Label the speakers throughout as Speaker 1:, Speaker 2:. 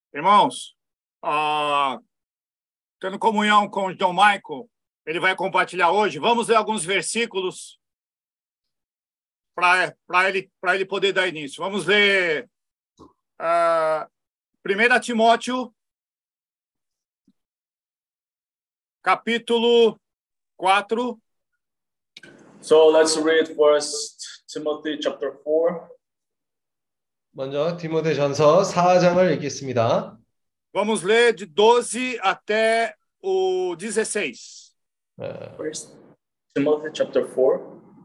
Speaker 1: Irmãos, tendo comunhão com o John Michael, ele vai compartilhar hoje. Vamos ler alguns versículos para ele poder dar início. Vamos ler 1 Timóteo, capítulo 4.
Speaker 2: So let's read First Timothy chapter 4.
Speaker 3: 먼저 디모데전서 4장을 읽겠습니다.
Speaker 1: Vamos ler de 12 até o 16.
Speaker 2: First Timothy chapter 4,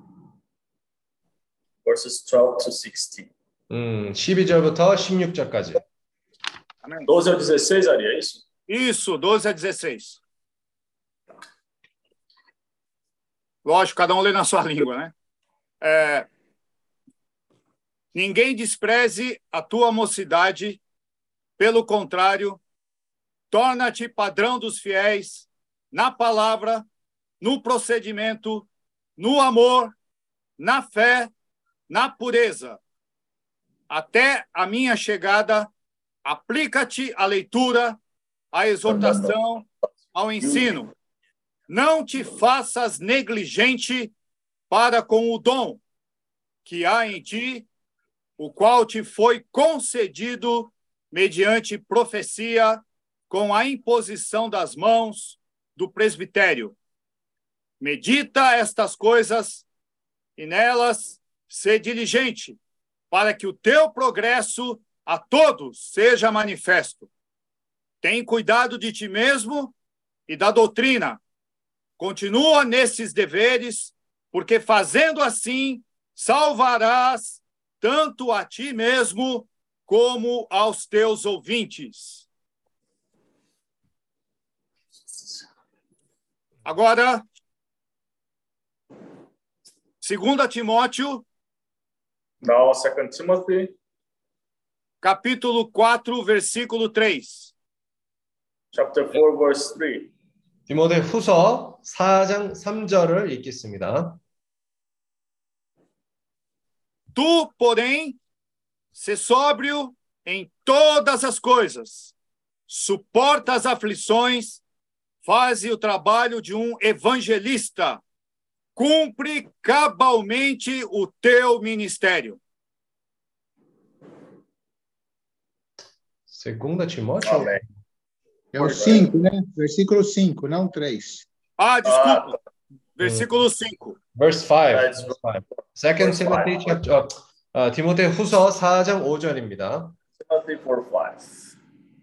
Speaker 2: verses 12 to 16.
Speaker 3: 12절부터 16절까지.
Speaker 1: Amém.
Speaker 2: 12 a 16, Ari, é isso?
Speaker 1: Isso, 12 a 16. Lógico, cada um lê na sua língua, né? Ninguém despreze a tua mocidade, pelo contrário, torna-te padrão dos fiéis na palavra, no procedimento, no amor, na fé, na pureza. Até a minha chegada, aplica-te à leitura, à exortação, ao ensino. Não te faças negligente para com o dom que há em ti, o qual te foi concedido mediante profecia, com a imposição das mãos do presbitério. Medita estas coisas e nelas sê diligente, para que o teu progresso a todos seja manifesto. Tem cuidado de ti mesmo e da doutrina. Continua nesses deveres, porque fazendo assim, salvarás tanto a ti mesmo como aos teus ouvintes. Agora, 2 Timóteo,
Speaker 2: Now, 2 Timothy,
Speaker 1: capítulo 4, versículo 3.
Speaker 2: chapter 4, verse 3.
Speaker 3: 디모데 후서 4장 3절을 읽겠습니다.
Speaker 1: Tu, porém, sê sóbrio em todas as coisas, suporta as aflições, faze o trabalho de um evangelista, cumpre cabalmente o teu ministério.
Speaker 3: 2 Timóteo.
Speaker 2: Amém.
Speaker 4: É o 5, né? Versículo 5, não 3.
Speaker 1: Desculpa. Versículo 5.
Speaker 3: Verse 5.
Speaker 2: That's
Speaker 3: Verse 5. Second
Speaker 2: verse
Speaker 3: Timothy
Speaker 2: 5.
Speaker 3: chapter 디모데 후서 4장 5절입니다.
Speaker 2: Timothy 4, 5.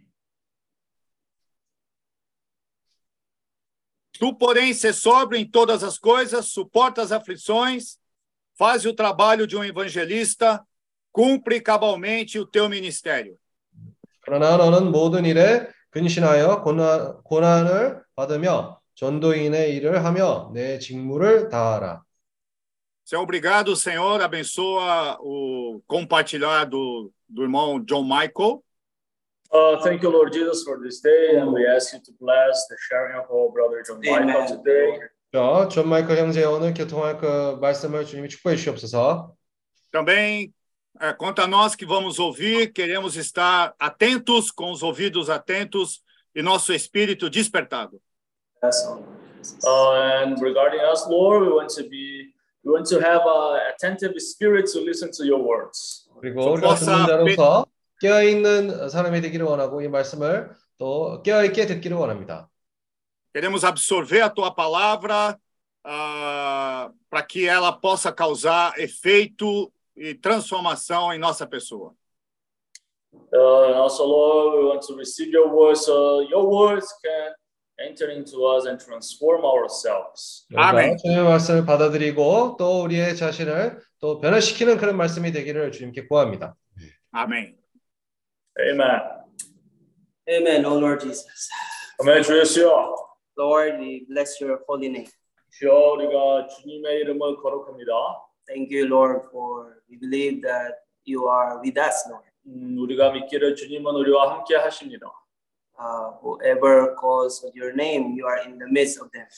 Speaker 1: Tu, porém, sê sóbrio em todas as coisas, suporta as aflições, faz o trabalho de um evangelista, cumpre cabalmente o teu ministério.
Speaker 3: 그러나 너는 모든 일에 근신하여 고난을 받으며 전도인의 일을 하며 내 직무를 다하라.
Speaker 1: Senhor, obrigado, Senhor, abençoa o compartilhar do irmão John Michael.
Speaker 2: Thank you, Lord Jesus, for this day, and we ask you to bless the sharing of our brother John Michael today.
Speaker 3: 자, 존 마이클 형제 오늘 교통할 그 말씀을 주님이 축복해 주시옵소서.
Speaker 1: Também, quanto a nós que vamos ouvir, queremos estar atentos, com os ouvidos atentos e nosso espírito despertado.
Speaker 2: Yes. And regarding us, Lord, we want to have an attentive spirit to listen to your words.
Speaker 3: 그리고 우리가 듣는 자로서 깨어있는 사람이 되기를 원하고 이 말씀을 또 깨어있게 듣기를 원합니다.
Speaker 1: Queremos absorver a tua palavra para que ela possa causar efeito e transformação em nossa pessoa.
Speaker 2: And also, Lord, we want to receive your words so your words can enter into us and transform ourselves.
Speaker 1: 아멘.
Speaker 3: 주님의 말씀을 받아들이고 또 우리의 자신을 또 변화시키는 그런 말씀이 되기를 주님께 구합니다.
Speaker 1: 아멘.
Speaker 2: Amen.
Speaker 5: Amen, O Lord Jesus.
Speaker 2: 아멘. 주 예수여,
Speaker 5: Lord, we bless your holy name.
Speaker 2: 주여, 우리가 주님의 이름을 거룩합니다.
Speaker 5: Thank you, Lord, for we believe that you are with us, Lord.
Speaker 2: 우리가 믿기를 주님은 우리와 함께 하십니다.
Speaker 5: Whoever calls on your name, you are in the midst of them.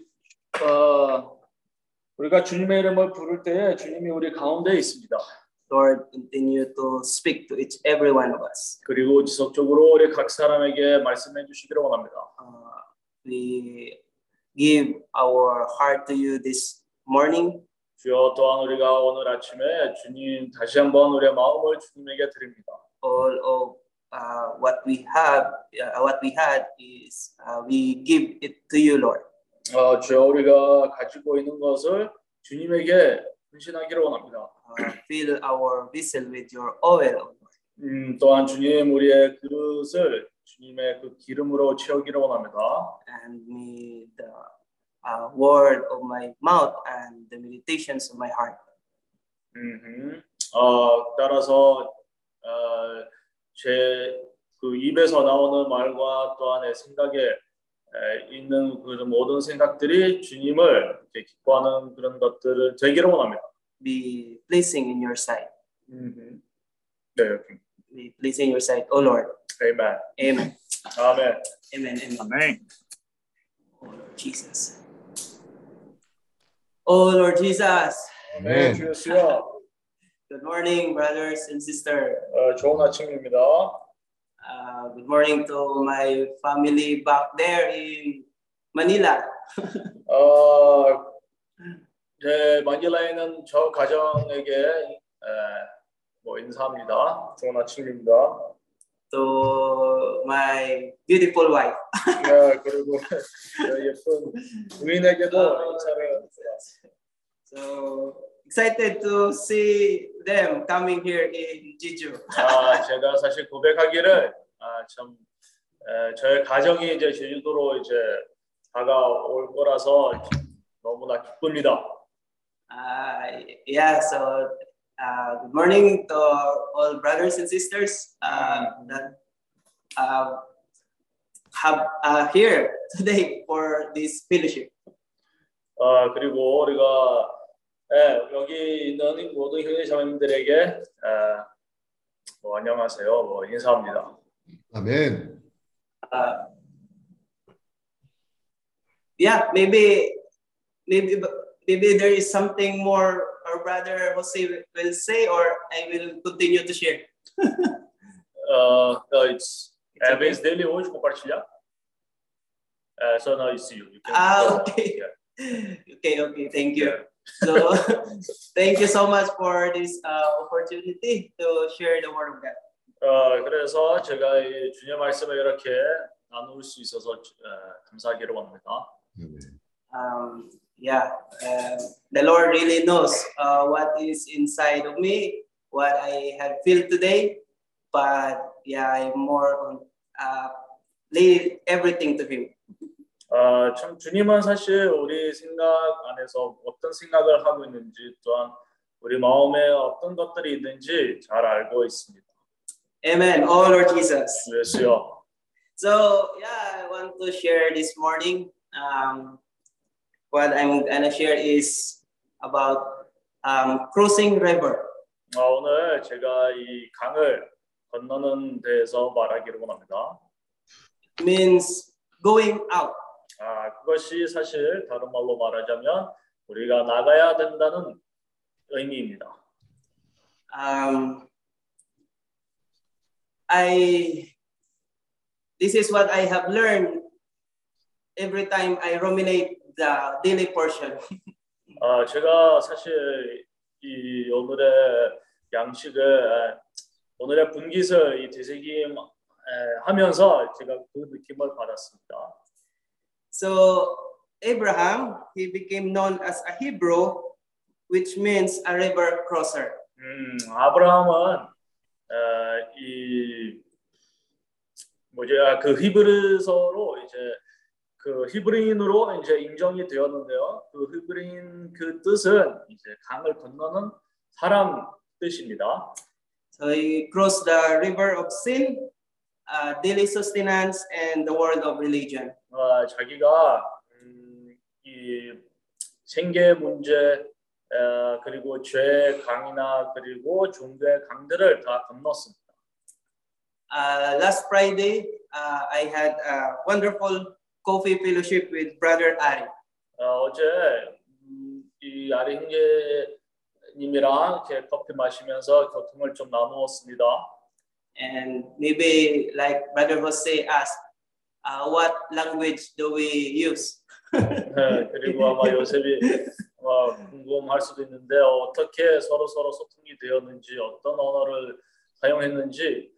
Speaker 2: 우리가 주님의 이름을 부를 때에 주님이 우리 가운데 있습니다.
Speaker 5: Lord, continue to speak to every one of us.
Speaker 2: 그리고 지속적으로 우리 각 사람에게 말씀해 주시기를 원합니다.
Speaker 5: We give our heart to you this morning.
Speaker 2: 주여 또한 우리가 오늘 아침에 주님 다시 한번 우리의 마음을 주님에게 드립니다.
Speaker 5: All of what we had is we give it to you, Lord.
Speaker 2: 주여 우리가 가지고 있는 것을 주님에게 헌신하기를 원합니다.
Speaker 5: Fill our vessel with your oil, Lord.
Speaker 2: 또한 주님 우리의 그릇을 주님의 그 기름으로 채우기를 원합니다.
Speaker 5: And may the word of my mouth and the meditations of my heart.
Speaker 2: 따라서 제 그 입에서 나오는 말과 또한 내 생각에 있는 그런 모든 생각들이 주님을 이렇게 기뻐하는 그런 것들을 되기를 원합니다.
Speaker 5: Be pleasing in your sight.
Speaker 2: 네, 이렇게.
Speaker 5: Be pleasing in your sight, O Lord.
Speaker 2: Amen.
Speaker 5: Amen.
Speaker 2: 아멘.
Speaker 5: Amen. Amen.
Speaker 1: 아멘.
Speaker 5: Oh Lord Jesus. Oh Lord Jesus.
Speaker 2: 아멘. 주 예수여.
Speaker 5: Good morning, brothers and sisters.
Speaker 2: 좋은 아침입니다.
Speaker 5: Good morning to my family back there in Manila.
Speaker 2: 네, 마닐라에 있는 저 가정에게 인사합니다. 좋은 아침입니다.
Speaker 5: To my beautiful wife.
Speaker 2: 네, 그리고 예쁜 부인에게도 인사를.
Speaker 5: So excited to see them coming here in Jeju.
Speaker 2: 제가 사실 고백하기를 참 저의 가정이 이제 제주도로 이제 다가올 거라서 너무나 기쁩니다.
Speaker 5: Yeah, so good morning to all brothers and sisters that have here today for this fellowship.
Speaker 2: 그리고 우리가 여기 있는 모든 형제 자매님들에게 안녕하세요. 인사합니다.
Speaker 3: 아멘.
Speaker 5: Yeah, maybe there is something more our brother Jose will say, or I will continue to share.
Speaker 2: It's Evans Daily hoje compartilhar. So now you see you.
Speaker 5: Okay. Yeah. Okay. Thank you. So thank you so much for this opportunity to share the word of God.
Speaker 2: 그래서 제가 이 주님의 말씀을 이렇게 나눌 수 있어서 감사하기를 원합니다.
Speaker 5: The Lord really knows what is inside of me, what I have felt today, but I'm more on leave everything to Him.
Speaker 2: 참 주님은 사실 우리 생각 안에서 어떤 생각을 하고 있는지 또한 우리 마음에 어떤 것들이 있는지 잘 알고 있습니다.
Speaker 5: Amen. Oh Lord Jesus.
Speaker 2: 예수여.
Speaker 5: So I want to share this morning. What I'm gonna share is about crossing river.
Speaker 2: 오늘 제가 이 강을 건너는 데에서 말하기를 원합니다.
Speaker 5: It means going out.
Speaker 2: 그것이 사실 다른 말로 말하자면 우리가 나가야 된다는 의미입니다.
Speaker 5: This is what I have learned every time I ruminate the daily portion.
Speaker 2: 제가 사실 이 오늘의 양식을 오늘의 분깃을 이 되새김 하면서 제가 그 느낌을 받았습니다.
Speaker 5: So Abraham, he became known as a Hebrew, which means a river crosser.
Speaker 2: 아브라함은 그 히브리서로 이제 그 히브리인으로 이제 인정이 되었는데요. 그 히브리인 그 뜻은 이제 강을 건너는 사람 뜻입니다.
Speaker 5: So he crossed the river of sin, daily sustenance, and the world of religion.
Speaker 2: 자기가 이 생계 문제 그리고 죄 강이나 그리고 종교의 강들을 다 건넜습니다.
Speaker 5: Last Friday, I had a wonderful coffee fellowship with Brother Ari.
Speaker 2: 어제 이 아리 형제 님이랑 이렇게 커피 마시면서 교통을 좀 나누었습니다.
Speaker 5: And maybe like Brother Jose asked, what language do we use?
Speaker 2: 네, 그리고 아마 요셉이 궁금할 수도 있는데 어떻게 서로 소통이 되었는지 어떤 언어를 사용했는지.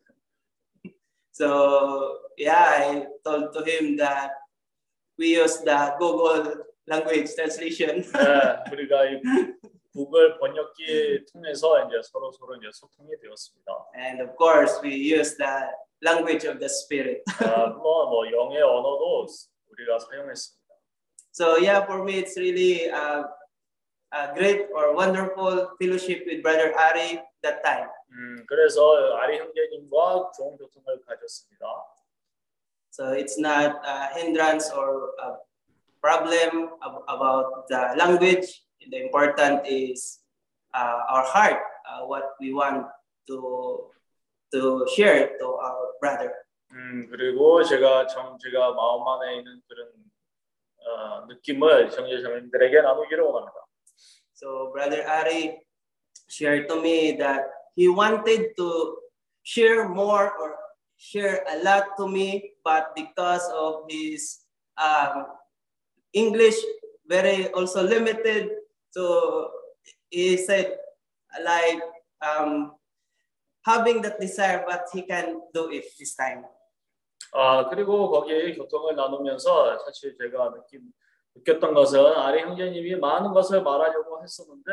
Speaker 5: So yeah, I told to him that we use the Google language translation.
Speaker 2: 네, 우리가 이 구글 번역기 통해서 이제 서로 이제 소통이 되었습니다.
Speaker 5: And of course, we use the language of the Spirit.
Speaker 2: 뭐 영의 언어도 우리가 사용했습니다.
Speaker 5: So yeah, for me, it's really a great or wonderful fellowship with Brother Ari that time.
Speaker 2: 그래서 아리 형제님과 좋은 교통을 가졌습니다.
Speaker 5: So it's not a hindrance or a problem about the language. The important is our heart, what we want to share to our brother.
Speaker 2: 그리고 제가 마음 안에 있는 그런 느낌을 형제자매님들에게 나누기를 원합니다.
Speaker 5: So Brother Ari shared to me that he wanted to share more or share a lot to me, but because of his English very also limited, so he said like having that desire, but he can do it this time.
Speaker 2: 그리고 거기에 교통을 나누면서 사실 제가 느꼈던 것은 아리 형제님이 많은 것을 말하려고 했었는데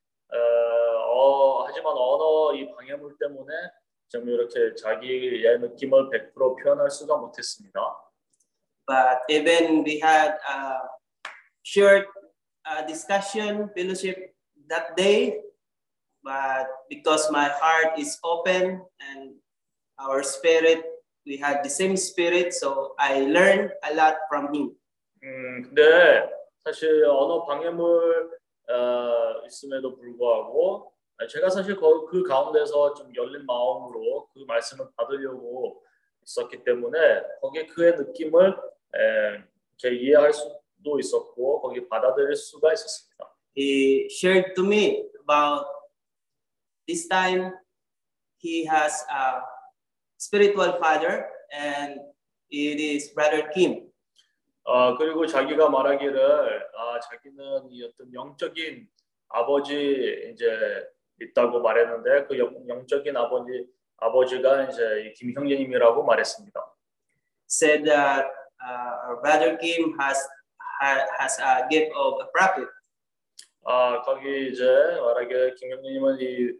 Speaker 2: 하지만 언어 이 방해물 때문에 좀 이렇게 자기의 느낌을 100% 표현할 수가 못했습니다.
Speaker 5: But even we had a short discussion fellowship that day, but because my heart is open and our spirit, we had the same spirit, so I learned a lot from him.
Speaker 2: 근데 사실 언어 방해물 있음에도 불구하고 제가 사실 그 가운데서 좀 열린 마음으로 그 말씀을 받으려고 있었기 때문에 거기에 그의 느낌을 이해할 수도 있었고 거기 받아들일 수가 있었습니다.
Speaker 5: He shared to me about this time he has a spiritual father and it is Brother Kim.
Speaker 2: 그리고 자기가 말하기를 자기는 이 어떤 영적인 아버지 이제 있다고 말했는데 그 영적인 아버지가 이제 이 김 형제님이라고 말했습니다.
Speaker 5: Said that our Brother Kim has a gift of a prophet.
Speaker 2: 거기 이제 말하기를 김 형제님은 이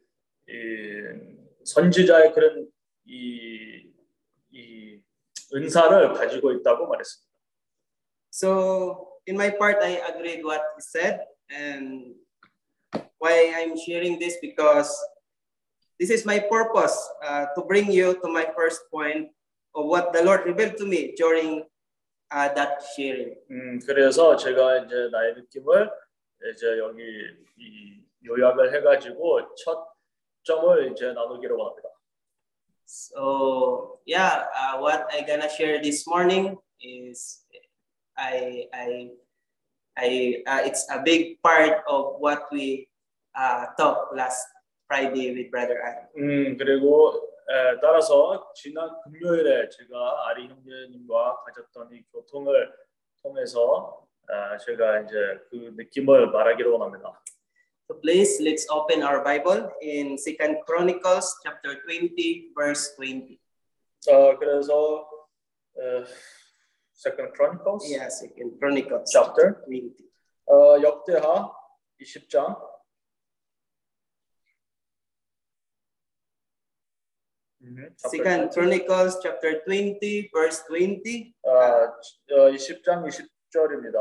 Speaker 2: 선지자의 그런 이 은사를 가지고 있다고 말했습니다.
Speaker 5: So in my part, I agreed what he said, and why I'm sharing this because this is my purpose to bring you to my first point of what the Lord revealed to me during that sharing.
Speaker 2: 그래서 제가 이제 나의 느낌을 이제 여기 이 요약을 해가지고 첫 점을 이제 나누기로 합니다.
Speaker 5: So yeah, what I gonna share this morning is it's a big part of what we talked last Friday with Brother Ari.
Speaker 2: 그리고 따라서 지난 금요일에 제가 아리 형제님과 가졌던 이 교통을 통해서 제가 이제 그 느낌을 말하기로 원합니다.
Speaker 5: So please let's open our Bible in 2 Chronicles chapter 20 verse 20.
Speaker 2: 그래서 Second Chronicles.
Speaker 5: Yeah, 2 Chronicles
Speaker 2: chapter
Speaker 5: 20.
Speaker 2: 역대하 20장.
Speaker 5: Second Chronicles chapter 20 verse 20.
Speaker 2: 20장 20절입니다.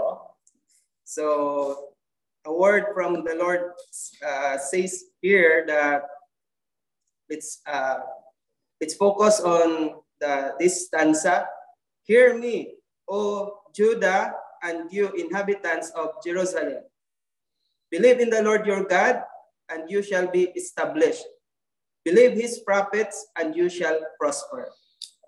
Speaker 5: So a word from the Lord says here that let's focus on this stanza. Hear me, O Judah, and you inhabitants of Jerusalem. Believe in the Lord your God, and you shall be established. Believe his prophets, and you shall prosper.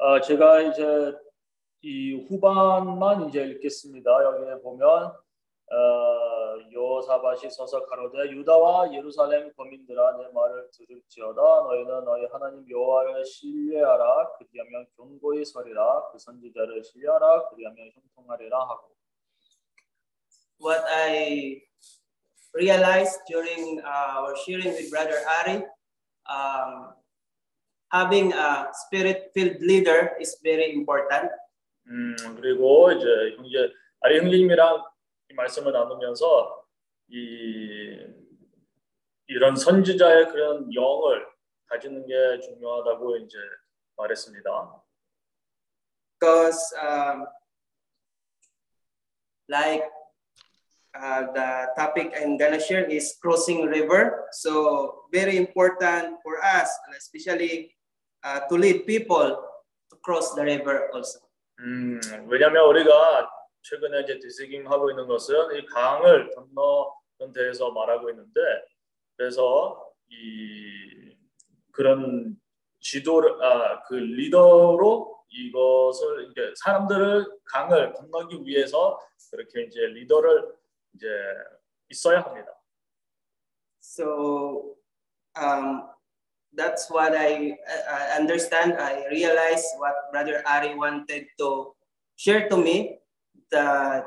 Speaker 2: 제가 이제 이 후반만 이제 읽겠습니다. 여기에 보면 여호사밧이 서서 가로되 유다와 예루살렘 거민들아 내 말을 들을지어다 너희는 너희 하나님 여호와를 신뢰하라 그리하면 견고히 서리라 그 선지자를 신뢰하라 그리하면 형통하리라 하고.
Speaker 5: What I realized during our sharing with Brother Ari, having a spirit-filled leader is very important.
Speaker 2: 그리고 이제 아리 형제님이랑 이 말씀을 나누면서 이런 선지자의 그런 영을 가지는 게 중요하다고 이제 말했습니다.
Speaker 5: Because like the topic I'm gonna share is crossing river, so very important for us, especially to lead people to cross the river also.
Speaker 2: 왜냐하면 우리가 최근에 이제 디스깅하고 있는 것은 이 강을 건너는 데에서 말하고 있는데, 그래서 그런 지도를 그 리더로 이것을 이제 사람들을 강을 건너기 위해서 그렇게 이제 리더를 이제 있어야 합니다.
Speaker 5: So that's what I understand. I realized what Brother Ari wanted to share to me, that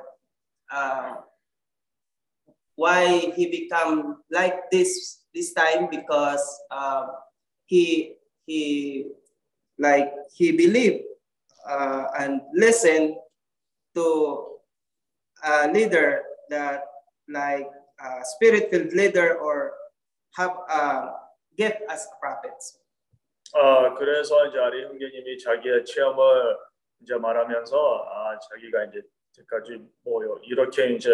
Speaker 5: why he become like this time, because he believed and listened to a leader that like spirit-filled leader or have gift as prophets.
Speaker 2: 그래서 이제 아리 형제님이 자기의 체험을 이제 말하면서 자기가 이제 지금까지 뭐 이렇게 이제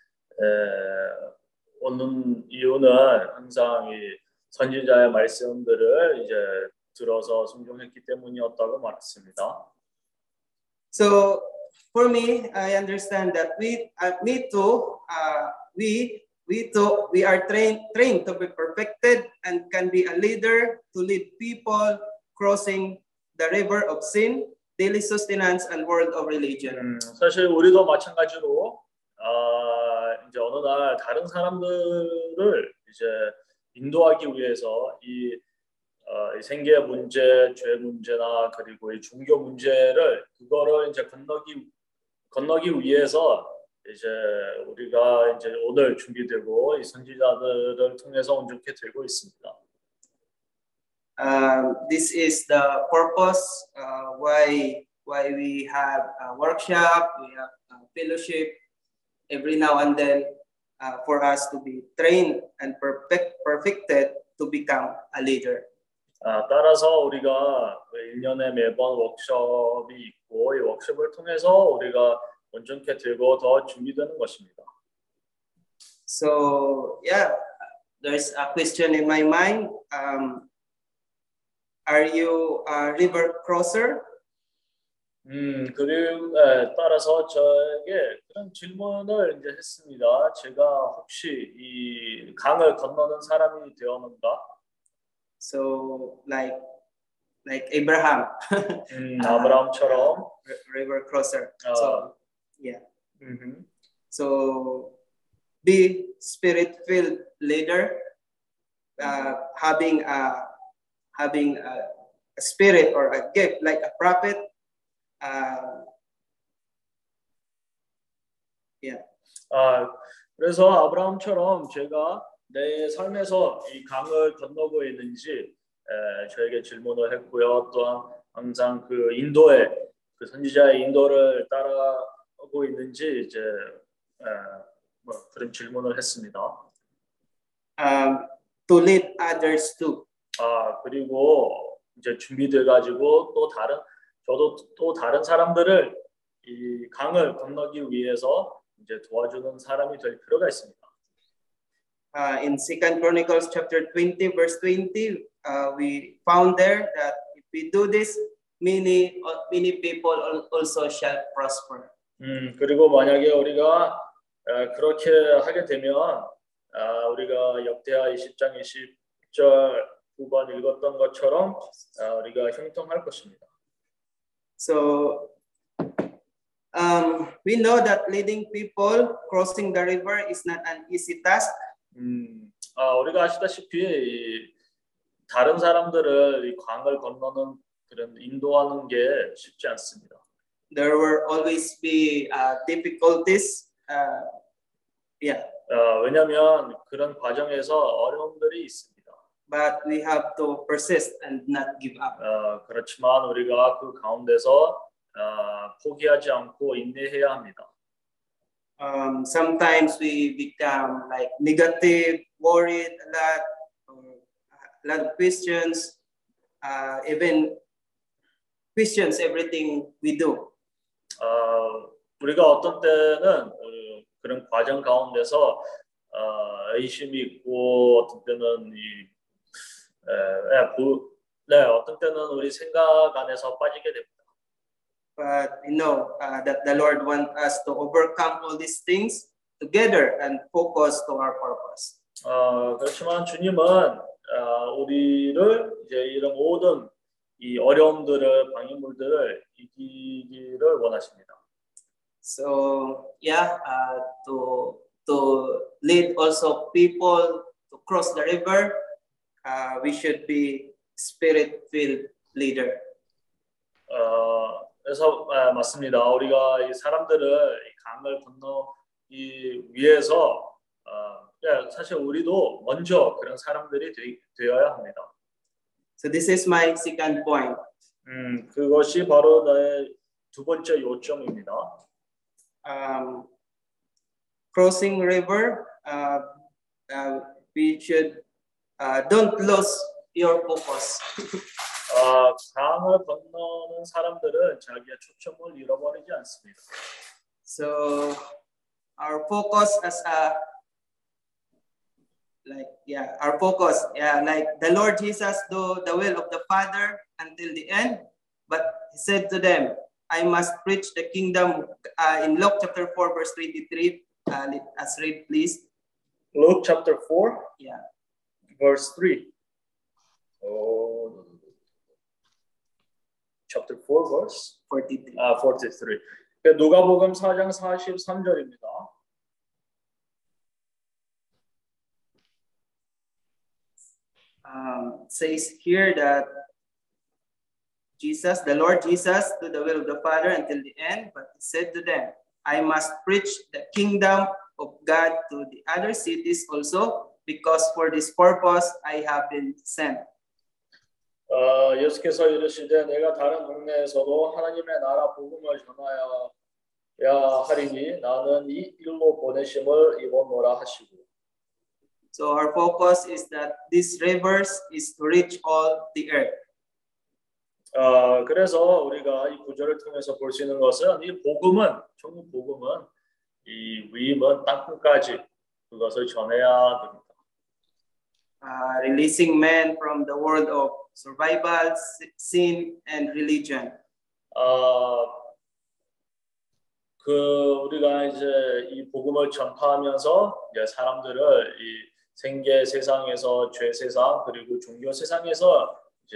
Speaker 2: 오는 이유는 항상 이 선지자의 말씀들을 이제 들어서 순종했기 때문이었다고 말했습니다.
Speaker 5: So for me, I understand that we are trained to be perfected and can be a leader to lead people crossing the river of sin, daily sustenance, and world of religion.
Speaker 2: 사실 우리도 마찬가지로 이제 어느 날 다른 사람들을 이제 인도하기 위해서 이 생계의 문제, 죄 문제나 그리고 이 종교 문제를 그거를 이제 건너기 위해서 이제 우리가 이제 오늘 준비되고 이 선지자들을 통해서 온전케 되고 있습니다.
Speaker 5: This is the purpose why we have a workshop, we have a fellowship every now and then for us to be trained and perfected to become a leader.
Speaker 2: 따라서 우리가 1년에 매번 워크숍이 있고 이 워크숍을 통해서 우리가 온전케 되고 더 준비되는 것입니다.
Speaker 5: So yeah, there's a question in my mind. Are you a river crosser?
Speaker 2: 그리고 따라서 저에게 그런 질문을 이제 했습니다. 제가 혹시 이 강을 건너는 사람이 되었는가?
Speaker 5: So like Abraham,
Speaker 2: 아브라함처럼
Speaker 5: river crosser. So yeah. So be spirit-filled leader, having a spirit or a gift like a prophet. Yeah.
Speaker 2: 그래서 아브라함처럼 제가 내 삶에서 이 강을 건너고 있는지 저에게 질문을 했고요. 또한 항상 그 인도의 그 선지자의 인도를 따라가고 있는지 이제 뭐 그런 질문을 했습니다.
Speaker 5: To lead others too.
Speaker 2: 그리고 이제 준비돼 가지고 저도 또 다른 사람들을 이 강을 건너기 위해서 이제 도와주는 사람이 될 필요가 있습니다.
Speaker 5: In 2 Chronicles chapter 20 verse 20, we found there that if we do this, many people also shall prosper.
Speaker 2: 그리고 만약에 우리가 그렇게 하게 되면 우리가 역대하 20장 20절 후반 읽었던 것처럼 우리가 형통할 것입니다.
Speaker 5: So We know that leading people crossing the river is not an easy task.
Speaker 2: 우리가 아시다시피 이 다른 사람들을 이 강을 건너는 그런 인도하는 게 쉽지 않습니다.
Speaker 5: There will always be difficulties.
Speaker 2: 왜냐하면 그런 과정에서 어려움들이 있습니다.
Speaker 5: But we have to persist and not give up.
Speaker 2: 그렇지만 우리가 그 가운데서 포기하지 않고 인내해야 합니다.
Speaker 5: Sometimes we become like negative, worried a lot of questions, even questions everything we do.
Speaker 2: 우리가 어떤 때는 그런 과정 가운데서 의심이 있고 어떤 때는 어떤 때는 우리 생각 안에서 빠지게 됩니다.
Speaker 5: But we know that the Lord wants us to overcome all these things together and focus to our purpose.
Speaker 2: 그렇지만 주님은 우리를 이제 이런 모든 이 어려움들을 방해물들을 이기기를 원하십니다.
Speaker 5: So to lead also people to cross the river, we should be spirit-filled leader.
Speaker 2: 그래서 맞습니다. 우리가 이 사람들을 이 강을 건너기 위해서 사실 우리도 먼저 그런 사람들이 되어야 합니다.
Speaker 5: So this is my second point.
Speaker 2: 그것이 바로 나의 두 번째 요점입니다.
Speaker 5: Crossing river, we should don't lose your focus.
Speaker 2: 강을 건너는 사람들은 자기의 초점을 잃어버리지 않습니다.
Speaker 5: So our focus as our focus, like the Lord Jesus do the will of the Father until the end, but he said to them, I must preach the kingdom in Luke chapter 4 verse 23. Let's read, please.
Speaker 2: Luke chapter 4, verse 3. Chapter 4, verse
Speaker 5: 43.
Speaker 2: 43. 누가복음 4장 43절입니다.
Speaker 5: Says here that Jesus, the Lord Jesus, do the will of the Father until the end, but he said to them, I must preach the kingdom of God to the other cities also, because for this purpose I have been sent.
Speaker 2: 예수께서 이르시되 내가 다른 동네에서도 하나님의 나라 복음을 전하여야 하리니 나는 이 일로 보내심을 입었노라 하시고.
Speaker 5: So our focus is that these rivers is to reach all the earth.
Speaker 2: 그래서 우리가 이 구절을 통해서 볼 수 있는 것은 이 복음은 천국 복음은 이 위임은 땅끝까지 그것을 전해야 됩니다.
Speaker 5: Releasing men from the world of survival, sin, and religion.
Speaker 2: 우리가 이제 이 복음을 전파하면서 이제 사람들을 이 생계 세상에서 죄 세상 그리고 종교 세상에서 이제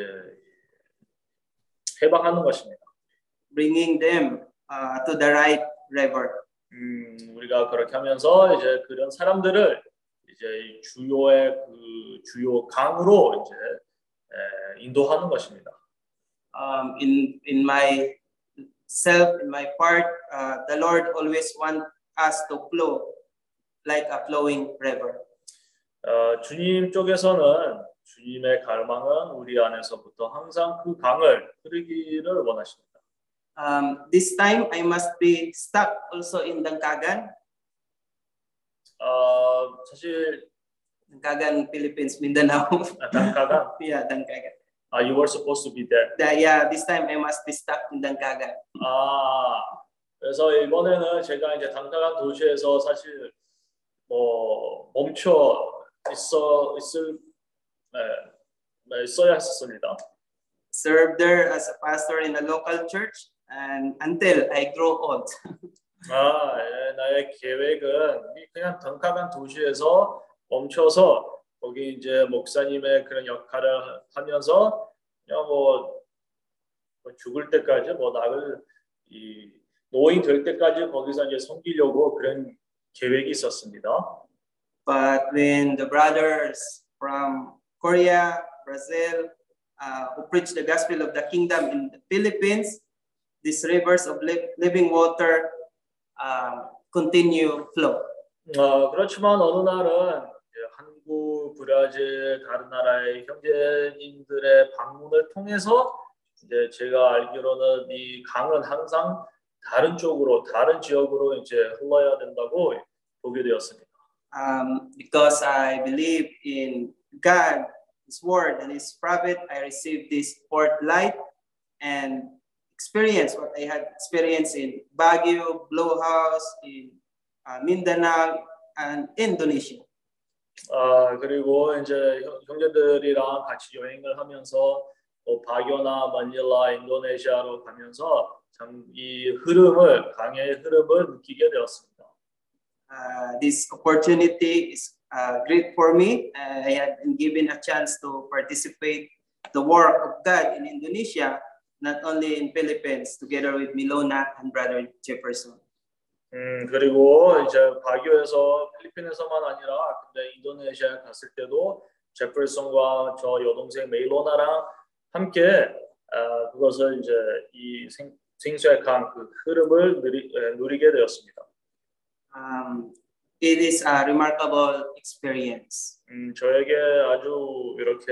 Speaker 2: 해방하는 것입니다.
Speaker 5: Bringing them to the right river.
Speaker 2: 우리가 그렇게 하면서 이제 그런 사람들을 이제 주요 강으로 이제 인도하는 것입니다.
Speaker 5: In my part, the Lord always want us to flow like a flowing river.
Speaker 2: 주님 쪽에서는 주님의 갈망은 우리 안에서부터 항상 그 강을 흐르기를 원하십니다.
Speaker 5: This time I must be stuck also in Dangkagan.
Speaker 2: 사실
Speaker 5: Dangkagan, Philippines, Mindanao.
Speaker 2: Dangkagan.
Speaker 5: Yeah, Dangkagan.
Speaker 2: You were supposed to be there.
Speaker 5: This time I must be stuck in Dangkagan.
Speaker 2: 그래서 이번에는 제가 이제 당카간 도시에서 사실 멈춰 있어야 했습니다.
Speaker 5: Served there as a pastor in a local church and until I grow old.
Speaker 2: 나의 계획은 그냥 덩카간 도시에서 멈춰서 거기 이제 목사님의 그런 역할을 하면서 그냥 죽을 때까지 나를 노인 될 때까지 거기서 이제 섬기려고 그런 계획이 있었습니다.
Speaker 5: But when the brothers from Korea, Brazil, who preach the gospel of the kingdom in the Philippines, these rivers of living water continue flow.
Speaker 2: 그렇지만 어느 날은 한국, 브라질, 다른 나라의 형제님들의 방문을 통해서 이제 제가 알기로는 이 강은 항상 다른 쪽으로, 다른 지역으로 이제 흘러야 된다고 보게 되었습니다.
Speaker 5: Because I believe in God, His word, and His prophet, I received this fourth light and experience what I had experienced in Baguio, Blue House, in Mindanao, and Indonesia.
Speaker 2: 그리고 이제 형제들이랑 같이 여행을 하면서 바교나 마닐라, 인도네시아로 가면서 참 이 흐름을, 강의 흐름을 느끼게 되었습니다.
Speaker 5: This opportunity is great for me. I had been given a chance to participate the work of God in Indonesia, not only in Philippines, together with Milona and Brother Jefferson.
Speaker 2: 그리고 이제 바교에서 필리핀에서만 아니라 근데 인도네시아에 갔을 때도 제퍼슨과 저 여동생 메일로나랑 함께 그것을 이제 이 생수의 강 그 흐름을 누리게 되었습니다.
Speaker 5: It is a remarkable experience.
Speaker 2: 저에게 아주 이렇게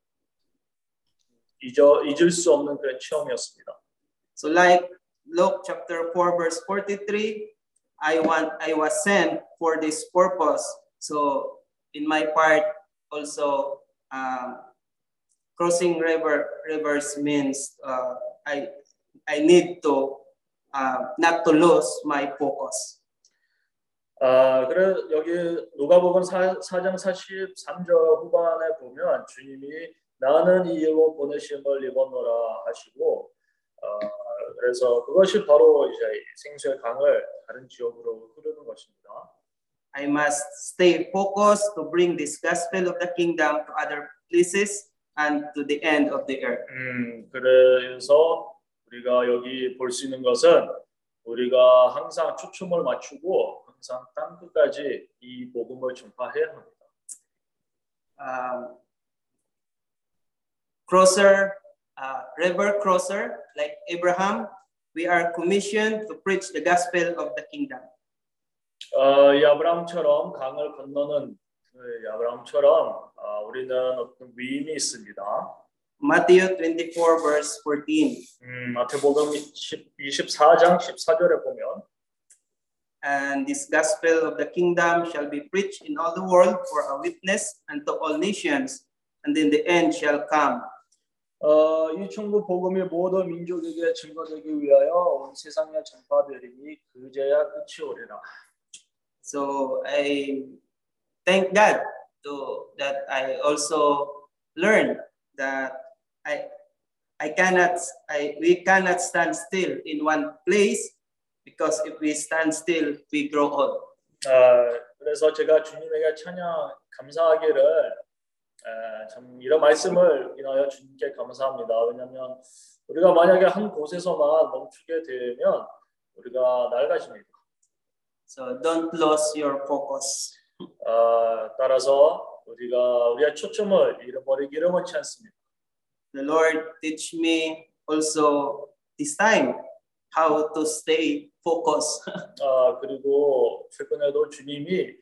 Speaker 2: 잊을 수 없는 그런 체험이었습니다.
Speaker 5: So like Luke chapter 4 verse 43, I was sent for this purpose. So in my part also crossing rivers means I need to not to lose my focus.
Speaker 2: 그래 여기 누가복음 4장 43절 후반에 보면 주님이 나는 이 일로 보내심을 입었노라 하시고 그래서 그것이 바로 이제 생수의 강을 다른 지역으로 흐르는 것입니다.
Speaker 5: I must stay focused to bring this gospel of the kingdom to other places and to the end of the earth.
Speaker 2: 그래서 우리가 여기 볼 수 있는 것은 우리가 항상 초점을 맞추고 항상 땅 끝까지 이 복음을 전파해야 합니다. River crosser like Abraham, we are commissioned to preach the gospel of the kingdom. 이 아브라함처럼 강을 건너는 아브라함처럼 우리는 어떤 위임이 있습니다.
Speaker 5: Matthew 24 verse 14.
Speaker 2: 마태복음 24장 14절에 보면
Speaker 5: And this gospel of the kingdom shall be preached in all the world for a witness unto all nations, and then the end shall come.
Speaker 2: 이 천국 복음이 모든 민족에게 증거되기 위하여 온 세상에 전파되리니 그제야 끝이 오리라.
Speaker 5: So I thank God that I also learned that we cannot stand still in one place, because if we stand still, we grow old.
Speaker 2: 그래서 제가 주님에게 감사하기를 참 이런 말씀을 인하여 주님께 감사합니다. 왜냐하면 우리가 만약에 한 곳에서만 멈추게 되면 우리가 낡아집니다.
Speaker 5: So don't lose your focus.
Speaker 2: 따라서 우리의 초점을 잃어버리기를 원치 않습니다.
Speaker 5: The Lord teach me also this time how to stay focused.
Speaker 2: 그리고 최근에도 주님이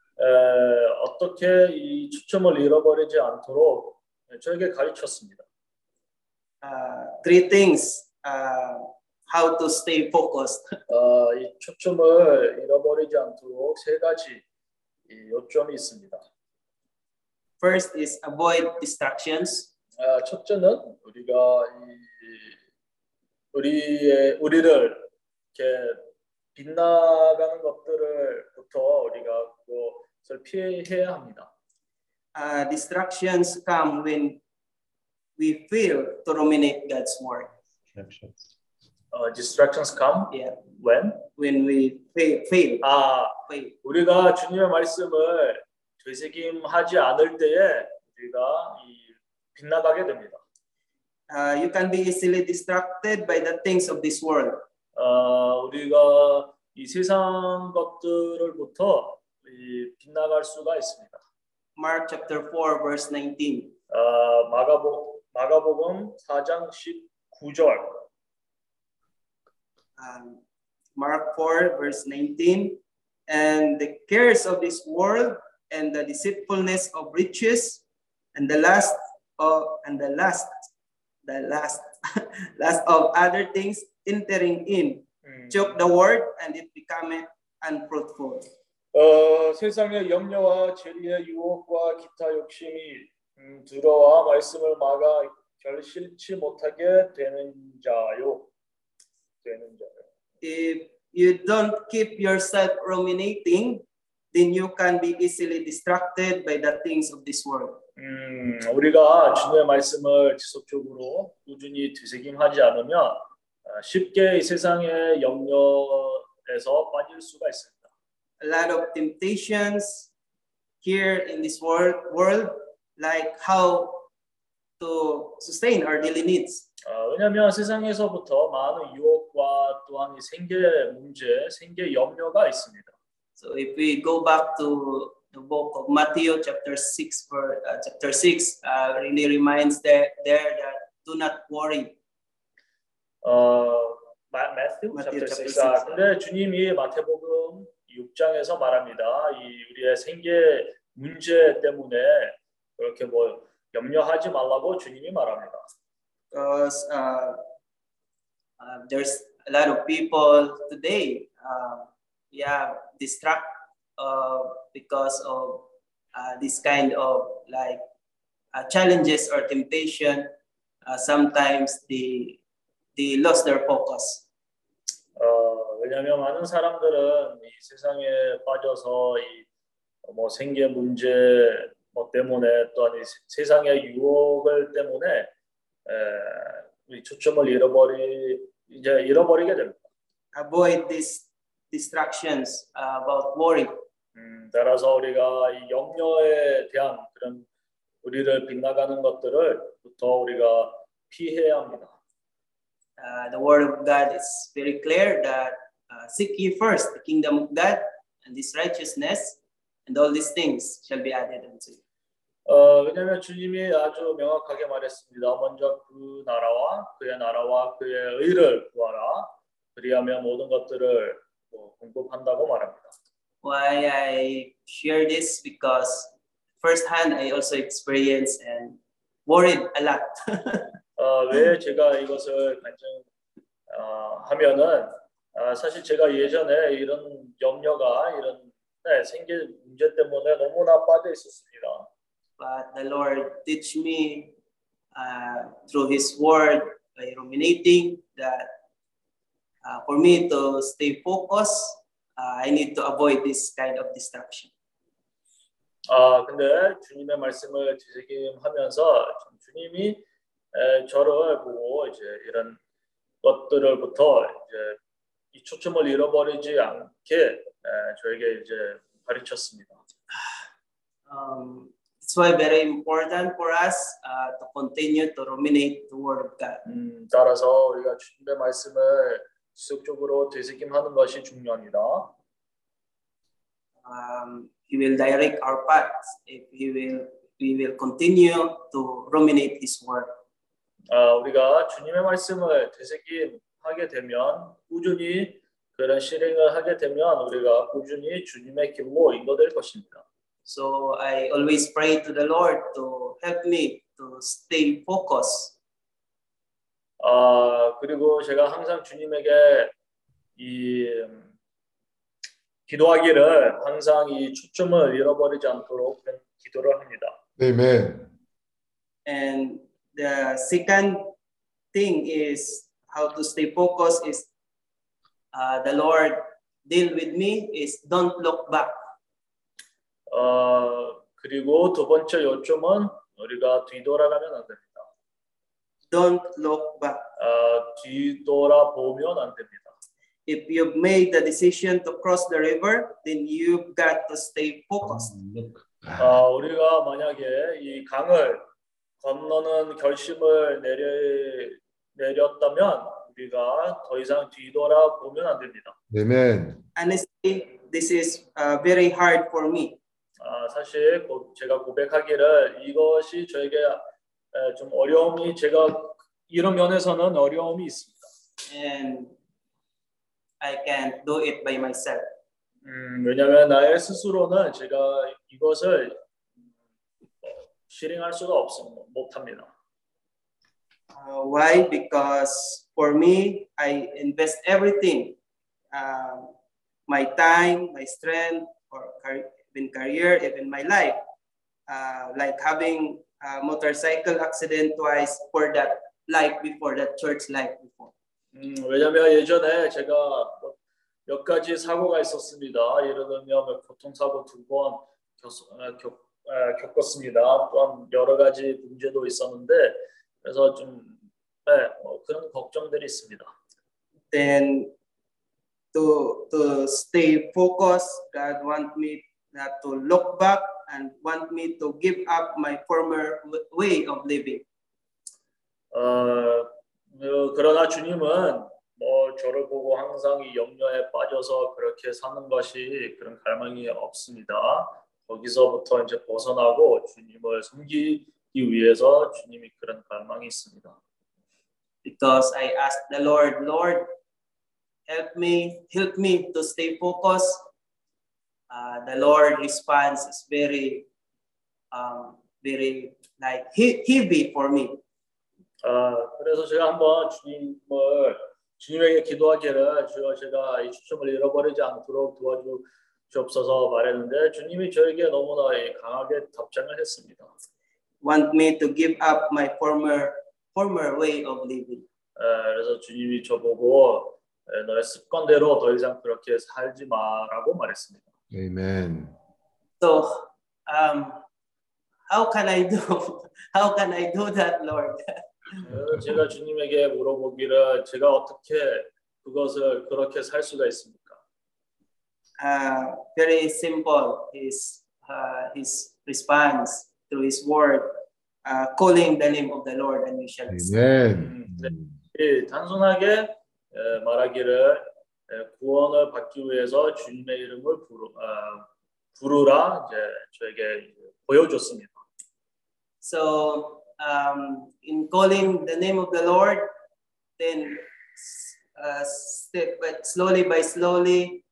Speaker 2: 어떻게 이 초점을 잃어버리지 않도록 저에게 가르쳤습니다.
Speaker 5: Three things how to stay focused.
Speaker 2: 이 초점을 잃어버리지 않도록 세 가지 요점이 있습니다.
Speaker 5: First is avoid distractions.
Speaker 2: 첫째는 우리가 우리를 이렇게 빗나가는 것들을부터 우리가 그것을 피해야 합니다.
Speaker 5: Distractions come when we fail to ruminate God's word.
Speaker 2: Distractions come when
Speaker 5: we fail.
Speaker 2: 우리가 주님의 말씀을 되새김하지 않을 때에 우리가 빗나가게 됩니다.
Speaker 5: You can be easily distracted by the things of this world.
Speaker 2: 우리가 이 세상 것들을부터 빗나갈 수가 있습니다.
Speaker 5: Mark chapter 4 verse 19.
Speaker 2: 마가복음 4장 19절.
Speaker 5: Mark 4 verse 19. And the cares of this world and the deceitfulness of riches and the lust of other things entering in choke the word and it becometh unfruitful.
Speaker 2: 세상의 염려와 재리의 유혹과 기타 욕심이 들어와 말씀을 막아 결실치 못하게 되는 자요.
Speaker 5: If you don't keep yourself ruminating, then you can be easily distracted by the things of this world.
Speaker 2: 우리가 주님의 말씀을 지속적으로 꾸준히 되새김하지 않으면 쉽게 이 세상의 염려에서 빠질 수가 있습니다.
Speaker 5: A lot of temptations here in this world, like how to sustain our daily needs.
Speaker 2: 왜냐하면 세상에서부터 많은 유혹과 또한 이 생계 문제, 생계 염려가 있습니다.
Speaker 5: So if we go back to the book of Matthew chapter 6 really reminds there that do not worry.
Speaker 2: Matthew chapter 6.
Speaker 5: 6.
Speaker 2: 근데 주님이 마태복음 6장에서 말합니다. 이 우리의 생계 문제 때문에 그렇게 뭐 염려하지 말라고 주님이 말합니다.
Speaker 5: Because there's a lot of people today, distract because of this kind of like challenges or temptation. Sometimes they lost their focus.
Speaker 2: 왜냐하면 많은 사람들은 이 세상에 빠져서 뭐 생계 문제 뭐 때문에 또한 이 세상의 유혹을 때문에 우리 초점을 잃어버리게 됩니다.
Speaker 5: Avoid these distractions about worry.
Speaker 2: 따라서 우리가 이 염려에 대한 그런 우리를 빗나가는 것들을부터 우리가 피해야 합니다.
Speaker 5: The word of God is very clear that seek ye first the kingdom of God and His righteousness, and all these things shall be added unto you.
Speaker 2: 왜냐하면 주님이 아주 명확하게 말했습니다. 먼저 그 나라와 그의 의를 구하라. 그리하면 모든 것들을 공급한다고 말합니다.
Speaker 5: Why I share this? Because firsthand I also experienced and worried a lot.
Speaker 2: 왜 제가 이것을 하면은 사실 제가 예전에 이런 염려가 이런 생계 문제 때문에 너무나 빠져 있었습니다.
Speaker 5: But the Lord teach me through His Word by ruminating that for me to stay focused, I need to avoid this kind of distraction.
Speaker 2: 근데 주님의 말씀을 되새김하면서 주님이 저를 보고 이제 이런 것들을부터 이제 이 초점을 잃어버리지 않게 저에게 이제 가르쳤습니다.
Speaker 5: It's why very important for us to continue to ruminate the Word of God.
Speaker 2: 따라서 우리가 주님의 말씀을 지속적으로 되새김하는 것이 중요합니다.
Speaker 5: He will direct our paths if we will continue to ruminate His Word.
Speaker 2: 우리가 주님의 말씀을 되새김하게 되면 꾸준히 그런 실행을 하게 되면 우리가 꾸준히 주님의 길로 인도될 것입니다.
Speaker 5: So I always pray to the Lord to help me to stay focused.
Speaker 2: 그리고 제가 항상 주님에게 기도하기를 항상 이 초점을 잃어버리지 않도록 기도를 합니다.
Speaker 6: Amen.
Speaker 5: And the second thing is how to stay focused is the Lord deal with me is don't look back.
Speaker 2: 그리고 두 번째 요점은 우리가 뒤돌아가면 안 됩니다.
Speaker 5: Don't look back.
Speaker 2: 뒤돌아보면 안 됩니다.
Speaker 5: If you've made the decision to cross the river, then you've got to stay focused.
Speaker 2: 우리가 만약에 이 강을 건너는 결심을 내렸다면 우리가 더 이상 뒤돌아보면 안 됩니다.
Speaker 3: Amen.
Speaker 5: Honestly, this is very hard for me.
Speaker 2: 사실 제가 고백하기를 이것이 저에게 좀 어려움이 제가 이런 면에서는 어려움이 있습니다.
Speaker 5: And I can't do it by myself.
Speaker 2: 왜냐하면 나의 스스로는 제가 이것을 실행할 수가 못합니다.
Speaker 5: Why? Because for me, I invest everything, my time, my strength, or even career, even my life, like having a motorcycle accident twice for that life before, that church life before.
Speaker 2: 왜냐하면 예전에 제가 몇 가지 사고가 있었습니다. 예를 들면 교통사고 2번 겪었습니다. 또한 여러 가지 문제도 있었는데 그래서 좀 그런 걱정들이 있습니다.
Speaker 5: Then to stay focused, God want me not to look back and want me to give up my former way of living.
Speaker 2: 그러나 주님은 저를 보고 항상 이 염려에 빠져서 그렇게 사는 것이 그런 갈망이 없습니다. 거기서부터 이제 벗어나고 주님을 섬기기 위해서 주님이 그런 갈망이 있습니다.
Speaker 5: Because I asked the Lord, Lord, help me to stay focused. The Lord response is very like heavy for me.
Speaker 2: 그래서 제가 한번 주님에게 기도하기를 주여 제가 이 초점을 잃어버리지 않도록 도와주시옵소서 말했는데 주님이 저에게 너무나 강하게 답장을 했습니다.
Speaker 5: Want me to give up my former way of living.
Speaker 2: 그래서 주님이 저보고 너의 습관대로 더 이상 그렇게 살지 마라고 말했습니다.
Speaker 3: Amen.
Speaker 5: So, how can I do that, Lord?
Speaker 2: 제가 주님에게 물어보기를 제가 어떻게 그것을 그렇게 살 수가 있습니까?
Speaker 5: Very simple. His response to His word, calling the name of the Lord, and you shall receive.
Speaker 3: Amen.
Speaker 2: 단순하게 말하기를 구원을 받기 위해서 주님의 이름을 부르라 이제 저에게 보여줬습니다.
Speaker 5: So in calling the name of the Lord, then slowly by slowly,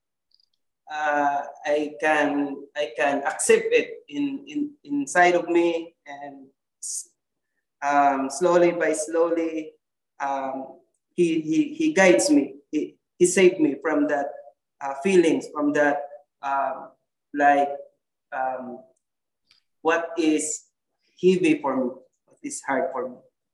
Speaker 5: I can accept it inside of me, and slowly by slowly, He guides me. He saved me from that feelings, from that what is heavy for me, what is hard for me.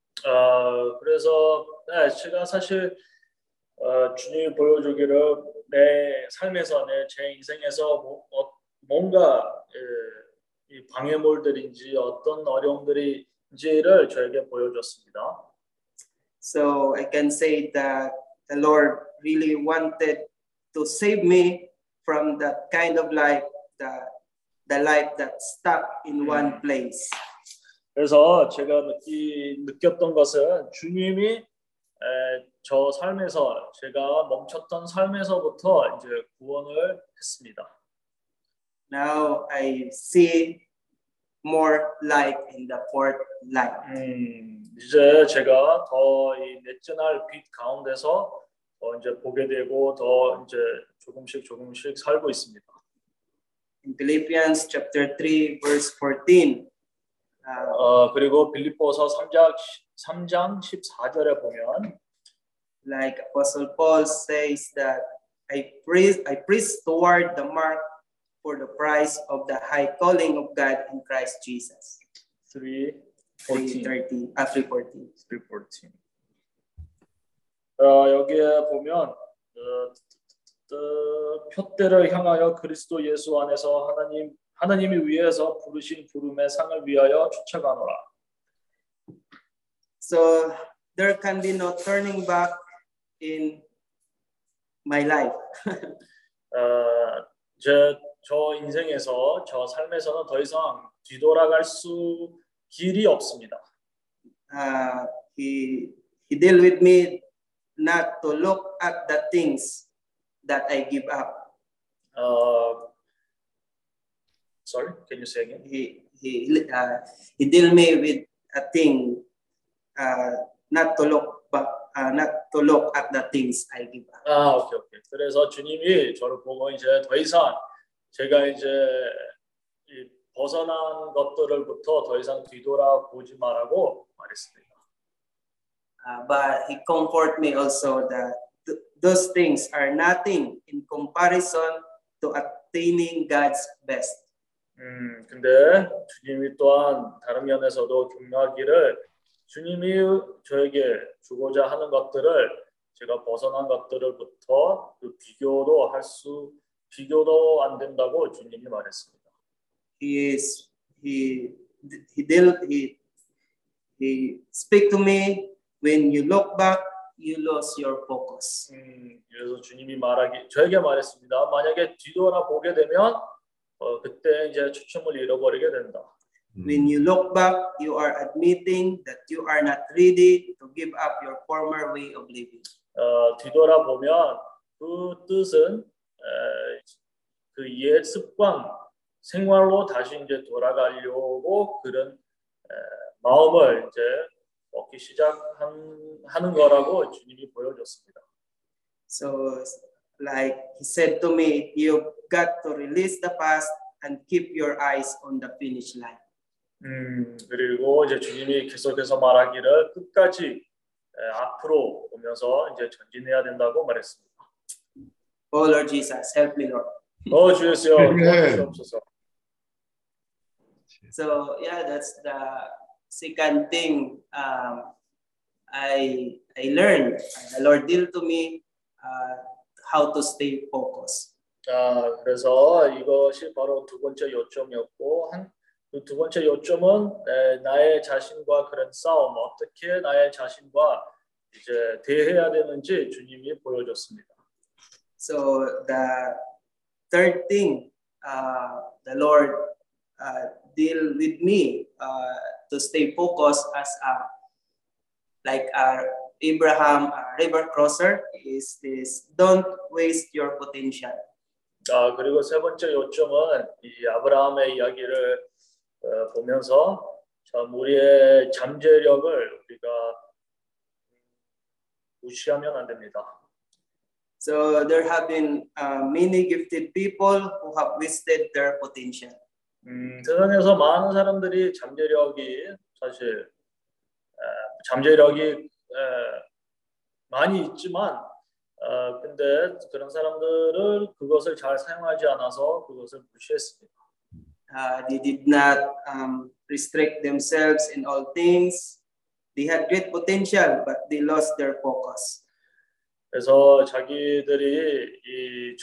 Speaker 2: 그래서 제가 사실 주님이 보여주기를 내 삶에서 제 인생에서 뭔가 이 방해물들인지 어떤 어려움들인지를 저에게 보여줬습니다.
Speaker 5: So I can say that the Lord really wanted to save me from that kind of life, the life that's stuck in one place.
Speaker 2: 그래서 제가 느꼈던 것은 주님이 저 삶에서 제가 멈췄던 삶에서부터 이제 구원을 했습니다.
Speaker 5: Now I see more light in the fourth light.
Speaker 2: 이제 제가 더 이 넷째 날 빛 가운데서 더 이제 보게 되고 더 이제 조금씩 살고 있습니다.
Speaker 5: In Philippians chapter 3 verse 14.
Speaker 2: 그리고 빌립보서 3장 14절에 보면
Speaker 5: like Apostle Paul says that I press toward the mark for the prize of the high calling of God in Christ Jesus. 3:14.
Speaker 2: 여기에 보면 표대를 향하여 그리스도 예수 안에서 하나님이 위에서 부르신 부름의 상을 위하여 쫓아가노라.
Speaker 5: So there can be no turning back in my life.
Speaker 2: 저 인생에서 저 삶에서는 더 이상 뒤돌아갈 길이 없습니다.
Speaker 5: He deal with me not to look at the things that I give up.
Speaker 2: Sorry, can you say again?
Speaker 5: He deal me with a thing, not to look back, not to look at the things I give up.
Speaker 2: 오케이. 그래서 주님이 저를 보고 이제 더 이상 제가 이제 이 벗어난 것들을부터 더 이상 뒤돌아보지 말라고 말했습니다.
Speaker 5: But he comfort me also that those things are nothing in comparison to attaining God's best.
Speaker 2: 근데 주님이 또한 다른 면에서도 격려하기를 주님이 저에게 주고자 하는 것들을 제가 벗어난 것들을부터 그 비교도 안 된다고 주님이 말했습니다.
Speaker 5: He speak to me when you look back, you lose your focus.
Speaker 2: 그래서 주님이 저에게 말했습니다. 만약에 뒤돌아보게 되면 그때 이제 초점을 잃어버리게 된다.
Speaker 5: When you look back, you are admitting that you are not ready to give up your former way of living.
Speaker 2: 뒤돌아보면 그 뜻은 그 옛 습관 생활로 다시 이제 돌아가려고 그런 마음을 이제 먹기 시작하는 거라고 주님이 보여줬습니다.
Speaker 5: So, like he said to me, you've got to release the past and keep your eyes on the finish line.
Speaker 2: 그리고 이제 주님이 계속해서 말하기를 끝까지 앞으로 보면서 이제 전진해야 된다고 말했습니다.
Speaker 5: Oh Lord Jesus, help me, Lord.
Speaker 2: 주 예수여, 도와주시옵소서.
Speaker 5: So yeah, that's the second thing I learned. The Lord deal to me how to stay focused.
Speaker 2: 그래서 이것이 바로 두 번째 요점이었고 그 두 번째 요점은 나의 자신과 그런 싸움 어떻게 나의 자신과 이제 대해야 되는지 주님이 보여줬습니다.
Speaker 5: So the third thing, the Lord deal with me to stay focused as like Abraham, river crosser, is this: don't waste your potential.
Speaker 2: 그리고 세 번째 요점은 이 아브라함의 이야기를 보면서 우리의 잠재력을 우리가 무시하면 안 됩니다.
Speaker 5: So there have been many gifted people who have wasted their potential.
Speaker 2: 세상에서 많은 사람들이 사실 잠재력이 많이 있지만 근데 그런 사람들을 그것을 잘 사용하지 않아서 그것을 무시했습니다.
Speaker 5: They did not restrict themselves in all things. They had great potential, but they lost their focus.
Speaker 2: 그래서 자기들이 이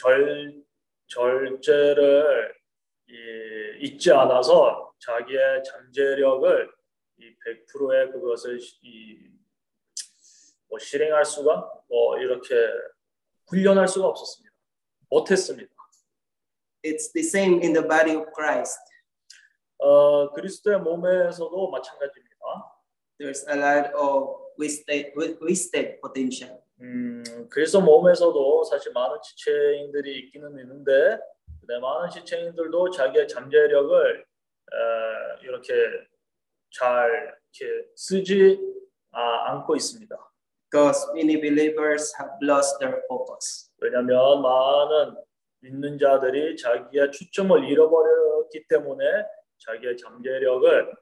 Speaker 2: 절제를 잊지 않아서 자기의 잠재력을 이 100%의 그것을 실행할 수가 이렇게 훈련할 수가 없었습니다. 못했습니다.
Speaker 5: It's the same in the body of Christ.
Speaker 2: 그리스도의 몸에서도 마찬가지입니다.
Speaker 5: There's a lot of wasted potential.
Speaker 2: 그리스도 몸에서도 사실 많은 지체인들이 있기는 있는데 많은 지체인들도 자기의 잠재력을 이렇게 잘 이렇게 쓰지 않고 있습니다.
Speaker 5: Because many believers have lost their focus.
Speaker 2: 왜냐하면 많은 믿는 자들이 자기의 초점을 잃어버렸기 때문에 자기의 잠재력을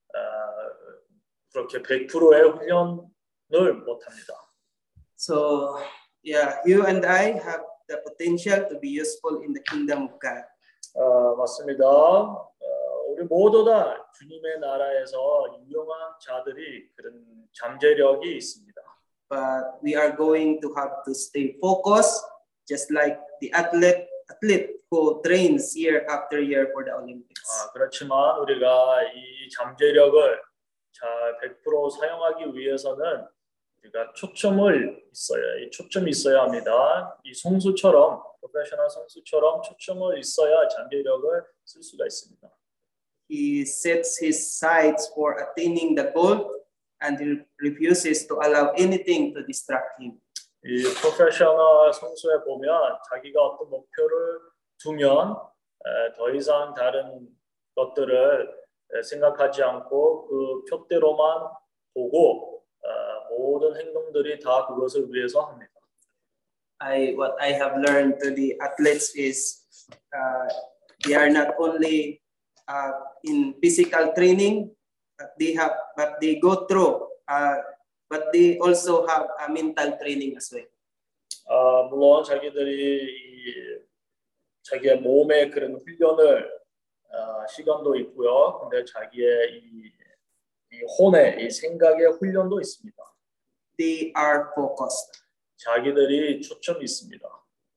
Speaker 2: 그렇게 100%의 훈련을 못합니다.
Speaker 5: So, yeah, you and I have the potential to be useful in the kingdom of God.
Speaker 2: 맞습니다. 우리 모두 다 주님의 나라에서 유용한 자들이 그런 잠재력이 있습니다.
Speaker 5: But we are going to have to stay focused, just like the athlete who trains year after year for the Olympics.
Speaker 2: 그렇지만 우리가 이 잠재력을 잘 100% 사용하기 위해서는 우리가 초점이 있어야 합니다. 이 선수처럼 프로페셔널 선수처럼 초점을 있어야 잠재력을 쓸 수가 있습니다.
Speaker 5: He sets his sights for attaining the goal and he refuses to allow anything to distract him.
Speaker 2: 이 프로페셔널 선수에 보면 자기가 어떤 목표를 두면 더 이상 다른 것들을 생각하지 않고 그 표대로만 보고 모든 행동들이 다 그것을 위해서 합니다.
Speaker 5: What I have learned to the athletes is they are not only in physical training, but they go through, but they also have a mental training as well.
Speaker 2: 물론 자기들이 자기의 몸의 그런 훈련을 시간도 있고요. 근데 자기의 이 혼의 이 생각의 훈련도 있습니다.
Speaker 5: They are focused.
Speaker 2: 자기들이 초점이 있습니다.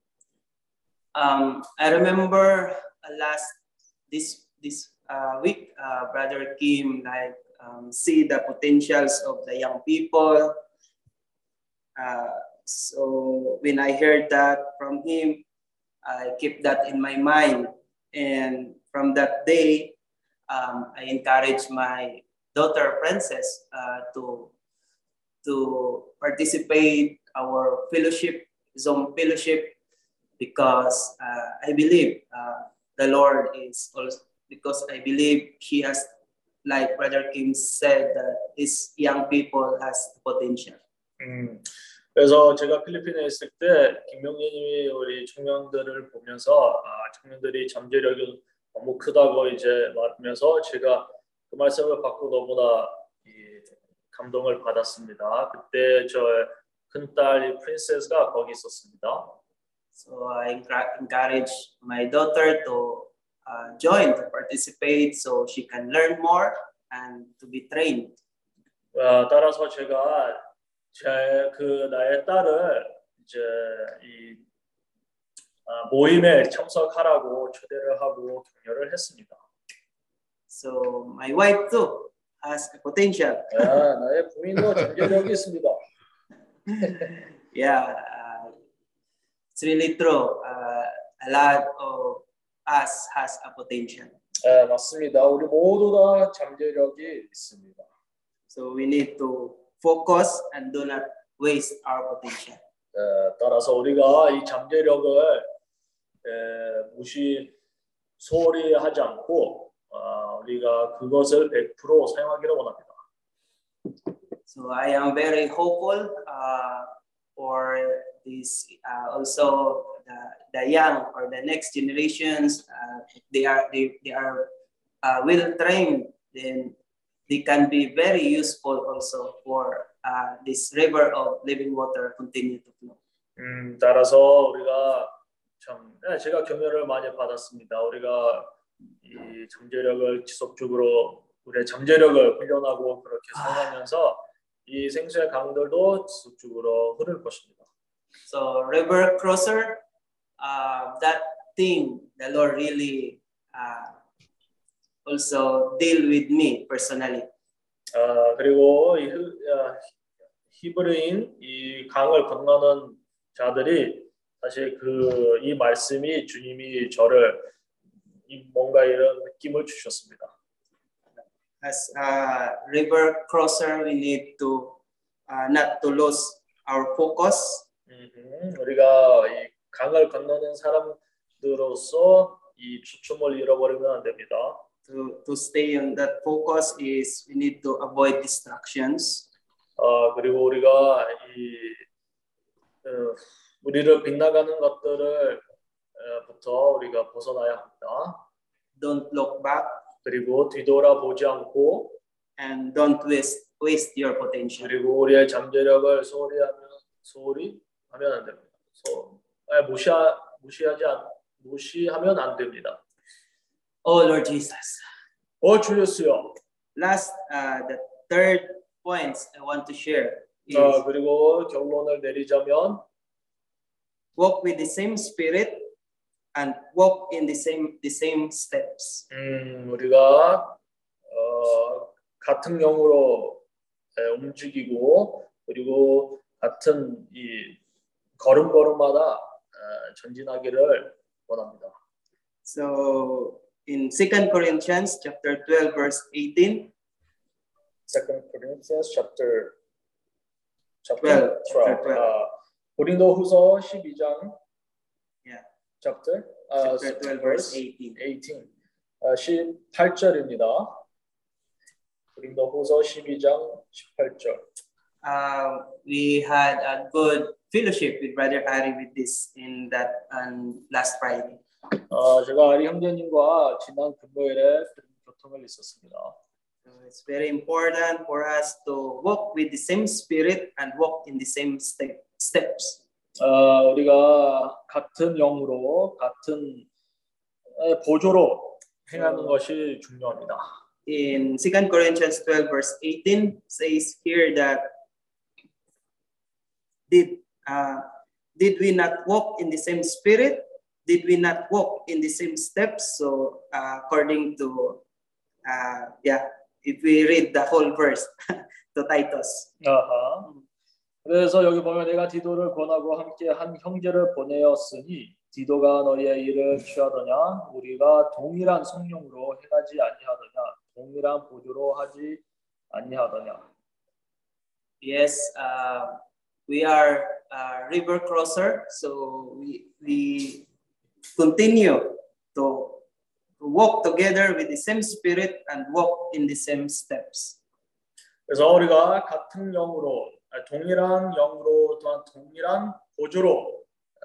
Speaker 5: I remember this week, Brother Kim see the potentials of the young people. So when I heard that from him, I kept that in my mind, and from that day, I encouraged my daughter Princess to participate our fellowship, Zoom fellowship, because I believe the Lord is also, because I believe she has, like Brother Kim said, that these young people has potential.
Speaker 2: 그래서 제가 필리핀에 있을 때 김명재님이 우리 청년들을 보면서 청년들이 잠재력이 너무 크다고 이제 말하면서 제가 그 말씀을 받고 너무나 감동을 받았습니다. 그때 저 큰딸 프린세스가 거기 있었습니다.
Speaker 5: So I encourage my daughter to join, to participate, so she can learn more and to be trained.
Speaker 2: 따라서 제가 나의 딸을 이제 이 모임에 참석하라고 초대를 하고 격려를 했습니다.
Speaker 5: So my wife too has a potential.
Speaker 2: 나의 부인도 잠재력이 있습니다.
Speaker 5: Yeah, it's really true. A lot of us has a potential.
Speaker 2: 맞습니다. 우리 모두 다 잠재력이 있습니다.
Speaker 5: So we need to focus and do not waste our potential.
Speaker 2: 따라서 우리가 이 잠재력을 소홀히 하지 않고 우리가 그것을 100% 사용하기를 원합니다.
Speaker 5: So I am very hopeful for this also the young or the next generations. They are well trained, then they can be very useful also for this river of living water continue to flow.
Speaker 2: 따라서 우리가 제가 격려를 많이 받았습니다. 우리가 이 잠재력을 지속적으로 우리의 잠재력을 훈련하고 그렇게 사용하면서 이 생수의 강들도 지속적으로 흐를 것입니다.
Speaker 5: So river crosser, that thing the Lord really also deal with me personally.
Speaker 2: 그리고 이 히브리인 이 강을 건너는 자들이 사실 이 말씀이 주님이 저를 뭔가 이런 느낌을 주셨습니다.
Speaker 5: As a river crosser, we need to not to lose our focus.
Speaker 2: 우리가 이 강을 건너는 사람들로서 이 초점을 잃어버리면 안 됩니다.
Speaker 5: To stay on that focus is we need to avoid distractions.
Speaker 2: 그리고 우리가 우리를 빗나가는 것들을 부터 우리가 벗어나야 합니다.
Speaker 5: Don't look back.
Speaker 2: 그리고 뒤돌아보지 않고
Speaker 5: and don't waste your potential.
Speaker 2: 그리고 우리의 잠재력을 소홀히 하면 안 됩니다. 무시하면 안 됩니다.
Speaker 5: Oh Lord Jesus.
Speaker 2: 주 예수여.
Speaker 5: Last, the third points I want to share is
Speaker 2: 그리고 결론을 내리자면
Speaker 5: walk with the same spirit and walk in the same steps.
Speaker 2: 우리가 같은 영으로 움직이고 그리고 같은 이 걸음걸음마다 전진하기를 원합니다.
Speaker 5: So in 2 Corinthians chapter 12 verse 18.
Speaker 2: 2 Corinthians chapter
Speaker 5: 12.
Speaker 2: 고린도후서 12장
Speaker 5: Yeah.
Speaker 2: chapter,
Speaker 5: Chapter 12, verse 18.
Speaker 2: 18입니다. 고린도후서 12장 18절.
Speaker 5: We had a good fellowship with Brother Ari with this in that last Friday.
Speaker 2: 제가 아리 형제님과 지난 금요일에 교통을 있었습니다.
Speaker 5: So it's very important for us to walk with the same spirit and walk in the same steps.
Speaker 2: 우리가 같은 영으로 같은 보조로 행하는 것이 중요합니다.
Speaker 5: In 2 Corinthians 12 verse 18 says here that did we not walk in the same spirit? Did we not walk in the same steps? So according to if we read the whole verse to Titus.
Speaker 2: 그래서 여기 보면 내가 디도를 권하고 함께 한 형제를 보내었으니 디도가 너희의 일을 취하더냐 우리가 동일한 성령으로 행하지 아니하더냐 동일한 보조로 하지 아니하더냐.
Speaker 5: Yes, we are river crosser, so we continue to walk together with the same spirit and walk in the same steps.
Speaker 2: 그래서 우리가 같은 영으로 동일한 영으로 또한 동일한 보조로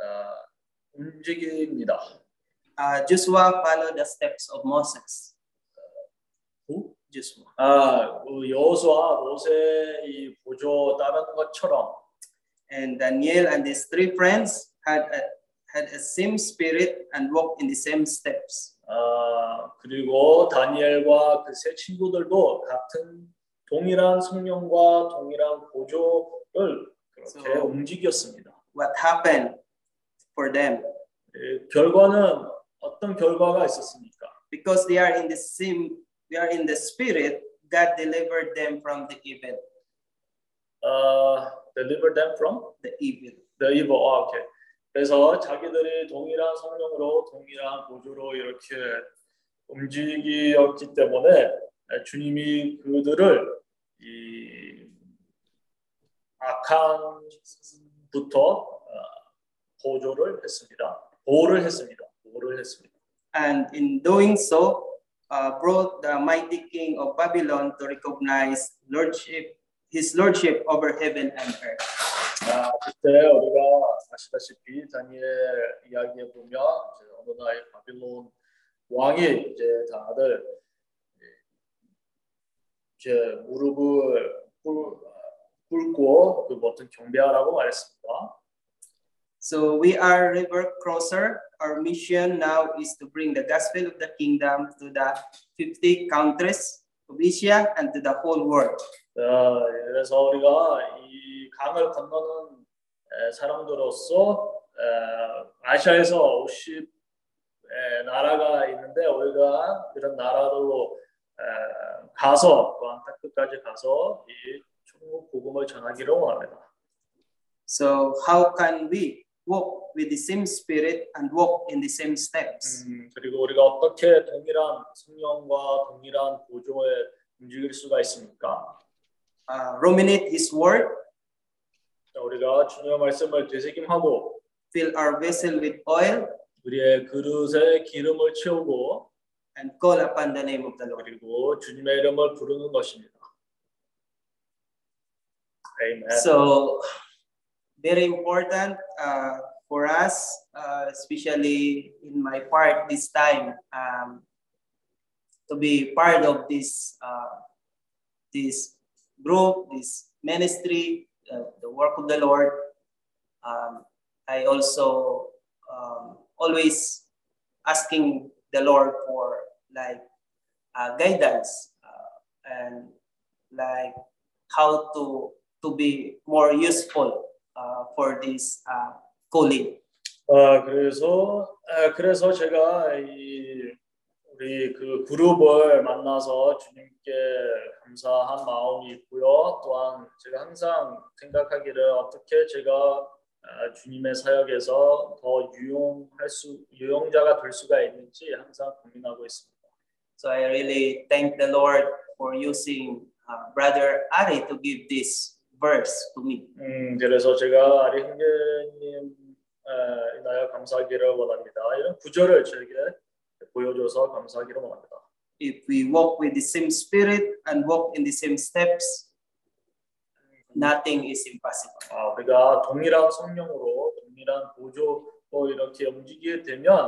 Speaker 2: 움직입니다.
Speaker 5: Joshua followed the steps of Moses.
Speaker 2: Who?
Speaker 5: Joshua.
Speaker 2: 여호수아 모세의 이 보조 따르는 것처럼.
Speaker 5: And Daniel and his three friends had a same spirit and walked in the same steps.
Speaker 2: 그리고 다니엘과 그 세 친구들도 같은 동일한 성령과 동일한 보조를 그렇게 움직였습니다.
Speaker 5: What happened for them?
Speaker 2: 결과는 어떤 결과가 있었습니까?
Speaker 5: Because they are in the spirit, God delivered them from the evil.
Speaker 2: Deliver them from
Speaker 5: the evil.
Speaker 2: The evil. Okay. 그래서 자기들이 동일한 성령으로 동일한 보조로 이렇게 움직였기 때문에 주님이 그들을 이 악한부터 보호를 했습니다.
Speaker 5: And in doing so, brought the mighty king of Babylon to recognize his lordship over heaven and earth.
Speaker 2: 그때 우리가 아시다시피 다니엘 이야기에 보면 어느 날 바빌론 왕이 이제 다들 이제 무릎을 꿇고 그 어떤 경배하라고 말했습니다.
Speaker 5: So we are river crosser. Our mission now is to bring the gospel of the kingdom to the 50 countries of Asia and to the whole world.
Speaker 2: 그래서 우리가 이 강을 건너는 사람들로서 아시아에서 50 나라가 있는데 우리가 이런 나라로 가서 또 안타까지 가서 이 천국 복음을 전하기를 원합니다.
Speaker 5: So how can we walk with the same spirit and walk in the same steps?
Speaker 2: 그리고 우리가 어떻게 동일한 성령과 동일한 보조에 움직일 수가 있습니까?
Speaker 5: Ruminate His word.
Speaker 2: 우리가 주님의 말씀을 되새김하고
Speaker 5: fill our vessel with oil.
Speaker 2: 우리의 그릇에 기름을 채우고
Speaker 5: and call upon the name of the Lord.
Speaker 2: 그리고 주님의 이름을 부르는 것입니다. Amen.
Speaker 5: So very important for us, especially in my part this time, to be part of this this group, this ministry, the work of the Lord. I also always asking the Lord for guidance and how to be more useful for this calling.
Speaker 2: 그래서 제가 우리 그 그룹을 만나서 주님께 감사한 마음이 있고요. 또한 제가 항상 생각하기를 어떻게 제가 주님의 사역에서 더 유용자가 될 수가 있는지 항상 고민하고 있습니다.
Speaker 5: So I really thank the Lord for using Brother Ari to give this verse to me.
Speaker 2: 그래서 제가 아리 형제님 인하여 감사하기를 원합니다. 이런 구절을 저에게 보여줘서 감사하기를 원합니다.
Speaker 5: If we walk with the same spirit and walk in the same steps, nothing is impossible.
Speaker 2: 우리가 동일한 성령으로 동일한 보조로 이렇게 움직이게 되면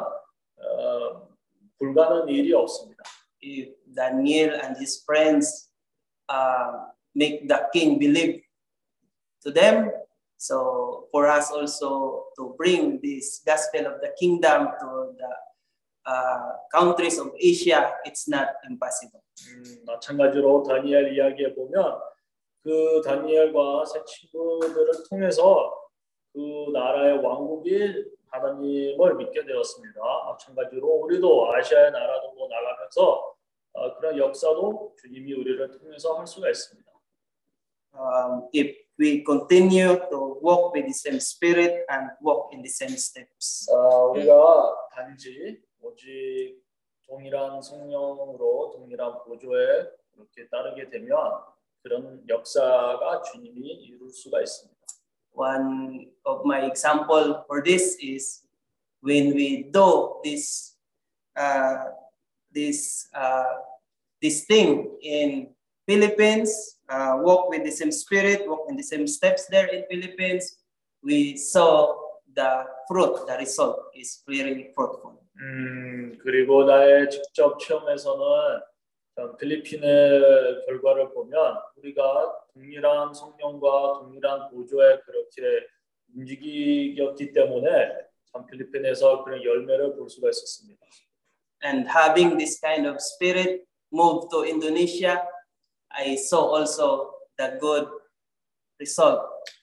Speaker 2: 불가능한 일이 없습니다.
Speaker 5: If Daniel and his friends make the king believe to them, so for us also to bring this gospel of the kingdom to the countries of Asia, it's not impossible.
Speaker 2: 마찬가지로 다니엘 이야기에 보면 그 다니엘과 세 친구들을 통해서 그 나라의 왕국이 하나님을 믿게 되었습니다. 마찬가지로 우리도 아시아의 나라로 나가면서 그런 역사도 주님이 우리를 통해서 할 수가 있습니다.
Speaker 5: If we continue to walk with the same spirit and walk in the same steps.
Speaker 2: 우리가 단지 오직 동일한 성령으로 동일한 보조에 이렇게 따르게 되면 그런 역사가 주님이 이룰 수가 있습니다.
Speaker 5: One of my example for this is when we do this thing in Philippines, walk with the same spirit, walk in the same steps there in Philippines, we saw the fruit, the result is very fruitful.
Speaker 2: 그리고 나의 직접 체험에서는 필리핀의 결과를 보면 우리가 동일한 성령과 동일한 보조에 그렇게 움직이었기 때문에 참 필리핀에서 그런 열매를 볼 수가 있었습니다.
Speaker 5: And having this kind of spirit move to Indonesia, I saw also the good result.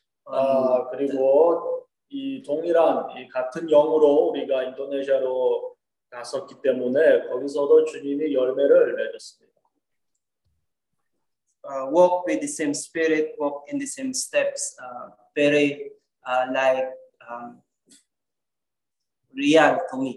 Speaker 2: 그리고 이 동일한 이 같은 영으로 우리가 인도네시아로 갔었기 때문에 거기서도 주님이 열매를 내줬습니다.
Speaker 5: Walk with the same spirit, walk in the same steps, very like real to me.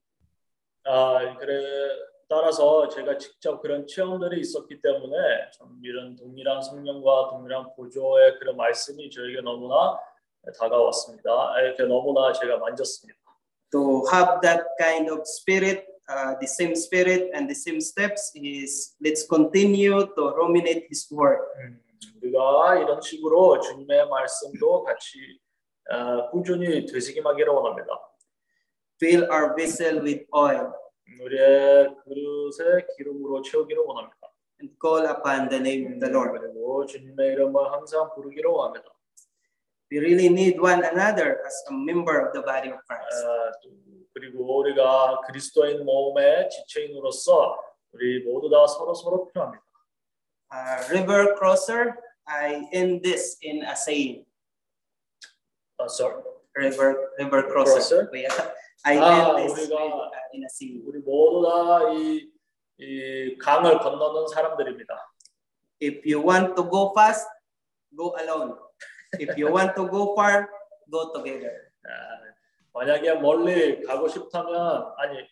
Speaker 2: 따라서 제가 직접 그런 체험들이 있었기 때문에 참 이런 동일한 성령과 동일한 보조의 그런 말씀이 저에게 너무나 다가왔습니다. 이렇게 너무나 제가 만졌습니다.
Speaker 5: To have that kind of spirit, the same spirit and the same steps is let's continue to ruminate His word.
Speaker 2: 우리가 이런 식으로 주님의 말씀도 같이 꾸준히 되새김하기를 원합니다.
Speaker 5: Fill our vessel with oil.
Speaker 2: 우리의 그릇에 기름으로 채우기를 원합니다.
Speaker 5: And call upon the name of the Lord.
Speaker 2: 그리고 주님의 이름을 항상 부르기를 원합니다.
Speaker 5: We really need one another as a member of the body of Christ.
Speaker 2: 그리고 우리가 그리스도인 몸의 지체인으로서 우리 모두 다 서로 필요합니다.
Speaker 5: River crosser, I end this in a saying.
Speaker 2: Sorry.
Speaker 5: River crosser. I end this in a saying.
Speaker 2: 우리 모두 다 이 강을 건너는 사람들입니다.
Speaker 5: If you want to go fast, go alone. If you want to go far, go together.
Speaker 2: 만약에 멀리 가고 싶다면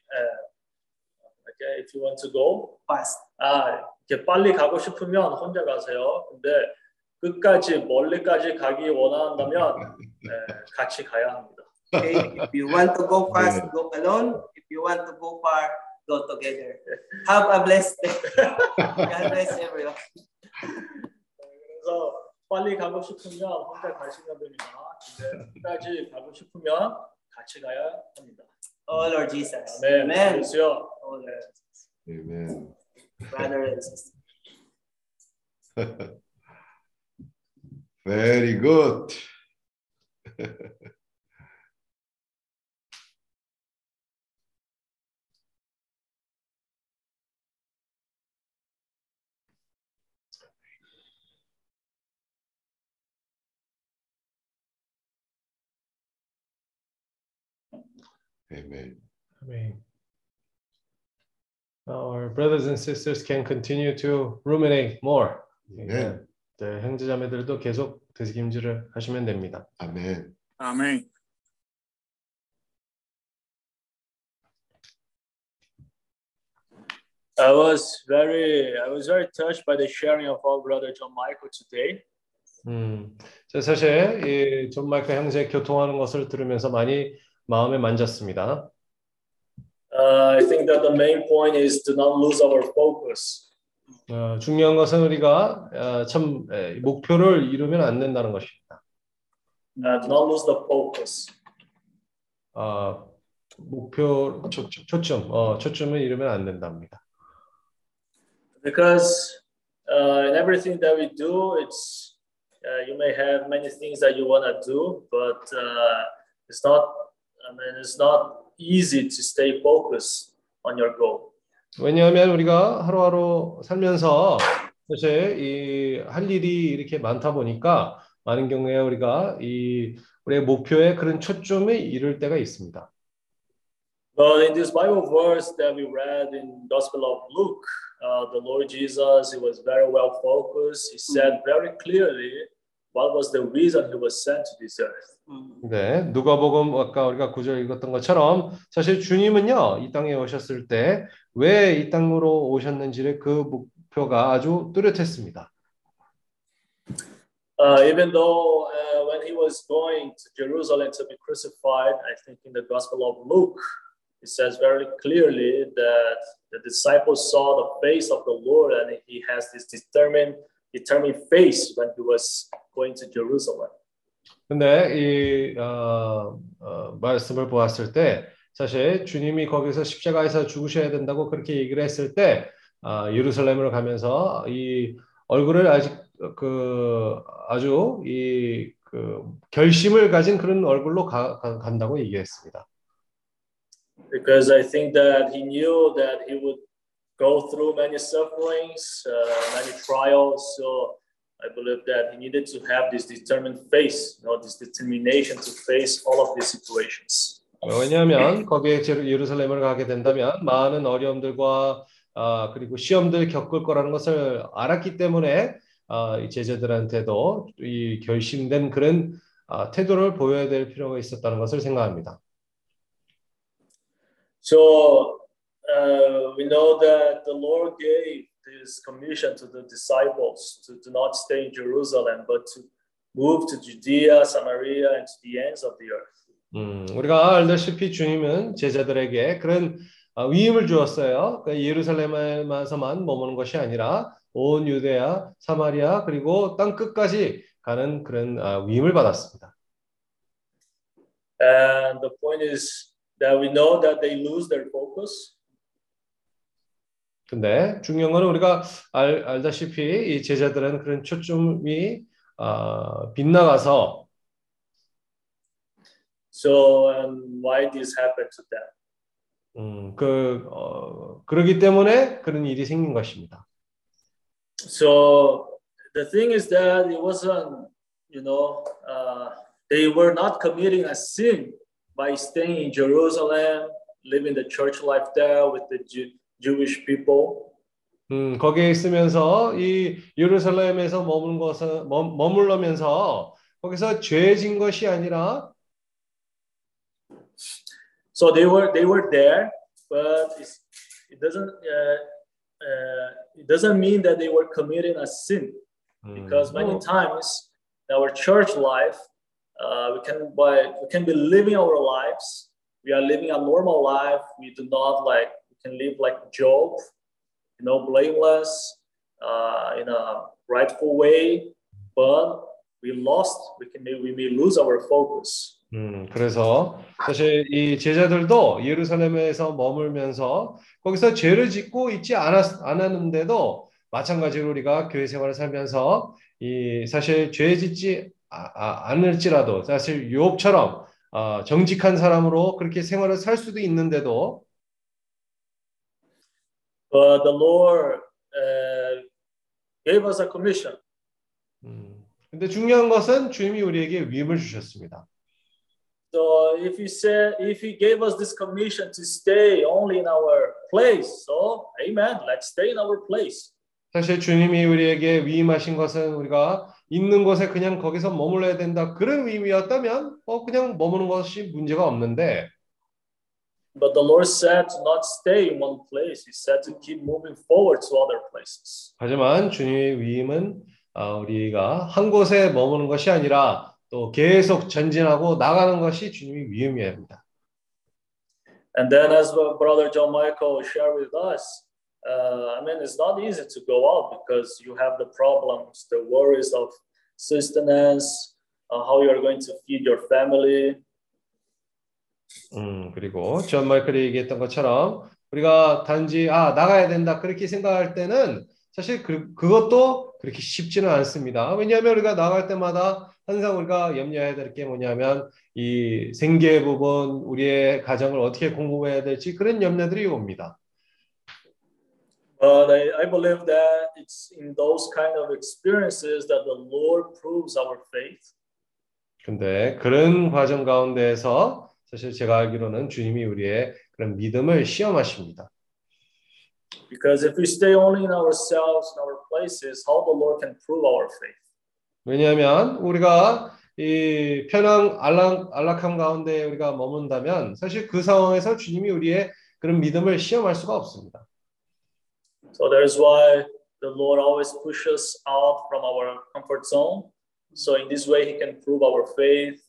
Speaker 2: if you want to go
Speaker 5: fast.
Speaker 2: 이렇게 빨리 가고 싶으면 혼자 가세요. 근데 끝까지 멀리까지 가기 원한다면 같이 가야 합니다.
Speaker 5: Okay, if you want to go fast, go alone. If you want to go far, go together. Have a blessed day. God bless everyone.
Speaker 2: 그래서 빨리 가고 싶으면 혼자 가시면 됩니다. 근데 끝까지 가고 싶으면 같이 가야 합니다.
Speaker 5: Oh Lord Jesus.
Speaker 2: 아멘.
Speaker 5: Amen.
Speaker 2: Oh
Speaker 5: Lord Jesus.
Speaker 3: Amen.
Speaker 5: Brother and sister.
Speaker 3: Very good. Amen.
Speaker 6: Amen. Our brothers and sisters can continue to ruminate more.
Speaker 3: Amen.
Speaker 6: 네, 형제자매들도 계속 되새김질을 하시면 됩니다.
Speaker 3: Amen.
Speaker 1: Amém.
Speaker 2: I was very touched by the sharing of our brother John Michael today.
Speaker 3: 저 사실 이 존 마이클 형제 교통하는 것을 들으면서 많이 마음에 만졌습니다.
Speaker 2: I think that the main point is to not lose our focus.
Speaker 3: 중요한 것은 우리가 참 목표를 이루면 안 된다는 것입니다.
Speaker 2: Do not lose the focus.
Speaker 3: 목표 초점을 이루면 안 된답니다.
Speaker 2: Because in everything that we do, it's you may have many things that you want to do, but it's not easy to stay focused on your goal.
Speaker 3: 왜냐하면 우리가 하루하루 살면서 사실 이 할 일이 이렇게 많다 보니까 많은 경우에 우리가 우리의 목표에 그런 초점을 이룰 때가 있습니다.
Speaker 2: But in this Bible verse that we read in Gospel of Luke, the Lord Jesus, he was very well focused. He said very clearly what was the reason he was sent to this earth.
Speaker 3: 네, 누가복음 아까 우리가 9절 읽었던 것처럼 사실 주님은요 이 땅에 오셨을 때 왜 이 땅으로 오셨는지를 그 목표가 아주 뚜렷했습니다.
Speaker 2: Even though when he was going to Jerusalem to be crucified, I think in the Gospel of Luke, it says very clearly that the disciples saw the face of the Lord, and he has this determined face when he was going to Jerusalem.
Speaker 3: 근데 이 말씀을 보았을 때 사실 주님이 거기서 십자가에서 죽으셔야 된다고 그렇게 얘기를 했을 때 예루살렘으로 가면서 이 얼굴을 아주 결심을 가진 그런 얼굴로 간다고 얘기했습니다.
Speaker 2: Because I think that he knew that he would go through many sufferings, many trials. So I believe that he needed to have this determined face, this determination to face all of these situations.
Speaker 3: 왜냐하면 거기에 예루살렘을 가게 된다면 많은 어려움들과 그리고 시험들 겪을 거라는 것을 알았기 때문에 이 제자들한테도 이 결심된 그런 태도를 보여야 될 필요가 있었다는 것을 생각합니다.
Speaker 2: So we know that the Lord gave this commission to the disciples to not stay in Jerusalem, but to move to Judea, Samaria, and to the ends of the earth.
Speaker 3: 우리가 알다시피 주님은 제자들에게 그런 위임을 주었어요. 그러니까 예루살렘에서만 머무는 것이 아니라 온 유대야, 사마리아 그리고 땅 끝까지 가는 그런 위임을 받았습니다.
Speaker 2: And the point is that we know that they lose their focus.
Speaker 3: 근데 중요한 거는 우리가 알다시피 이 제자들은 그런 초점이 빗나가서
Speaker 2: So and why this happened to them?
Speaker 3: 그러기 때문에 그런 일이 생긴 것입니다.
Speaker 2: So the thing is that it wasn't, they were not committing a sin by staying in Jerusalem, living the church life there with the Jewish people.
Speaker 3: 거기에 있으면서 이 예루살렘에서 머물러면서 거기서 죄진 것이 아니라
Speaker 2: So they were there, but it doesn't mean that they were committing a sin, because many times in our church life we can be living our lives. We are living a normal life. We do not we can live like Job, blameless, in a rightful way, but we may lose our focus.
Speaker 3: 그래서 사실 이 제자들도 예루살렘에서 머물면서 거기서 죄를 짓고 있지 않았는데도 마찬가지로 우리가 교회 생활을 살면서 이 사실 죄 짓지 않을지라도 사실 욥처럼 정직한 사람으로 그렇게 생활을 살 수도 있는데도
Speaker 2: But the Lord gave us a commission.
Speaker 3: 근데 중요한 것은 주님이 우리에게 위임을 주셨습니다.
Speaker 2: So if he gave us this commission to stay only in our place, so amen, let's stay in our place.
Speaker 3: 사실 주님이 우리에게 위임하신 것은 우리가 있는 곳에 그냥 거기서 머물러야 된다 그런 위임이었다면 그냥 머무는 것이 문제가 없는데
Speaker 2: But the Lord said to not stay in one place. He said to keep moving forward to other places.
Speaker 3: 하지만 주님의 위임은 우리가 한 곳에 머무는 것이 아니라 또 계속 전진하고 나가는 것이 주님이 위임해야 합니다.
Speaker 2: And then, as Brother John Michael shared with us, I mean, it's not easy to go out because you have the problems, the worries of sustenance, how you are going to feed your family.
Speaker 3: 그리고 존 마이클이 얘기했던 것처럼 우리가 단지 나가야 된다 그렇게 생각할 때는 사실 그것도 그렇게 쉽지는 않습니다. 왜냐하면 우리가 나갈 때마다 항상 우리가 염려해야 될 게 뭐냐면 이 생계 부분, 우리의 가정을 어떻게 공급해야 될지 그런 염려들이 옵니다.
Speaker 2: But I believe that it's in those kind of experiences that the Lord proves our faith.
Speaker 3: 근데 그런 과정 가운데에서 사실 제가 알기로는 주님이 우리의 그런 믿음을 시험하십니다.
Speaker 2: Because if we stay only in ourselves, in our places, how the Lord can prove our faith?
Speaker 3: 왜냐하면 우리가 이 편한 안락함 가운데 우리가 머문다면 사실 그 상황에서 주님이 우리의 그런 믿음을 시험할 수가 없습니다.
Speaker 2: So that is why the Lord always pushes us out from our comfort zone. So in this way, He can prove our faith.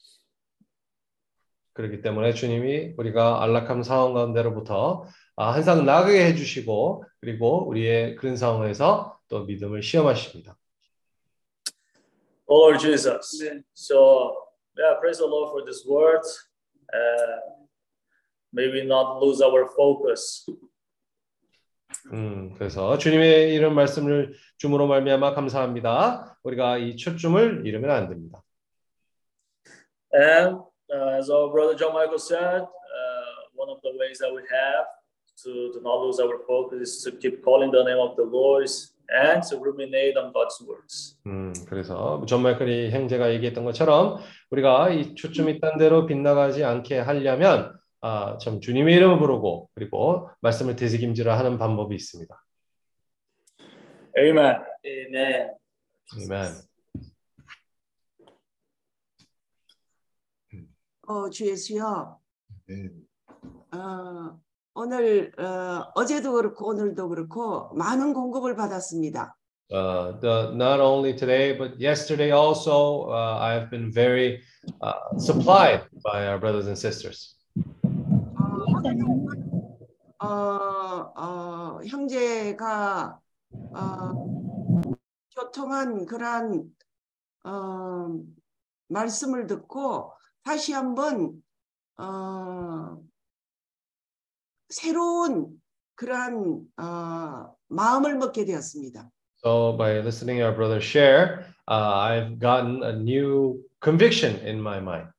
Speaker 3: 그렇기 때문에 주님이 우리가 안락함 상황 가운데로부터 항상 나가게 해주시고 그리고 우리의 그런 상황에서 또 믿음을 시험하십니다.
Speaker 2: Lord Jesus. So yeah, praise the Lord for this word. May we not lose our focus.
Speaker 3: 그래서 주님의 이런 말씀을 줌으로 말미암아 감사합니다. 우리가 이 초점을 잃으면 안 됩니다.
Speaker 2: And as our brother John Michael said, one of the ways that we have to not lose our focus is to keep calling the name of the Lord and to ruminate on God's words.
Speaker 3: 그래서 존 마이클이 형제가 얘기했던 것처럼 우리가 이 초점이 딴 데로 빗나가지 않게 하려면 참 주님의 이름을 부르고 그리고 말씀을 되새김질을 하는 방법이 있습니다.
Speaker 2: Amen.
Speaker 5: Amen.
Speaker 3: 아멘.
Speaker 7: 주 예수여, 오늘 어제도 그렇고 오늘도 그렇고 많은 공급을 받았습니다.
Speaker 3: Not only today, but yesterday also, I have been very supplied by our brothers and sisters.
Speaker 7: 형제가 교통한 그러한 말씀을 듣고 다시 한번 새로운 그러한 마음을 먹게 되었습니다.
Speaker 3: So by listening to our brother share, I've gotten a new conviction in my mind.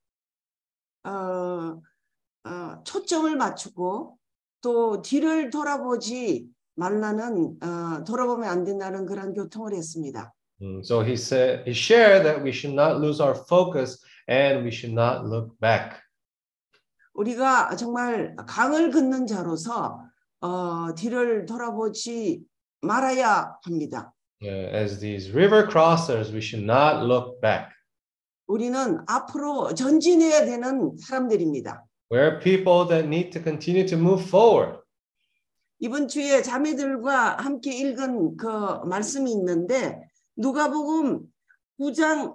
Speaker 7: 초점을 맞추고 또 뒤를 돌아보지 말라는 돌아보면 안 된다는 그런 교통을 했습니다.
Speaker 3: So he shared that we should not lose our focus and we should not look back.
Speaker 7: 우리가 정말 강을 긋는 자로서 뒤를 돌아보지 말아야 합니다.
Speaker 3: As these river crossers, we should not look back.
Speaker 7: 우리는 앞으로 전진해야 되는 사람들입니다.
Speaker 3: We're people that need to continue to move forward.
Speaker 7: 이번 주에 자매들과 함께 읽은 그 말씀이 있는데 누가복음 9장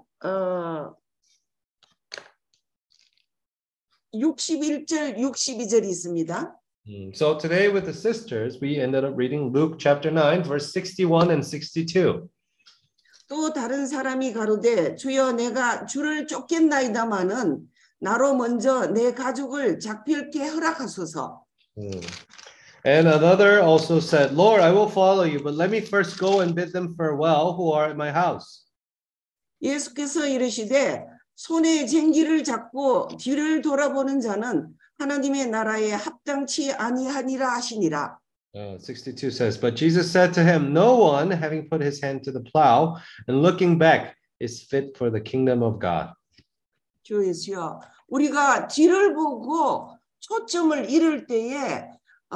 Speaker 7: 61절 62절이 있습니다.
Speaker 3: So today with the sisters, we ended up reading Luke chapter 9, verse 61 and 62.
Speaker 7: 또 다른 사람이 가로되 주여 내가 주를 쫓겠나이다마는 나로 먼저 내 가족을 잡힐게 허락하소서.
Speaker 3: And another also said, Lord, I will follow you, but let me first go and bid them farewell who are at my house.
Speaker 7: 예수께서 이르시되 손에 쟁기를 잡고 뒤를 돌아보는 자는 하나님의 나라에 합당치 아니하니라 하시니라.
Speaker 3: 62 says, but Jesus said to him, no one having put his hand to the plow and looking back is fit for the kingdom of God.
Speaker 7: 주 예수여, 우리가 뒤를 보고 초점을 잃을 때에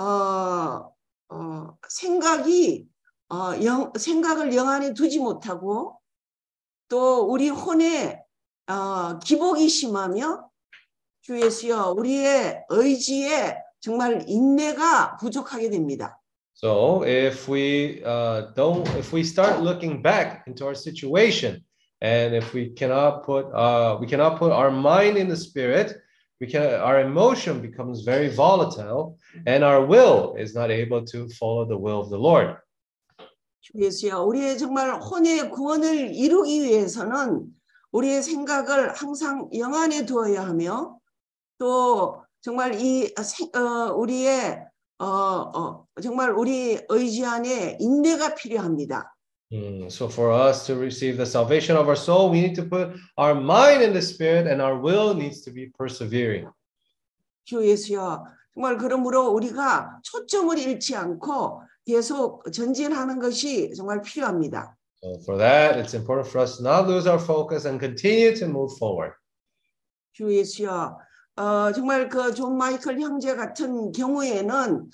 Speaker 7: 생각을 영 안에 두지 못하고 또 우리 혼에 기복이 심하며 주 예수여 우리의 의지에 정말 인내가 부족하게 됩니다.
Speaker 3: So if we start looking back into our situation, and if we cannot put our mind in the spirit, our emotion becomes very volatile, and our will is not able to follow the will of the Lord.
Speaker 7: 주 예수여, 우리의 정말 혼의 구원을 이루기 위해서는 우리의 생각을 항상 영안에 두어야 하며, 또 정말 우리의 정말 우리 의지 안에 인내가 필요합니다.
Speaker 3: So for us to receive the salvation of our soul, we need to put our mind in the spirit, and our will needs to be persevering.
Speaker 7: 주 예수여, 정말 그러므로 우리가 초점을 잃지 않고 계속 전진하는 것이 정말 필요합니다.
Speaker 3: So for that, it's important for us to not lose our focus and continue to move forward.
Speaker 7: 주 예수여, 정말 그 존 마이클 형제 같은 경우에는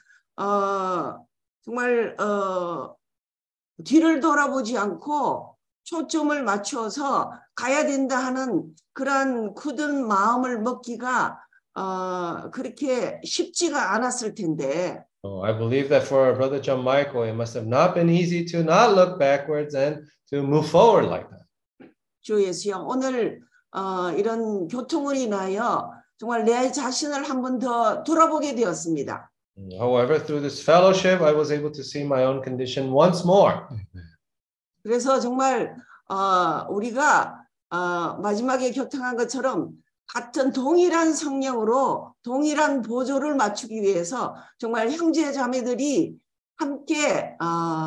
Speaker 7: 정말 뒤를 돌아보지 않고 초점을 맞추어서 가야 된다 하는 그러한 굳은 마음을 먹기가 그렇게 쉽지가 않았을 텐데.
Speaker 3: I believe that for our brother John Michael, it must have not been easy to not look backwards and to move forward like that.
Speaker 7: 주 예수여, 오늘 이런 교통을 인하여 정말 내 자신을 한 번 더 돌아보게 되었습니다.
Speaker 3: However, through this fellowship, I was able to see my own condition once more.
Speaker 7: 그래서 정말 우리가 마지막에 교통한 것처럼 같은 동일한 성령으로 동일한 보조를 맞추기 위해서 정말 형제 자매들이 함께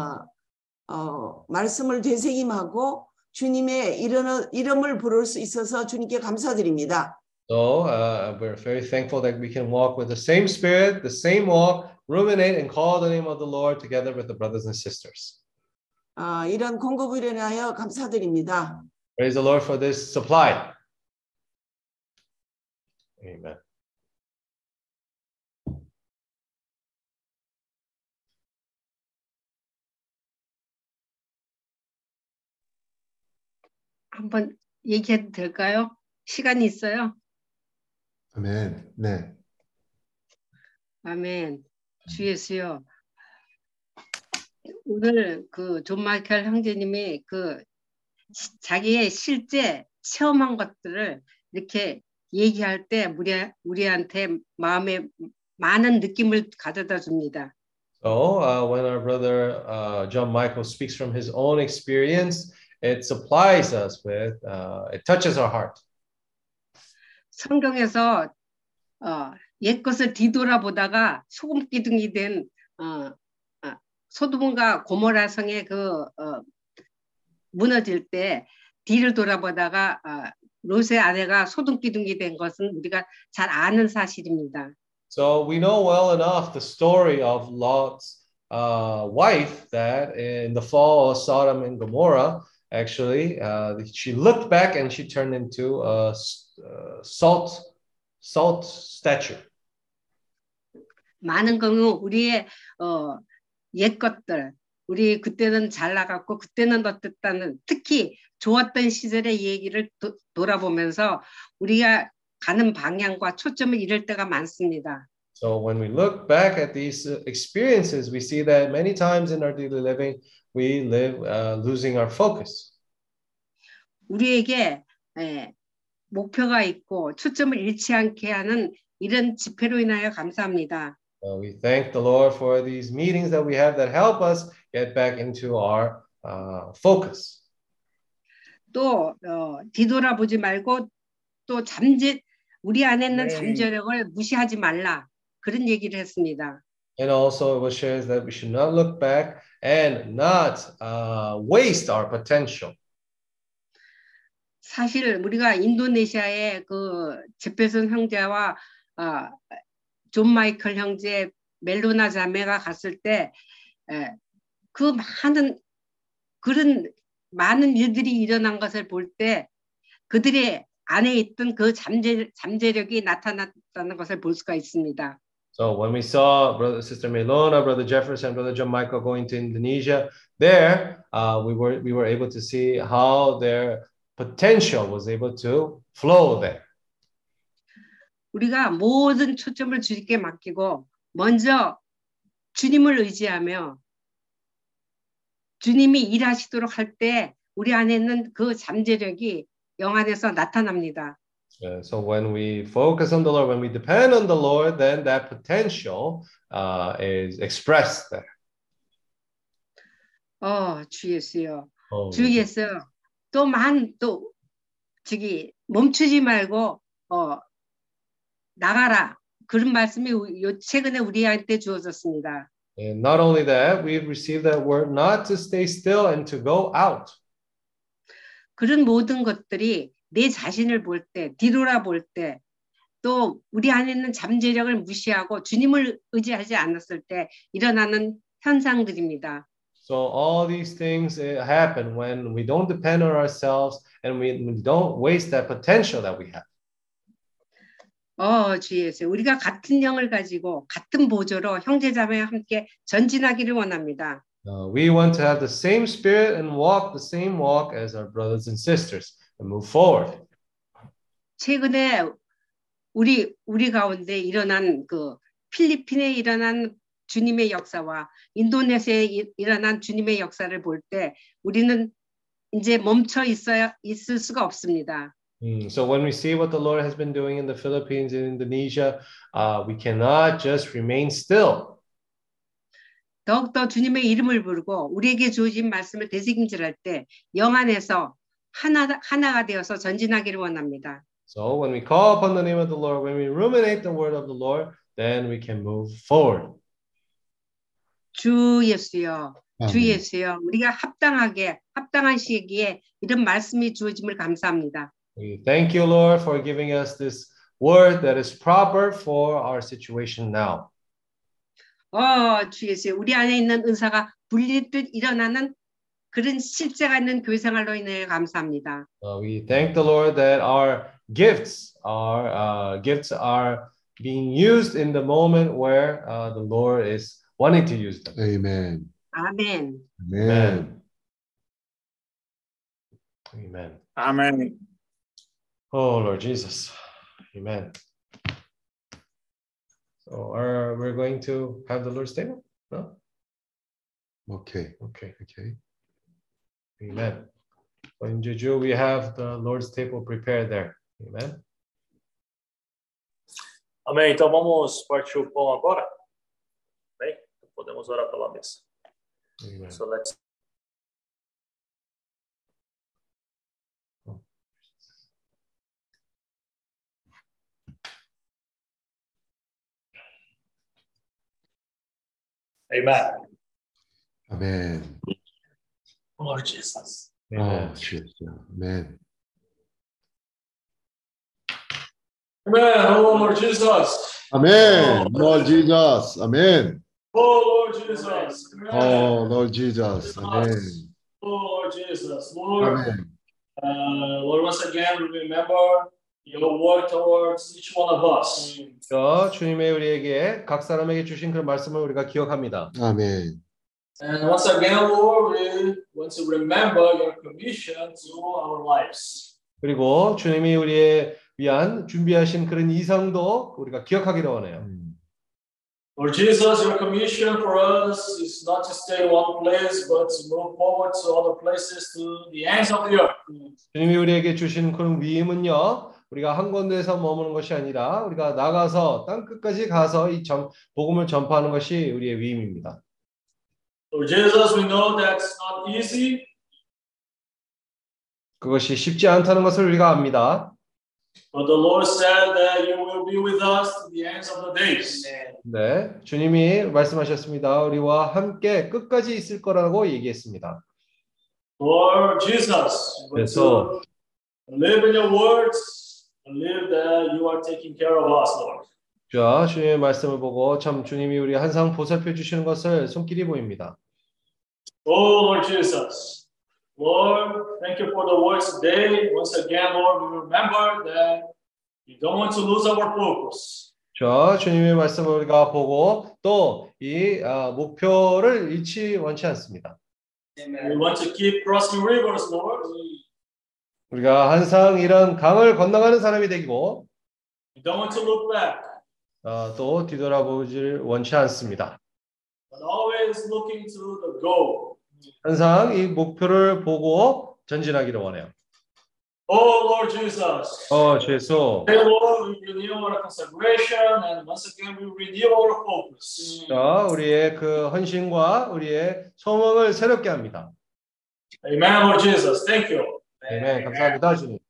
Speaker 7: 말씀을 되새김하고 주님의 이름을 부를 수 있어서 주님께 감사드립니다.
Speaker 3: So we're very thankful that we can walk with the same spirit, the same walk, ruminate and call the name of the Lord together with the brothers and sisters.
Speaker 7: 이런 공급을 인하여 감사드립니다.
Speaker 3: Praise the Lord for this supply. Amen.
Speaker 8: 한번 얘기해도 될까요? 시간이 있어요?
Speaker 4: 아멘. 네.
Speaker 8: 아멘. 주 예수여. 오늘 그 존 마이클 형제님이 그 자기의 실제 체험한 것들을 이렇게 얘기할 때 우리한테 마음에 많은 느낌을 가져다 줍니다.
Speaker 3: So when our brother John Michael speaks from his own experience, it supplies us with, it touches our heart.
Speaker 8: 성경에서 옛 것을 뒤돌아보다가 소금 기둥이 된 소돔과 고모라 성의 무너질 때 뒤를 돌아보다가 롯의 아내가 소돔 기둥이 된 것은 우리가 잘 아는 사실입니다.
Speaker 3: So we know well enough the story of Lot's wife, that in the fall of Sodom and Gomorrah, actually, she looked back and she turned into a salt statue.
Speaker 8: 많은 경우 우리의 옛 것들, 우리 그때는 잘 나갔고 그때는 어땠다는, 특히 좋았던 시절의 얘기를 돌아보면서 우리가 가는 방향과 초점을 잃을 때가 많습니다.
Speaker 3: So when we look back at these experiences, we see that many times in our daily living, we live losing our focus.
Speaker 8: 우리에게 목표가 있고 초점을 잃지 않게 하는 이런 집회로 인하여 감사합니다.
Speaker 3: We thank the Lord for these meetings that we have that help us get back into our focus.
Speaker 8: 또 뒤돌아보지 말고 또 우리 안에 있는 잠재력을 무시하지 말라, 그런 얘기를 했습니다.
Speaker 3: And also it was shared that we should not look back and not waste our potential.
Speaker 8: 사실 우리가 인도네시아의 그 제페슨 형제와 존 마이클 형제, 멜로나 자매가 갔을 때 그 그런 많은 일들이 일어난 것을 볼 때 그들의 안에 있던 그 잠재력이 나타났다는 것을 볼 수가 있습니다.
Speaker 3: So when we saw Brother Sister Melona, Brother Jefferson, Brother John Michael going to Indonesia, there we were able to see how their potential was able to flow there.
Speaker 8: 우리가 모든 초점을 주님께 맡기고 먼저 주님을 의지하며 주님이 일하시도록 할 때 우리 안에 있는 그 잠재력이 영 안에서 나타납니다.
Speaker 3: So when we focus on the Lord, when we depend on the Lord, then that potential is expressed there.
Speaker 8: 주 예수여. 주 예수. 또 저기 멈추지 말고 나가라. 그런 말씀이 최근에 우리한테 주어졌습니다.
Speaker 3: And not only that, we've received that word not to stay still and to go out.
Speaker 8: 그런 모든 것들이 내 자신을 볼 때, 뒤돌아볼 때, 또 우리 안에 있는 잠재력을 무시하고 주님을 의지하지 않았을 때 일어나는 현상들입니다.
Speaker 3: So all these things happen when we don't depend on ourselves and we don't waste that potential that we have.
Speaker 8: 주 예수, 우리가 같은 영을 가지고 같은 보조로 형제자매와 함께 전진하기를 원합니다.
Speaker 3: We want to have the same spirit and walk the same walk as our brothers and sisters and move forward.
Speaker 8: 최근에 우리 가운데 일어난 그 필리핀에 일어난 주님의 역사와 인도네시아에 일어난 주님의 역사를 볼 때 우리는 이제 멈춰 있을 수가 없습니다.
Speaker 3: So when we see what the Lord has been doing in the Philippines and Indonesia, we cannot just remain still.
Speaker 8: 더욱더 주님의 이름을 부르고 우리에게 주어진 말씀을 되새김질할 때 영 안에서 하나가 되어서 전진하기를 원합니다.
Speaker 3: So when we call upon the name of the Lord, when we ruminate the word of the Lord, then we can move forward.
Speaker 8: 주 예수여, 주 예수여, 우리가 합당한 시기에 이런 말씀이 주어짐을 감사합니다.
Speaker 3: We thank you, Lord, for giving us this word that is proper for our situation now.
Speaker 8: 주 예수, 우리 안에 있는 은사가 불릴듯 일어나는 그런 실제가 있는 교회 생활로 인해 감사합니다.
Speaker 3: We thank the Lord that our gifts are being used in the moment where the Lord is wanting to use them.
Speaker 4: Amen.
Speaker 8: 아멘.
Speaker 4: Amen.
Speaker 3: Amen.
Speaker 1: Amém.
Speaker 3: Oh, Lord Jesus. Amen. So we're going to have the Lord's table? No?
Speaker 4: Okay.
Speaker 3: Okay. Amen. So in Jeju, we have the Lord's table prepared there. Amen.
Speaker 2: Amém. Então vamos partir o pão agora. Bem, podemos orar pela mesa.
Speaker 3: Amen.
Speaker 2: So let's. Amen.
Speaker 4: Amen.
Speaker 2: Lord Jesus.
Speaker 3: Amen.
Speaker 4: Oh, Jesus. Amen.
Speaker 2: Amen. Oh, Lord Jesus.
Speaker 4: Amen. Lord Jesus. Amen.
Speaker 2: Oh, Lord Jesus. Amen.
Speaker 4: Oh, Lord Jesus. Amen.
Speaker 2: Oh, Lord Jesus. Lord,
Speaker 4: Amen.
Speaker 2: Lord, once again, we remember your word towards each one of us.
Speaker 3: 주님의 우리에게 각 사람에게 주신 그 말씀을 우리가 기억합니다.
Speaker 4: Amen.
Speaker 2: And once again, Lord, we want to remember your commission to our lives.
Speaker 3: 그리고 주님이 우리의 위한 준비하신 그런 이상도 우리가 기억하기를 원해요.
Speaker 2: Lord Jesus, your commission for us is not to stay in one place, but to move forward to other places, to the ends of the earth.
Speaker 3: 주님이 우리에게 주신 그런 위임은요, 우리가 한 군데에서 머무는 것이 아니라 우리가 나가서 땅 끝까지 가서 이 복음을 전파하는 것이 우리의 위임입니다.
Speaker 2: Lord Jesus, we know that's not easy.
Speaker 3: 그것이 쉽지 않다는 것을 우리가 압니다.
Speaker 2: But the Lord said that you will be with us to the ends of the days.
Speaker 3: 네, 주님이 말씀하셨습니다. 우리와 함께 끝까지 있을 거라고 얘기했습니다.
Speaker 2: Lord Jesus, we want to live in your words, live that you are taking care of us, Lord.
Speaker 3: 자, 주님의 말씀을 보고 참 주님이 우리 항상 보살펴 주시는 것을 손길이 보입니다.
Speaker 2: Oh, Lord Jesus. Lord, thank you for the words today. Once again, Lord, we remember that we don't want to lose our focus.
Speaker 3: 자, 주님의 말씀을 우리가 보고 또 이 목표를 잃지 원치 않습니다.
Speaker 2: We want to keep crossing rivers, Lord.
Speaker 3: 우리가 항상 이런 강을 건너가는 사람이 되고
Speaker 2: We don't want to look back.
Speaker 3: 또 뒤돌아보질 원치 않습니다.
Speaker 2: but always looking to the goal.
Speaker 3: 항상 이 목표를 보고 전진하기를 원해요.
Speaker 2: Oh Lord Jesus.
Speaker 3: 주 예수.
Speaker 2: Hey Lord, we renew our consecration and once again we renew our focus.
Speaker 3: 자, 우리의 그 헌신과 우리의 소망을 새롭게 합니다.
Speaker 2: Amen, Lord Jesus. Thank you.
Speaker 3: 아멘. 감사합니다, 주님.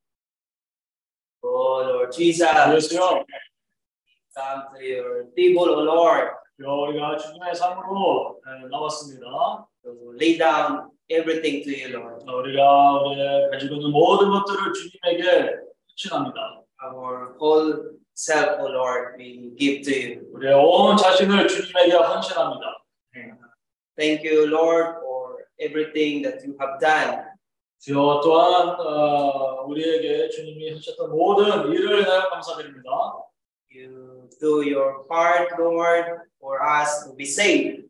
Speaker 5: Oh Lord Jesus,
Speaker 2: 예수여,
Speaker 5: come to your table, O Lord,
Speaker 2: 우리가 주님의 삶으로 나왔습니다.
Speaker 5: to lay down everything to you, Lord.
Speaker 2: 우리가 우리 가지고 있는 모든 것들을 주님에게 헌신합니다.
Speaker 5: Our whole self, O Lord, we give to you.
Speaker 2: 우리의 온 자신을 주님에게 헌신합니다.
Speaker 5: Thank you, Lord, for everything that you have done.
Speaker 2: 주여 또한 우리에게 주님이 하셨던 모든 일을 내가 감사드립니다.
Speaker 5: You do your part, Lord, for us to be saved.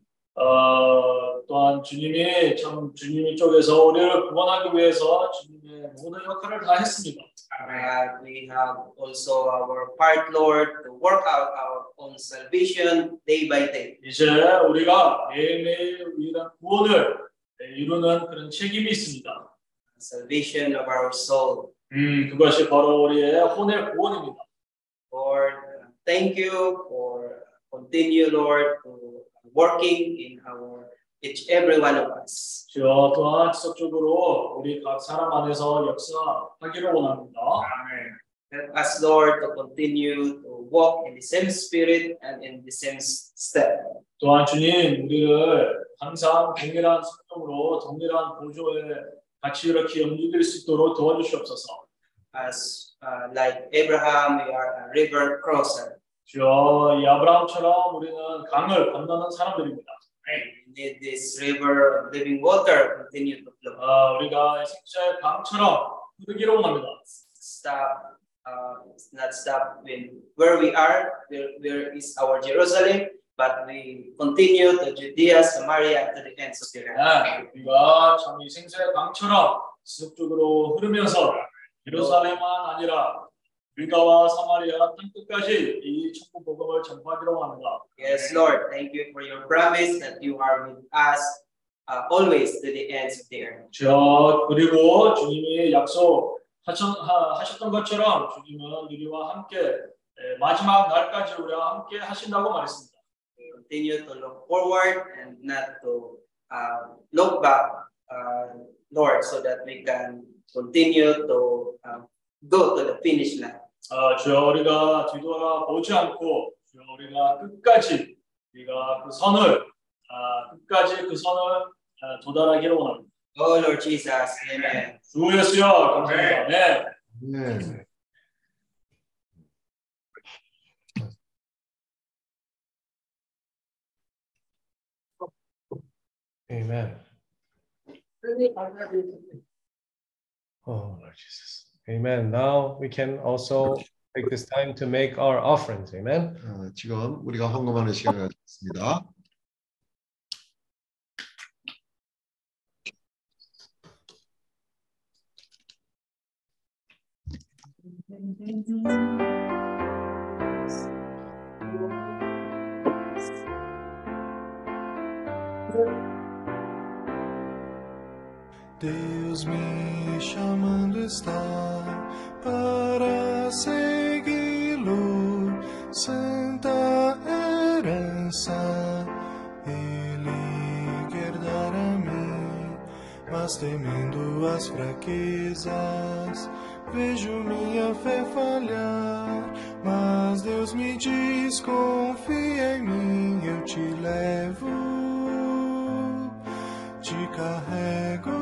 Speaker 2: 또한 주님이 쪽에서 우리를 구원하기 위해서 주님의 모든 역할을 다 했습니다.
Speaker 5: We have also our part, Lord, to work out our own salvation day by day.
Speaker 2: 이제 우리가 매일매일 우리가 구원을 이루는 그런 책임이 있습니다.
Speaker 5: Salvation of our soul.
Speaker 2: 그것이 바로 우리의 혼의 구원입니다.
Speaker 5: Lord, thank you for continue, Lord, to working in each every one of us.
Speaker 2: 주여 또한 지속적으로 우리 각 사람 안에서 역사하기를 원합니다.
Speaker 5: Help us, Lord, to continue to walk in the same spirit and in the same step.
Speaker 2: 또한 주님 우리를 항상 동일한 성령으로 동일한 보조에 같이 이렇게 움직일 수 있도록 도와주시옵소서.
Speaker 5: As like Abraham, we are a river crosser.
Speaker 2: 주여 이 아브라함처럼 우리는 강을 건너는 사람들입니다.
Speaker 5: We need this river of living water continue to flow.
Speaker 2: 우리가 생수의 강처럼 흐르기를 원합니다.
Speaker 5: Not stop where we are, where is our Jerusalem, but we continue to Judea, Samaria, to the ends of the earth.
Speaker 2: 우리가 참 이 생수의 강처럼 지속적으로 흐르면서 예루살렘만 아니라 유다와 사마리아 땅 끝까지 이 천국 복음을 전파하기로 원합니다.
Speaker 5: Yes, Lord, thank you for your promise that you are with us always to the ends of the earth.
Speaker 2: 주여 그리고 주님이 약속하셨던 것처럼 주님은 우리와 함께 마지막 날까지 우리와 함께 하신다고 말했습니다.
Speaker 5: Continue to look forward and not to look back, Lord, so that we can continue to go to the finish line.
Speaker 2: 주여 우리가 뒤돌아보지 않고 주여 우리가 끝까지 우리가 그 선을 끝까지 그 선을 도달하기를 원합니다.
Speaker 5: Oh Lord Jesus, Amen.
Speaker 2: 주 예수여 감사합니다. 네.
Speaker 3: 네. Amen. Oh Lord Jesus. Amen. Now we can also take this time to make our offerings. Amen.
Speaker 9: 지금 우리가 헌금하는 시간을 갖습니다.
Speaker 10: Deus me chamando está para segui-lo, santa herança Ele quer dar a mim, mas temendo as fraquezas, vejo minha fé falhar, mas Deus me diz, confia em mim, eu te levo, te carrego.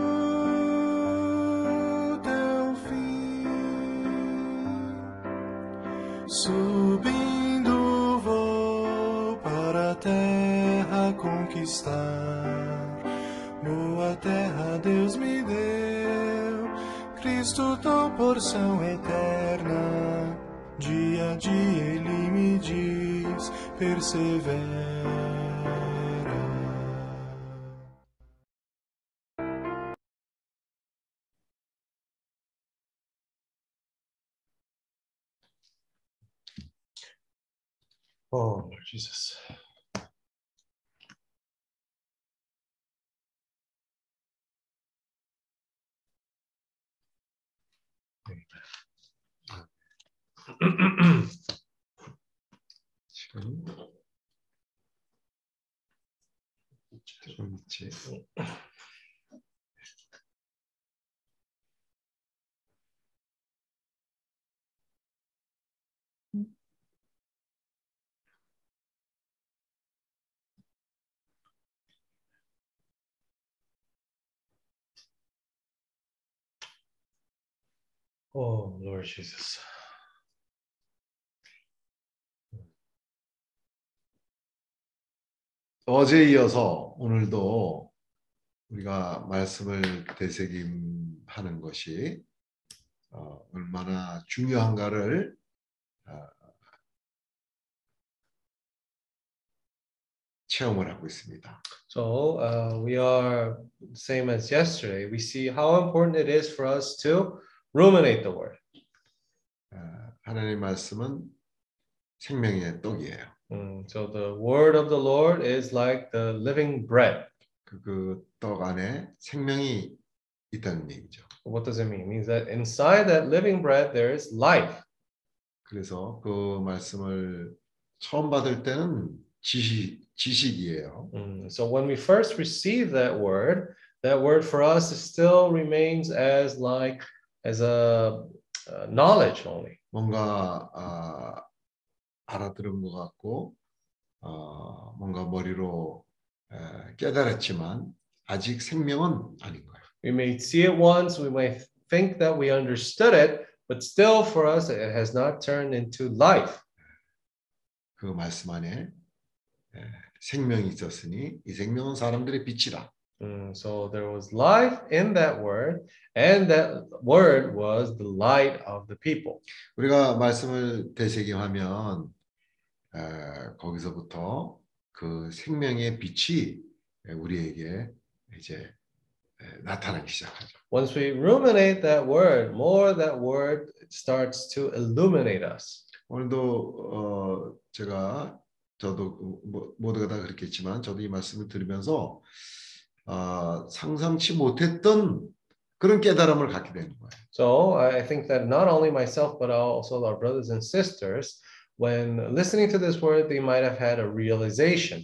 Speaker 10: Subindo vou para a terra conquistar, boa terra Deus me deu, Cristo tua porção eterna, dia a dia Ele me diz, persevera.
Speaker 3: Oh Lord Jesus.
Speaker 9: 지금 조금 있지.
Speaker 3: Oh, Lord Jesus.
Speaker 9: 어제에 이어서 오늘도 우리가 말씀을 되새김하는 것이 얼마나 중요한가를 체험을 하고 있습니다.
Speaker 3: So we are same as yesterday. We see how important it is for us to ruminate the word.
Speaker 9: 하나님의 말씀은 생명의 떡이에요.
Speaker 3: So the word of the Lord is like the living bread.
Speaker 9: 그 떡 안에 생명이 있다는 얘기죠.
Speaker 3: What does it mean? It means that inside that living bread there is life.
Speaker 9: 그래서 그 말씀을 처음 받을 때는 지식이에요.
Speaker 3: So when we first receive that word for us still remains as a knowledge only.
Speaker 9: 뭔가 알아들은 것 같고 뭔가 머리로 깨달았지만 아직 생명은 아닌 거예요.
Speaker 3: We may see it once, we may think that we understood it, but still for us it has not turned into life.
Speaker 9: 그 말씀 안에 생명이 있었으니 이 생명은 사람들의 빛이라.
Speaker 3: So there was life in that word, and that word was the light of the people.
Speaker 9: 우리가 말씀을 되새김하면 거기서부터 그 생명의 빛이 우리에게 이제 나타나기 시작하죠.
Speaker 3: Once we ruminate that word, more that word starts to illuminate us.
Speaker 9: 오늘도 저도 모두가 다 그렇겠지만 저도 이 말씀을 들으면서 상상치 못했던 그런 깨달음을 갖게 되는 거예요.
Speaker 3: So I think that not only myself but also our brothers and sisters, when listening to this word, they might have had a realization.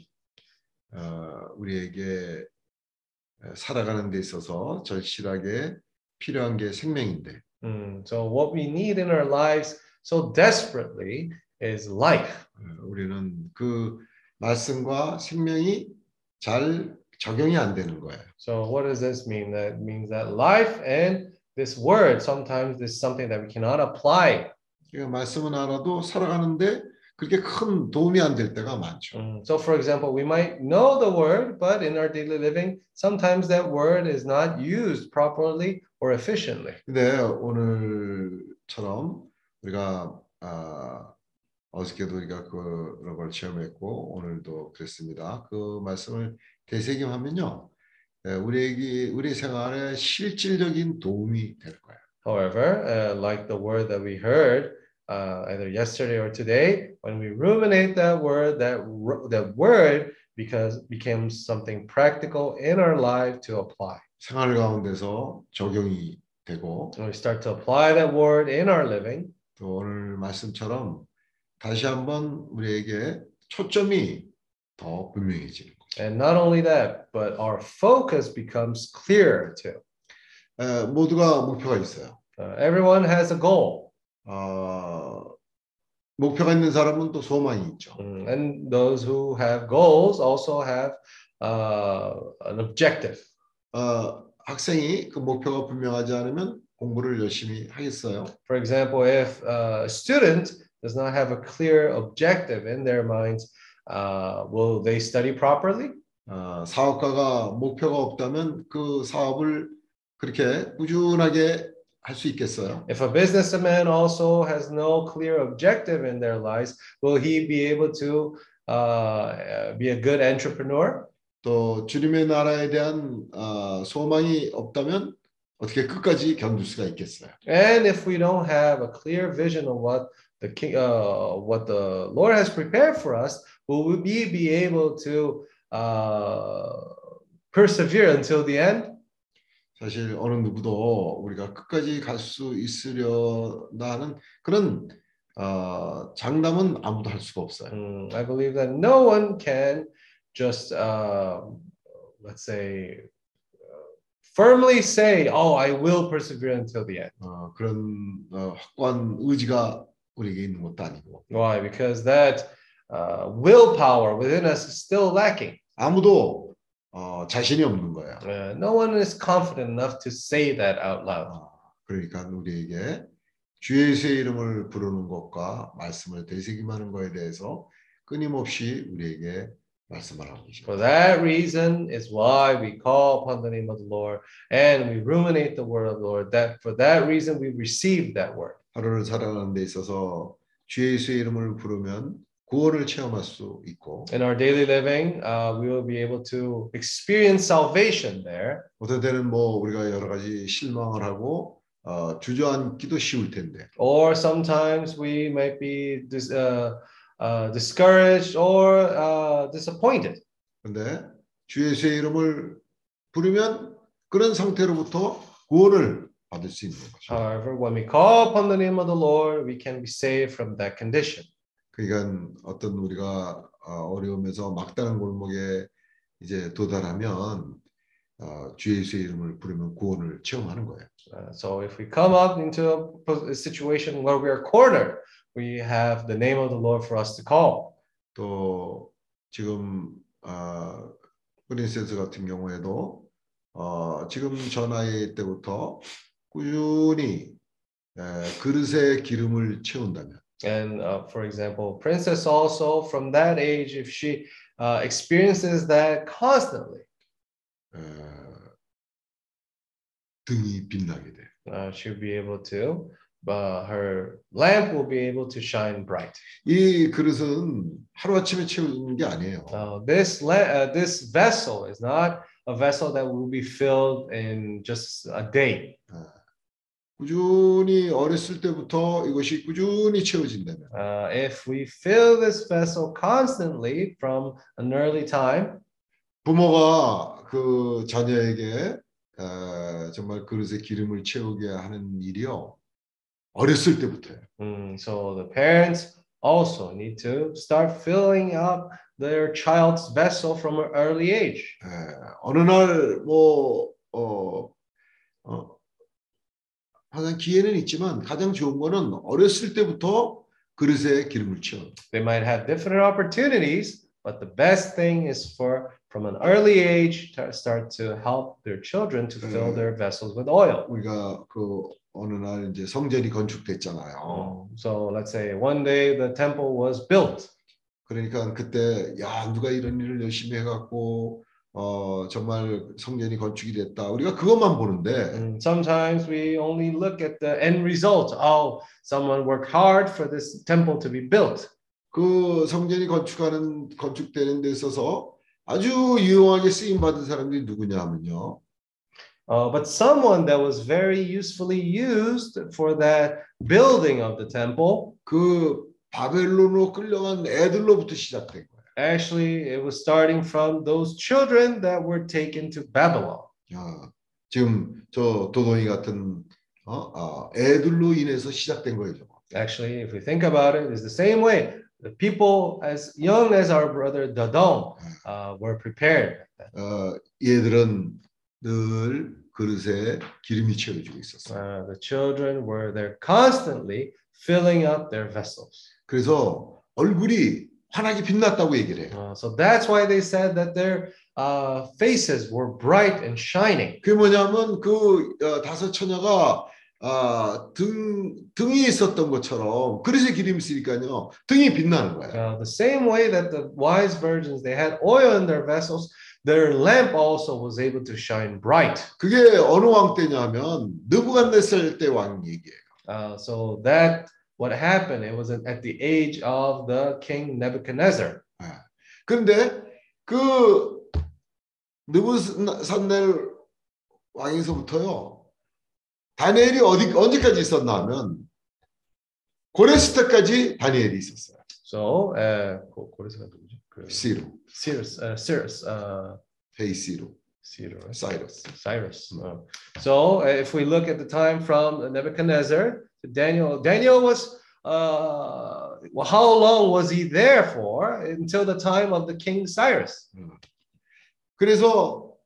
Speaker 9: 우리에게 살아가는 데 있어서 절실하게 필요한 게 생명인데.
Speaker 3: So what we need in our lives so desperately is life.
Speaker 9: 우리는 그 말씀과 생명이 잘 적용이 안 되는 거예요.
Speaker 3: So what does this mean? That means that life and this word sometimes is something that we cannot apply.
Speaker 9: 그러니까 말씀은 알아도 살아가는데 그렇게 큰 도움이 안 될 때가 많죠.
Speaker 3: So for example, we might know the word, but in our daily living, sometimes that word is not used properly or efficiently.
Speaker 9: 근데 오늘처럼 우리가 어저께도 우리가 그런 걸 체험했고 오늘도 그랬습니다. 그 말씀을 되새김하면요, 우리 생활에 실질적인 도움이 될 거예요.
Speaker 3: However, like the word that we heard either yesterday or today, when we ruminate that word becomes something practical in our life to apply.
Speaker 9: 생활 가운데서 적용이 되고,
Speaker 3: When we start to apply that word in our living,
Speaker 9: 또 오늘 말씀처럼 다시 한번 우리에게 초점이 더 분명해지는 거죠.
Speaker 3: And not only that, but our focus becomes clearer too.
Speaker 9: 모두가 목표가 있어요.
Speaker 3: Everyone has a goal.
Speaker 9: 목표가 있는 사람은 또 소망이 있죠.
Speaker 3: And those who have goals also have an objective.
Speaker 9: 학생이 그 목표가 분명하지 않으면 공부를 열심히 하겠어요?
Speaker 3: For example, if a student does not have a clear objective in their minds, will they study properly?
Speaker 9: 사업가가 목표가 없다면 그 사업을 그렇게 꾸준하게 할 수 있겠어요?
Speaker 3: If a businessman also has no clear objective in their lives, will he be able to be a good entrepreneur?
Speaker 9: 또 주님의 나라에 대한 소망이 없다면 어떻게 끝까지 견딜 수가 있겠어요?
Speaker 3: And if we don't have a clear vision of what the Lord has prepared for us, will we be able to persevere until the end?
Speaker 9: 사실 어느 누구도 우리가 끝까지 갈 수 있으려나 하는 그런 장담은 아무도 할 수가 없어요.
Speaker 3: I believe that no one can just, let's say, firmly say, "Oh, I will persevere until the end."
Speaker 9: 그런 확고한 의지가 우리에게 있는 것도 아니고.
Speaker 3: Why? Because that willpower within us is still lacking.
Speaker 9: 아무도 자신이 없는 거예요.
Speaker 3: No one is confident enough to say that out loud.
Speaker 9: 그러니까 우리에게 주 예수의 이름을 부르는 것과 말씀을 되새김하는 것에 대해서 끊임없이 우리에게 말씀하라고 계십니다.
Speaker 3: For that reason is why we call upon the name of the Lord and we ruminate the word of the Lord. That for that reason we receive that word.
Speaker 9: 하루를 살아가는 데 있어서 주 예수의 이름을 부르면 구원을 체험할 수 있고.
Speaker 3: In our daily living, we will be able to experience salvation there.
Speaker 9: 어떤 때는 뭐 우리가 여러 가지 실망을 하고 주저앉기도 쉬울 텐데.
Speaker 3: Or sometimes we might be discouraged or disappointed.
Speaker 9: 그런데 주 예수의 이름을 부르면 그런 상태로부터 구원을 받을 수 있는 거죠.
Speaker 3: However, when we call upon the name of the Lord, we can be saved from that condition.
Speaker 9: 그러니까 어떤 우리가 어려움에서 막다른 골목에 이제 도달하면 주 예수의 이름을 부르면 구원을 체험하는 거예요.
Speaker 3: So if we come up into a situation where we are cornered, we have the name of the Lord for us to call.
Speaker 9: 또 지금 프린세스 같은 경우에도 지금 저 나이 때부터 꾸준히 그릇에 기름을 채운다면.
Speaker 3: And for example, Princess also from that age, if she experiences that constantly,
Speaker 9: 등이 빛나게 돼.
Speaker 3: She'll be able to, her lamp will be able to shine bright.
Speaker 9: 이 그릇은 하루 아침에 채우는 게 아니에요.
Speaker 3: This vessel is not a vessel that will be filled in just a day.
Speaker 9: 꾸준히 어렸을 때부터 이것이 꾸준히 채워진다면.
Speaker 3: If we fill this vessel constantly from an early time,
Speaker 9: 부모가 그 자녀에게 정말 그릇에 기름을 채우게 하는 일이요 어렸을 때부터요.
Speaker 3: So the parents also need to start filling up their child's vessel from an early age.
Speaker 9: 어느 날 항상 기회는 있지만 가장 좋은 거는 어렸을 때부터 그릇에 기름을 채워.
Speaker 3: They might have different opportunities, but the best thing is from an early age to start to help their children to fill their vessels with oil.
Speaker 9: 우리가 그 어느 날 이제 성전이 건축됐잖아요.
Speaker 3: So let's say one day the temple was built.
Speaker 9: 그러니까 그때 야 누가 이런 일을 열심히 해갖고 정말 성전이 건축이 됐다. 우리가 그것만 보는데.
Speaker 3: Sometimes we only look at the end result. Oh, someone worked hard for this temple to be built.
Speaker 9: 그 성전이 건축되는 데 있어서 아주 유용하게 쓰임 받은 사람들이 누구냐 하면요.
Speaker 3: But someone that was very usefully used for that building of the temple.
Speaker 9: 그 바벨론으로 끌려간 애들로부터 시작된 거예요.
Speaker 3: Actually, it was starting from those children that were taken to Babylon.
Speaker 9: 지금 저 도동이 같은 애들로 인해서 시작된 거예요.
Speaker 3: Actually, if we think about it, it's the same way. The people as young as our brother Dodong were prepared.
Speaker 9: 얘들은 늘 그릇에 기름이 채워지고 있었어요.
Speaker 3: The children were there constantly filling up their vessels.
Speaker 9: 그래서 얼굴이 환하게 빛났다고 얘기를 해요.
Speaker 3: So that's why they said that their faces were bright and shining.
Speaker 9: 그게 뭐냐면 그 다섯 처녀가 등이 있었던 것처럼 그릇에 기름이 있으니까요 등이 빛나는 거예요.
Speaker 3: The same way that the wise virgins they had oil in their vessels, their lamp also was able to shine bright.
Speaker 9: 그게 어느 왕 때냐면 느부갓네살 때 왕 얘기예요.
Speaker 3: So that what happened, it was at the age of the king Nebuchadnezzar.
Speaker 9: 그런데 그 느부갓네살 왕에서부터요. 다니엘이 언제까지 있었나 하면 고레스 때까지 다니엘이 있었어요.
Speaker 3: So, 고레스가 누구죠? Cyrus. Cyrus. So, if we look at the time from Nebuchadnezzar to Daniel was how long was he there for until the time of the King Cyrus?
Speaker 9: 그래서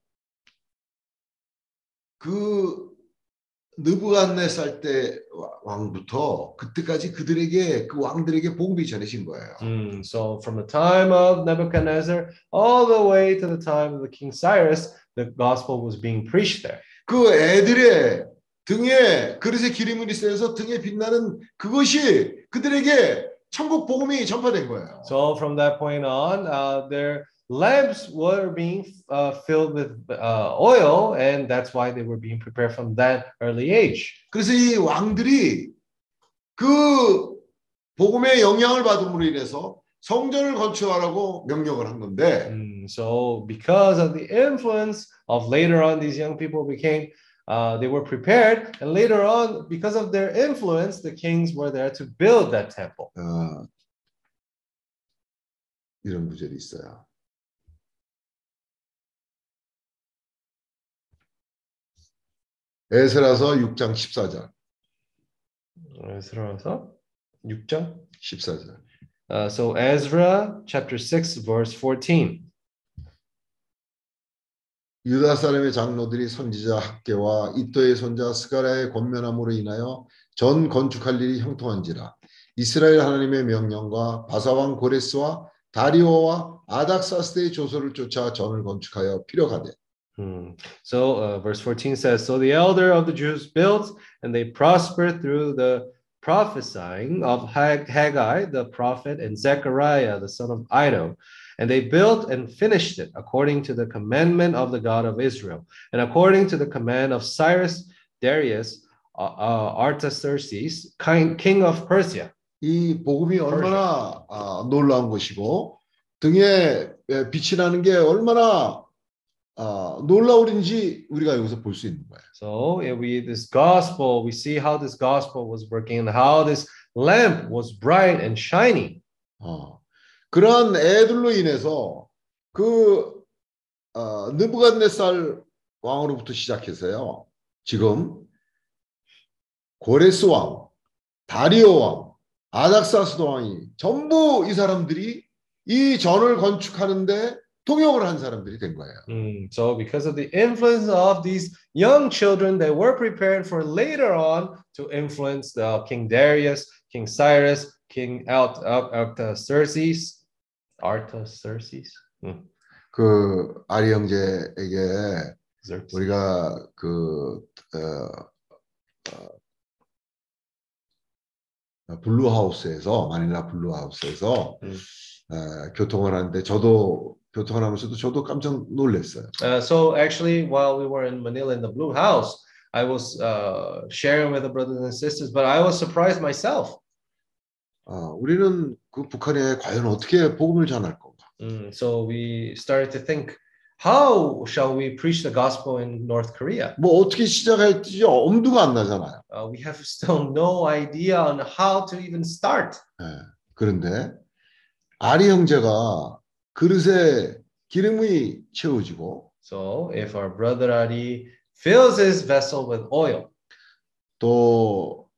Speaker 9: 그 느부갓네살 때 왕부터 그때까지 그들에게 그 왕들에게 복음이 전해진 거예요.
Speaker 3: So from the time of Nebuchadnezzar all the way to the time of the King Cyrus, the gospel was being preached there.
Speaker 9: 그 애들의 등에 그릇에 기름이 있어서 등에 빛나는 그것이 그들에게 천국 복음이 전파된 거예요.
Speaker 3: So from that point on, their lamps were being filled with oil, and that's why they were being prepared from that early age.
Speaker 9: 그래서 이 왕들이 그 복음의 영향을 받음으로 인해서 성전을 건축하라고 명령을 한 건데.
Speaker 3: So because of the influence of later on, these young people became they were prepared, and later on, because of their influence, the kings were there to build that temple.
Speaker 9: 이런 구절이 있어요. 에스라서 6장 14절.
Speaker 3: 에스라서 6장
Speaker 9: 14절.
Speaker 3: So Ezra chapter 6 verse 14.
Speaker 9: 유다 사람의 장로들이 선지자 학계와 이또의 손자 스가랴의 권면함으로 인하여 전 건축할 일이 형통한지라. 이스라엘 하나님의 명령과 바사왕 고레스와 다리오와 아닥사스의 조서를 쫓아 전을 건축하여 피력하되.
Speaker 3: So verse 14 says, so the elder of the Jews built, and they prospered through the prophesying of Haggai the prophet and Zechariah the son of Iddo. And they built and finished it according to the commandment of the God of Israel, and according to the command of Cyrus Darius Artaxerxes, king of Persia.
Speaker 9: 이 복음이 얼마나 놀라운 것이고 등에 빛이 나는 게 얼마나 놀라운지 우리가 여기서 볼 수 있는 거예요.
Speaker 3: So this gospel, we see how this gospel was working and how this lamp was bright and shining.
Speaker 9: 그러한 애들로 인해서 그 느부갓네살 왕으로부터 시작해서요. 지금 고레스 왕, 다리오 왕, 아닥사스도 왕이 전부 이 사람들이 이 전을 건축하는데 통역을 한 사람들이 된 거예요.
Speaker 3: So because of the influence of these young children, they were prepared for later on to influence the King Darius, King Cyrus, King Artaxerxes.
Speaker 9: 그 아리 형제에게 우리가 그 블루하우스에서 마닐라 블루하우스에서 교통을 하는데 저도 교통을 하면서도 저도 깜짝 놀랐어요.
Speaker 3: So actually, while we were in Manila in the Blue House, I was sharing with the brothers and sisters, but I was surprised myself.
Speaker 9: 우리는 그 북한에 과연 어떻게 복음을 전할 건가?
Speaker 3: So we started to think, how shall we preach the gospel in North Korea?
Speaker 9: 뭐 어떻게 시작할지 엄두가 안 나잖아요.
Speaker 3: We have still no idea on how to even start.
Speaker 9: 그런데 아리 형제가 그릇에 기름이 채워지고,
Speaker 3: so if our brother Ari fills his vessel with oil,
Speaker 9: 또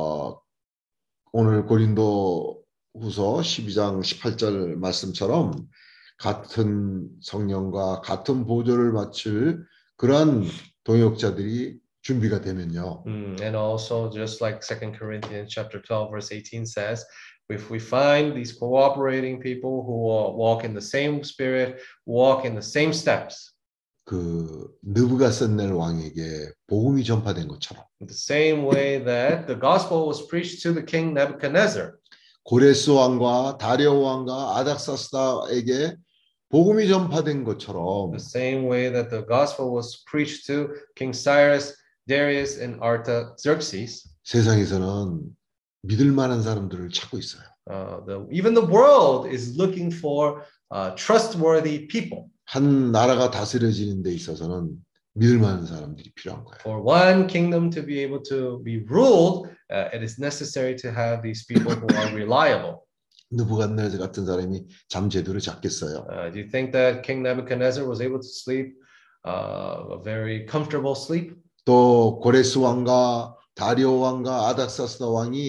Speaker 9: 오늘 고린도 후서 12장 18절 말씀처럼 같은 성령과 같은 보조를 맞출 그러한 동역자들이 준비가 되면요.
Speaker 3: And also just like 2 Corinthians chapter 12 verse 18 says, if we find these cooperating people who walk in the same spirit, walk in the same steps.
Speaker 9: 그 느부갓네살 왕에게 복음이 전파된 것처럼.
Speaker 3: The same way that the gospel was preached to the king Nebuchadnezzar.
Speaker 9: 고레스 왕과 다리오 왕과 아닥사스다에게 복음이 전파된 것처럼.
Speaker 3: The same way that the gospel was preached to King Cyrus, Darius, and Artaxerxes.
Speaker 9: 세상에서는 믿을 만한 사람들을 찾고 있어요.
Speaker 3: Even the world is looking for trustworthy people.
Speaker 9: 한 나라가 다스려지는 데 있어서는 믿을 만한 사람들이 필요한 거예요.
Speaker 3: For one kingdom to be able to be ruled, it is necessary to have these people who are reliable.
Speaker 9: 느부갓네살 같은 사람이 잠 제대로 잤겠어요?
Speaker 3: Do you think that King Nebuchadnezzar was able to sleep a very comfortable sleep?
Speaker 9: 또 고레스 왕과 다리오 왕과 아닥사스다 왕이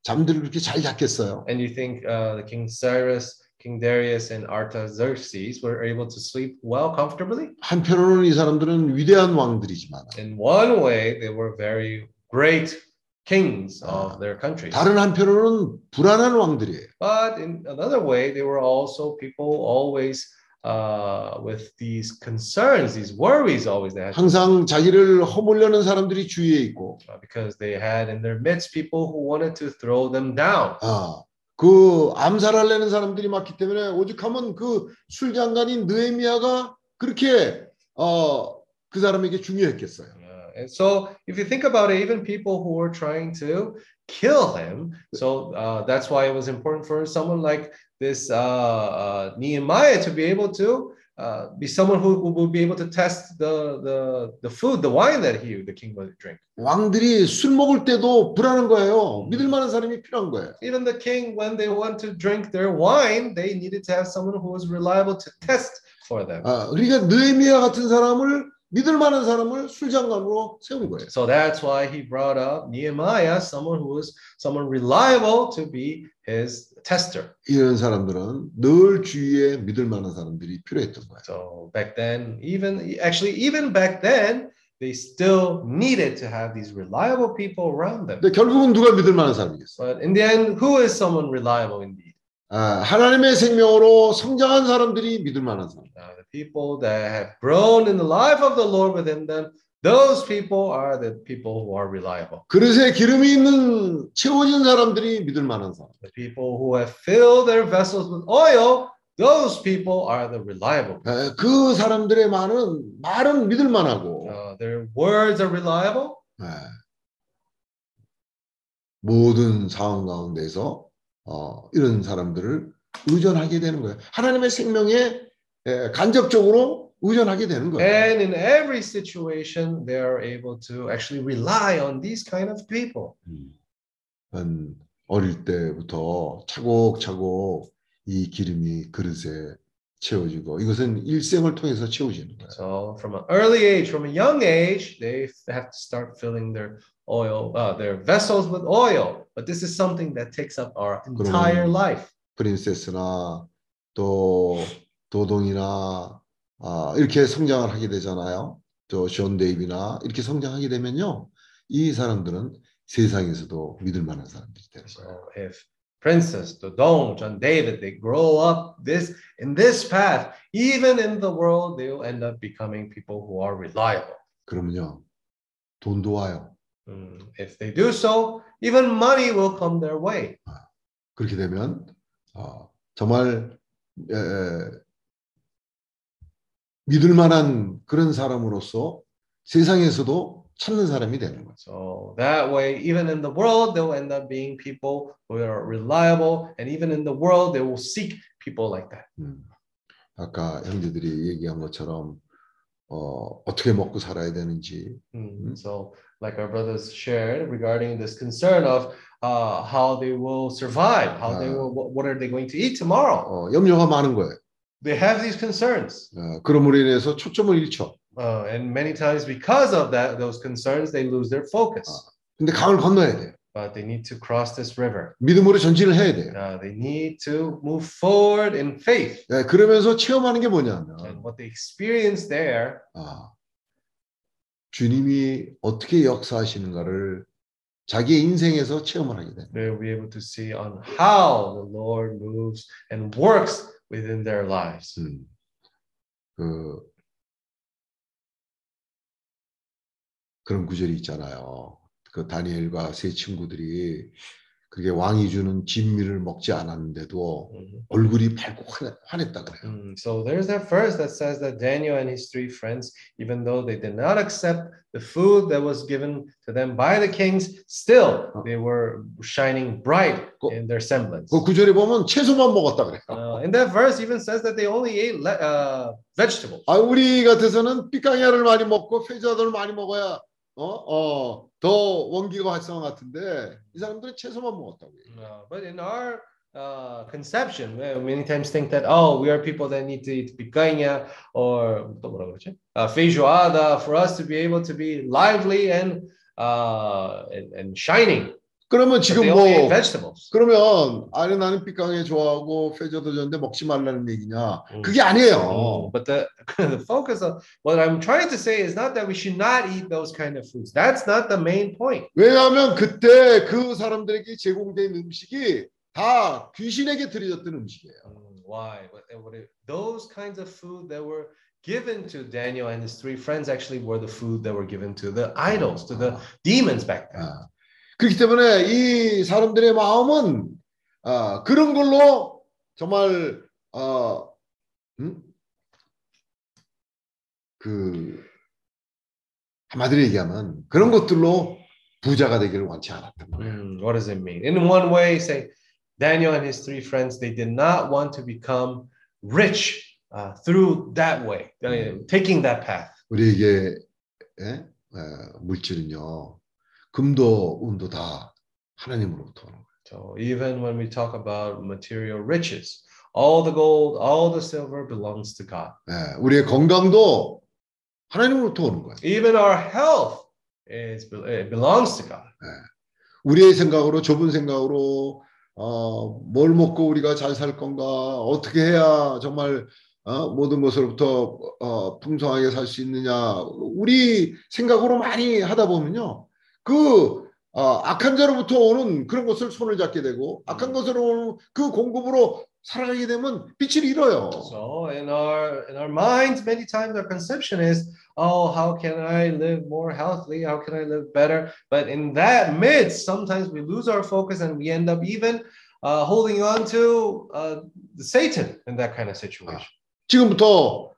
Speaker 9: 잠들을 그렇게 잘 잤겠어요?
Speaker 3: And you think the King Cyrus, King Darius, and Artaxerxes were able to sleep well comfortably?
Speaker 9: 한편으로는 이 사람들은 위대한 왕들이지만
Speaker 3: In one way, they were very great kings of their countries.
Speaker 9: 다른 한편으로는 불안한 왕들이에요.
Speaker 3: But in another way, they were also people always with these concerns, these worries always they had.
Speaker 9: 항상 자기를 허물려는 사람들이 주위에 있고
Speaker 3: Because they had in their midst people who wanted to throw them down.
Speaker 9: 그 암살하려는 사람들이 많기 때문에 오죽하면 그 술장관인 느헤미야가 그렇게 그 사람에게 중요했겠어요.
Speaker 3: And so if you think about it, even people who were trying to kill him, so that's why it was important for someone like this Nehemiah to be able to be someone who would be able to test the food, the wine that the king would drink.
Speaker 9: 왕들이 술 먹을 때도 불안한 거예요. 믿을 만한 사람이 필요한 거예요.
Speaker 3: Even the king, when they want to drink their wine, they needed to have someone who was reliable to test for them.
Speaker 9: 그러니까 느헤미야 같은 사람을 믿을 만한 사람을 술장관으로 세운 거예요.
Speaker 3: So that's why he brought up Nehemiah, someone who was someone reliable to be his tester.
Speaker 9: 이런 사람들은 늘 주위에 믿을 만한 사람들이 필요했던 거예요.
Speaker 3: So back then, even back then, they still needed to have these reliable people around them.
Speaker 9: 근데 결국은 누가 믿을 만한 사람이겠어요?
Speaker 3: But in the end, who is someone reliable indeed?
Speaker 9: 하나님의 생명으로 성장한 사람들이 믿을 만한 사람.
Speaker 3: The people that have grown in the life of the Lord within them, those people are the people who are reliable.
Speaker 9: 그릇에 기름이 있는 채워진 사람들이 믿을 만한 사람.
Speaker 3: The people who have filled their vessels with oil, those people are the reliable.
Speaker 9: 그 사람들의 말은 믿을 만하고.
Speaker 3: Their words are reliable.
Speaker 9: 모든 상황 가운데서 이런 사람들을 의존하게 되는 거예요. 하나님의 생명에 간접적으로 의존하게 되는 거예요.
Speaker 3: And in every situation, they are able to actually rely on these kind of people.
Speaker 9: 어릴 때부터 차곡차곡 이 기름이 그릇에 채워지고 이것은 일생을 통해서 채워지는 거예요.
Speaker 3: So from an early age, from a young age, they have to start filling their oil, their vessels with oil. But this is something that takes up our entire life.
Speaker 9: 프린세스나 또 도동이나 이렇게 성장을 하게 되잖아요. 또 존 데이비나 이렇게 성장하게 되면요, 이 사람들은 세상에서도 믿을 만한 사람들이 되는 거예요.
Speaker 3: So if Princess, Dodong, John David, they grow up in this path, even in the world, they will end up becoming people who are reliable.
Speaker 9: 그러면요, 돈도 와요.
Speaker 3: If they do so, even money will come their way.
Speaker 9: 그렇게 되면 정말 믿을 만한 그런 사람으로서 세상에서도 찾는 사람이 되는 거죠.
Speaker 3: So that way, even in the world, they will end up being people who are reliable, and even in the world, they will seek people like that.
Speaker 9: 아까 형제들이 얘기한 것처럼 어떻게 먹고 살아야 되는지.
Speaker 3: So, like our brothers shared regarding this concern of how they will survive, how they will, what are they going to eat tomorrow?
Speaker 9: 염려가 많은 거예요.
Speaker 3: They have these concerns.
Speaker 9: 그러므로 인해서 초점을 잃죠.
Speaker 3: And many times, because of those concerns, they lose their focus.
Speaker 9: 근데 강을 건너야 돼요.
Speaker 3: But they need to cross this river.
Speaker 9: 믿음으로 전진을 해야 돼요.
Speaker 3: They need to move forward in faith.
Speaker 9: 그러면서 체험하는 게 뭐냐면,
Speaker 3: And what they experience there,
Speaker 9: 주님이 어떻게 역사하시는가를 자기의 인생에서 체험을 하게 됩니다.
Speaker 3: they will be able to see on how the Lord moves and works within their lives.
Speaker 9: 그런 구절이 있잖아요. 그 다니엘과 세 친구들이 그게 왕이 주는 진미를 먹지 않았는데도 얼굴이 밝고 환했다 그래요.
Speaker 3: So there's that verse that says that Daniel and his three friends, even though they did not accept the food that was given to them by the kings, still they were shining bright in their semblance.
Speaker 9: 그 구절에 보면 채소만 먹었다 그래요.
Speaker 3: In that verse even says that they only ate vegetables.
Speaker 9: 우리 같아서는 삐까냐를 많이 먹고 페자들을 많이 먹어야 더 원기가 활성화 같은데 이 사람들은 채소만 먹었다고 해요.
Speaker 3: But in our conception, we many times think that we are people that need to eat picanha or 또 뭐라 그러지? Feijoada for us to be able to be lively and shining.
Speaker 9: 그러면
Speaker 3: But
Speaker 9: 지금
Speaker 3: they
Speaker 9: 뭐
Speaker 3: only ate vegetables.
Speaker 9: 그러면 아니 나는 빛강에 좋아하고 fe저도 좋은데 먹지 말라는 얘기냐? 그게 아니에요.
Speaker 3: But the focus of what I'm trying to say is not that we should not eat those kind of foods. That's not the main point.
Speaker 9: 왜냐하면 그때 그 사람들에게 제공된 음식이 다 귀신에게 드려졌던 음식이에요.
Speaker 3: Why? Those kinds of food that were given to Daniel and his three friends actually were the food that were given to the idols, to the demons back then.
Speaker 9: 그렇기 때문에 이 사람들의 마음은 그런 걸로 정말 그 한마디로 얘기하면 그런 것들로 부자가 되기를 원치 않았던 거예요.
Speaker 3: What does it mean? In one way, say Daniel and his three friends, they did not want to become rich through that way, taking that path.
Speaker 9: 우리에게 물질은요, 금도 은도 다 하나님으로부터 오는 거예요.
Speaker 3: So even when we talk about material riches, all the gold, all the silver belongs to God.
Speaker 9: 우리의 건강도 하나님으로부터 오는 거예요.
Speaker 3: Even our health it belongs to God.
Speaker 9: 우리의 생각으로 좁은 생각으로 뭘 먹고 우리가 잘 살 건가, 어떻게 해야 정말 모든 것으로부터 풍성하게 살 수 있느냐, 우리 생각으로 많이 하다 보면요, 그 악한 자로부터 오는 그런 것을 손을 잡게 되고 악한 것으로 오는 그 공급으로 살아가게 되면 빛을 잃어요.
Speaker 3: So in our minds, many times our conception is, oh, how can I live more healthily? How can I live better? But in that midst, sometimes we lose our focus and we end up even holding on to Satan in that kind of situation.
Speaker 9: 지금부터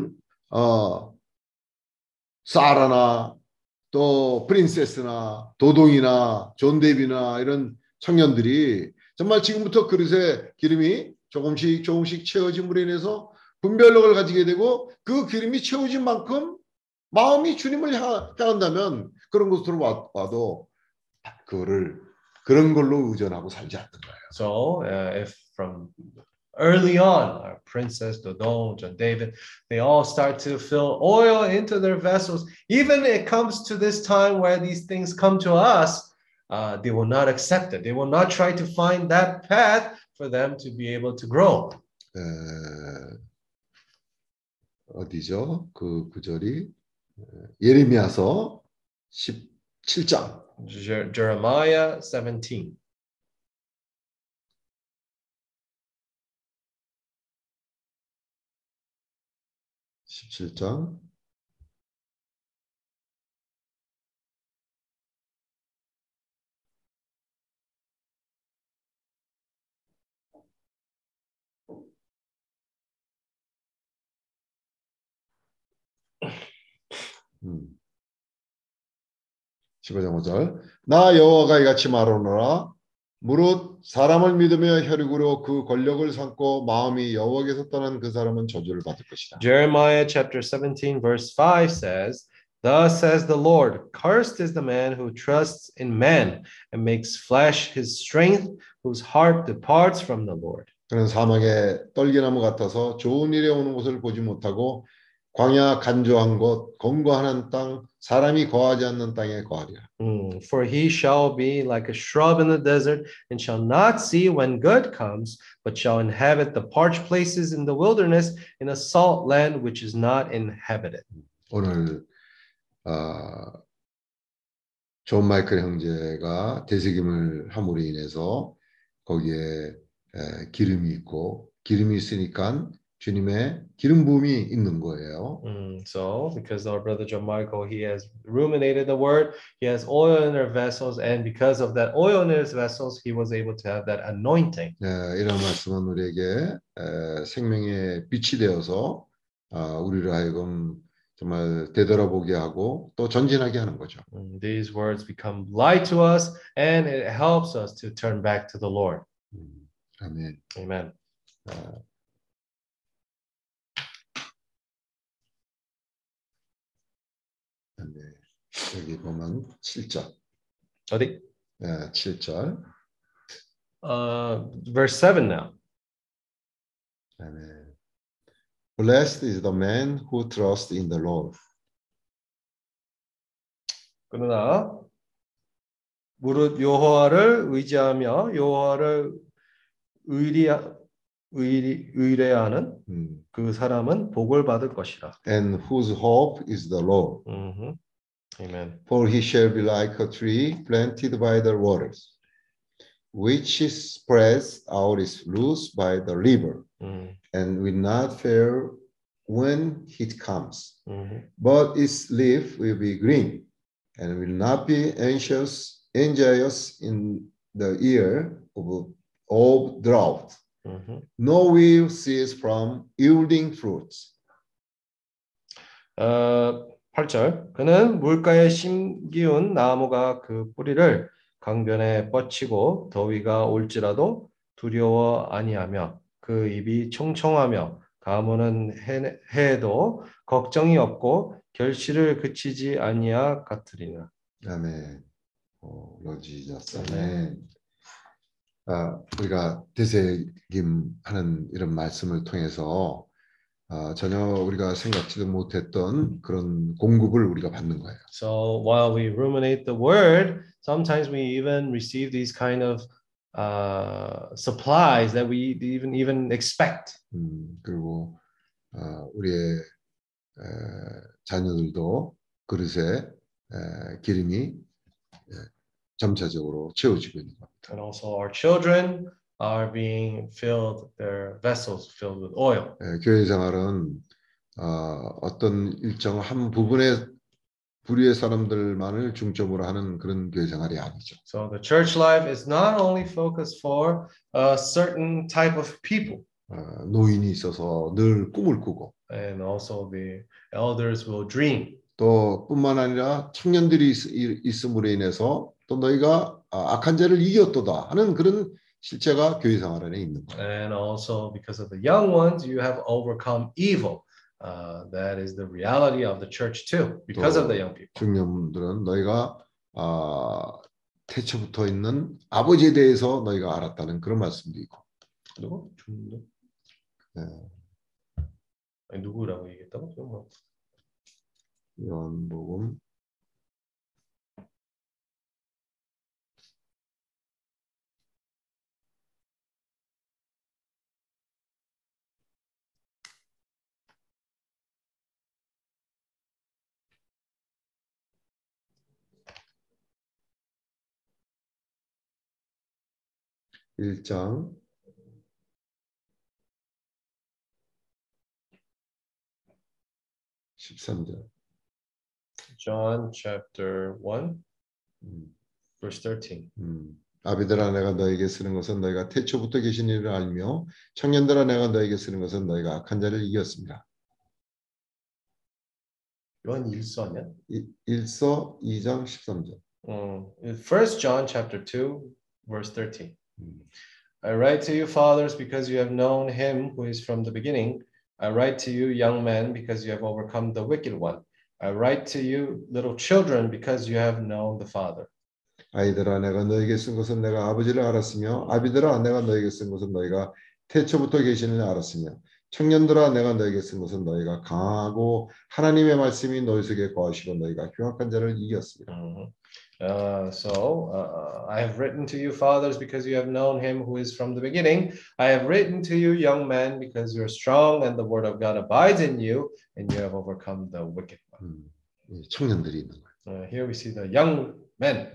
Speaker 9: 사라나 또 프린세스나 도동이나 존 데이비나 이런 청년들이 정말 지금부터 그릇에 기름이 조금씩 채워짐으로 인해서 분별력을 가지게 되고 그 기름이 채워진 만큼 마음이 주님을 향한다면 그런 곳으로 와도 그런 걸로 의존하고 살지 않는 거예요.
Speaker 3: So if from early on, our princess, Dodon, John David, they all start to fill oil into their vessels. Even it comes to this time where these things come to us, they will not accept it. They will not try to find that path for them to be able to grow.
Speaker 9: 어디죠? 그 구절이 예레미야서 17장.
Speaker 3: Jeremiah 17.
Speaker 9: 음. 15장 5절. 나 여호와가 이같이 말하노라. 무릇 사람을 믿으며 혈육으로 그 권력을 삼고 마음이 여호와께서 떠난 그 사람은 저주를 받을 것이다.
Speaker 3: Jeremiah chapter 17 verse 5 says, Thus says the Lord, cursed is the man who trusts in man and makes flesh his strength, whose heart departs from the Lord.
Speaker 9: 그는 사막의 떨기나무 같아서 좋은 일에 오는 곳을 보지 못하고 광야 간조한 곳, 건고하는 땅, 사람이 거하지 않는 땅에 거하리라.
Speaker 3: For he shall be like a shrub in the desert, and shall not see when good comes, but shall inhabit the parched places in the wilderness, in a salt land which is not inhabited.
Speaker 9: 오늘 존 마이클 형제가 되새김을 함으로 인해서 거기에 기름이 있고 기름이 있으니까 주님의 기름 부음이 있는 거예요.
Speaker 3: So, because our brother John Michael, he has ruminated the word, he has oil in their vessels, and because of that oil in his vessels, he was able to have that anointing.
Speaker 9: 이런 말씀은 우리에게 생명의 빛이 되어서 우리를 하여금 정말 되돌아보게 하고 또 전진하게 하는 거죠.
Speaker 3: These words become light to us, and it helps us to turn back to the Lord.
Speaker 9: 아멘.
Speaker 3: Amen.
Speaker 9: 네, 여기 보면 7절.
Speaker 3: 어디?
Speaker 9: 네, 7절.
Speaker 3: Verse 7 now.
Speaker 9: 아멘. Blessed is the man who trusts in the Lord.
Speaker 3: 그러나 무릇 여호와를 의지하며 여호와를 의뢰하는 그 사람은 복을 받을 것이라.
Speaker 9: And whose hope is the Lord.
Speaker 3: Amen.
Speaker 9: For he shall be like a tree planted by the waters, which spreads out its roots by the river, and will not fail when heat comes. But its leaf will be green, and will not be anxious in the year of drought. No will cease from yielding fruits.
Speaker 3: 8절. 그는 물가에 심기운 나무가 그 뿌리를 강변에 뻗치고 더위가 올지라도 두려워 아니하며 그 입이 총총하며 가무는 해에도 걱정이 없고 결실을 그치지 아니하 같으리라.
Speaker 9: 아멘. Lord Jesus. 아멘. 우리가 되새김하는 이런 말씀을 통해서 전혀 우리가 생각지도 못했던 그런 공급을 우리가 받는 거예요.
Speaker 3: So while we ruminate the word, sometimes we even receive these kind of supplies that we even expect.
Speaker 9: 그리고 우리의 자녀들도 그릇에 기름이 점차적으로 채워지고 있는 겁니다.
Speaker 3: And also our children are being filled, their vessels filled with oil.
Speaker 9: 교회 생활은 어떤 일정 한 부분의 부류의 사람들만을 중점으로 하는 그런 교회 생활이 아니죠.
Speaker 3: So the church life is not only focused for a certain type of people.
Speaker 9: 노인이 있어서 늘 꿈을 꾸고.
Speaker 3: And also the elders will dream.
Speaker 9: 또 뿐만 아니라 청년들이 있음으로 인해서 또 너희가 악한 자를 이겼도다 하는 그런 실제가 교회 생활 안에 있는 거예요.
Speaker 3: And also because of the young ones, you have overcome evil. That is the reality of the church too, because of the young people.
Speaker 9: 중년들은 너희가 태초부터 있는 아버지에 대해서 너희가 알았다는 그런 말씀도 있고.
Speaker 3: 누구? 중년?
Speaker 9: 네.
Speaker 3: 아니, 누구라고 얘기했다고?
Speaker 9: 요한복음 1장 13절.
Speaker 3: John chapter 1 verse 13.
Speaker 9: 아비들아 내가 너에게 쓰는 것은 너희가 태초부터 계신 이를 알며 청년들아 내가 너에게 쓰는 것은 너희가 악한 자를 이겼습니다.
Speaker 3: 요한 1서 아니야?
Speaker 9: 1서 2장 13절.
Speaker 3: 1 John chapter 2 verse 13. I write to you fathers because you have known him who is from the beginning. I write to you young men because you have overcome the wicked one. I write to you little children because you have known the Father.
Speaker 9: 아이들아 내가 너에게 쓴 것은 내가 아버지를 알았으며 아비들아 내가 너에게 쓴 것은 너희가 태초부터 계시는 알았으며 청년들아 내가 너에게 쓴 것은 너희가 강하고 하나님의 말씀이 너희 속에 거하시고 너희가 흉악한 자를 이겼습니다.
Speaker 3: I have written to you fathers because you have known him who is from the beginning. I have written to you young men because you are strong and the word of God abides in you and you have overcome the wicked one.
Speaker 9: 청년들이 있는 거예요.
Speaker 3: Here we see the young men.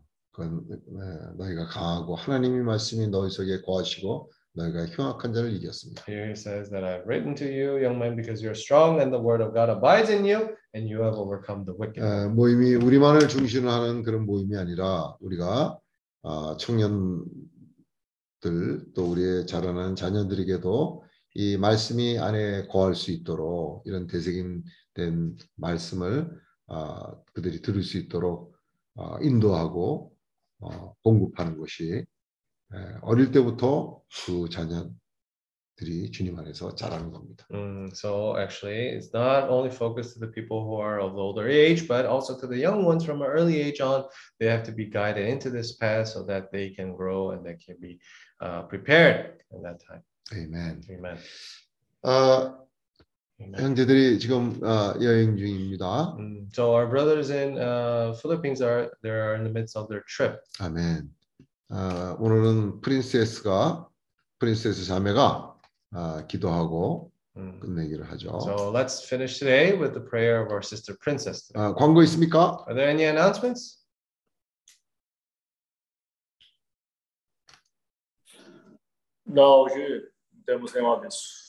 Speaker 9: 너희가 강하고 하나님의 말씀이 너희 속에 거하시고 너희가 흉악한 자를 이겼습니다.
Speaker 3: Here it says that I have written to you, young men, because you are strong and the word of God abides in you, and you have overcome the wicked.
Speaker 9: 모임이 우리만을 중심으로 하는 그런 모임이 아니라 우리가 청년들 또 우리의 자라나는 자녀들에게도 이 말씀이 안에 거할 수 있도록 이런 되새김된 말씀을 그들이 들을 수 있도록 인도하고 공급하는 것이 어릴 때부터 그 자녀들이 주님 안에서 자라는 겁니다.
Speaker 3: So actually, it's not only focused to the people who are of older age, but also to the young ones from an early age on. They have to be guided into this path so that they can grow and they can be prepared in that time.
Speaker 9: Amen.
Speaker 3: Amen.
Speaker 9: 형제들이 지금 여행 중입니다.
Speaker 3: So our brothers in Philippines are in the midst of their trip.
Speaker 9: 아멘. 오늘은 프린세스 자매가 기도하고 끝내기를 하죠.
Speaker 3: So let's finish today with the prayer of our sister Princess.
Speaker 9: 광고 있습니까?
Speaker 3: Are there any announcements?
Speaker 2: No, 是 temos reuniões.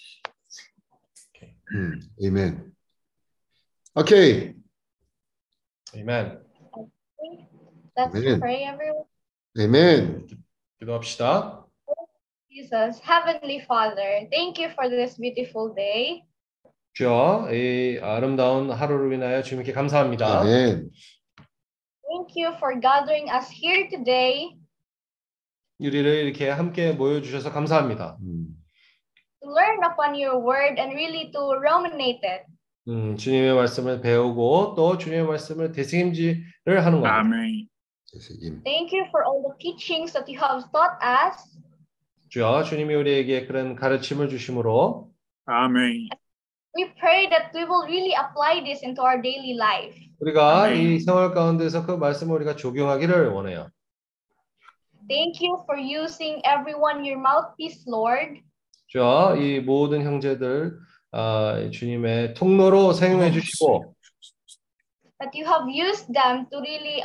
Speaker 9: 아멘. 오케이.
Speaker 3: Amen.
Speaker 11: Let's
Speaker 9: Amen.
Speaker 11: pray, everyone.
Speaker 9: 아멘.
Speaker 3: 기도합시다.
Speaker 11: Jesus, Heavenly Father, thank you for this beautiful day.
Speaker 3: 주여, 이 아름다운 하루를 위하여 주님께 감사합니다.
Speaker 9: 아멘.
Speaker 11: Thank you for gathering us here today
Speaker 3: 우리를 이렇게 함께 모여주셔서 감사합니다.
Speaker 11: to learn upon your word and really to ruminate it.
Speaker 3: 주님의 말씀을 배우고 또 주님의 말씀을 되새김질을 하는 겁니다.
Speaker 1: 아멘.
Speaker 11: Thank you for all the teachings that you have taught us.
Speaker 3: 주여, 주님이 우리에게 그런 가르침을 주심으로
Speaker 1: 아멘.
Speaker 11: We pray that we will really apply this into our daily life.
Speaker 3: 우리가
Speaker 1: 아멘.
Speaker 3: 이 생활 가운데서 그 말씀을 우리가 적용하기를 원해요.
Speaker 11: Thank you for using everyone your mouthpiece, Lord.
Speaker 3: 주여, 이 모든 형제들 주님의 통로로 사용해 주시고
Speaker 11: That you have used them to really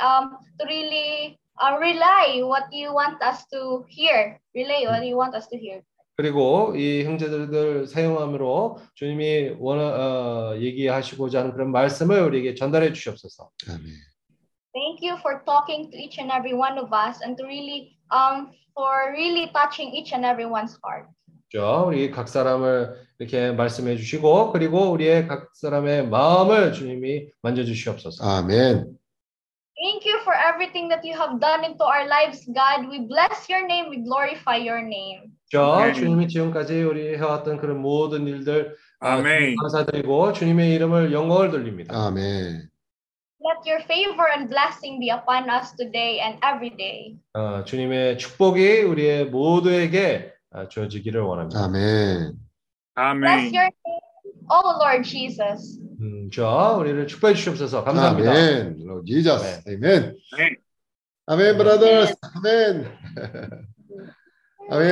Speaker 11: relay what you want us to hear. Relay what you want us to hear.
Speaker 3: 그리고 이 형제들을 사용함으로 주님이 얘기하시고자 하는 그런 말씀을 우리에게 전달해 주시옵소서.
Speaker 9: 아멘.
Speaker 11: Thank you for talking to each and every one of us and to really for really touching each and everyone's heart.
Speaker 3: 우리 각 사람을 이렇게 말씀해 주시고 그리고 우리의 각 사람의 마음을 주님이 만져 주시옵소서.
Speaker 9: 아멘.
Speaker 11: Thank you for everything that you have done into our lives, God. We bless your name. We glorify your name.
Speaker 3: 주님이 지금까지 우리 해왔던 그런 모든 일들
Speaker 1: 아멘.
Speaker 3: 감사드리고 주님의 이름을 영광을 돌립니다.
Speaker 9: 아멘.
Speaker 11: Let your favor and blessing be upon us today and every day.
Speaker 3: 주님의 축복이 우리의 모두에게 주어지기를 원합니다.
Speaker 9: 아멘.
Speaker 11: Bless your name, oh Lord Jesus.
Speaker 3: 주여, 우리를 축복해 주시옵소서. 감사합니다.
Speaker 9: 아멘. Lord Jesus. 아멘. 아멘, brothers. 아멘.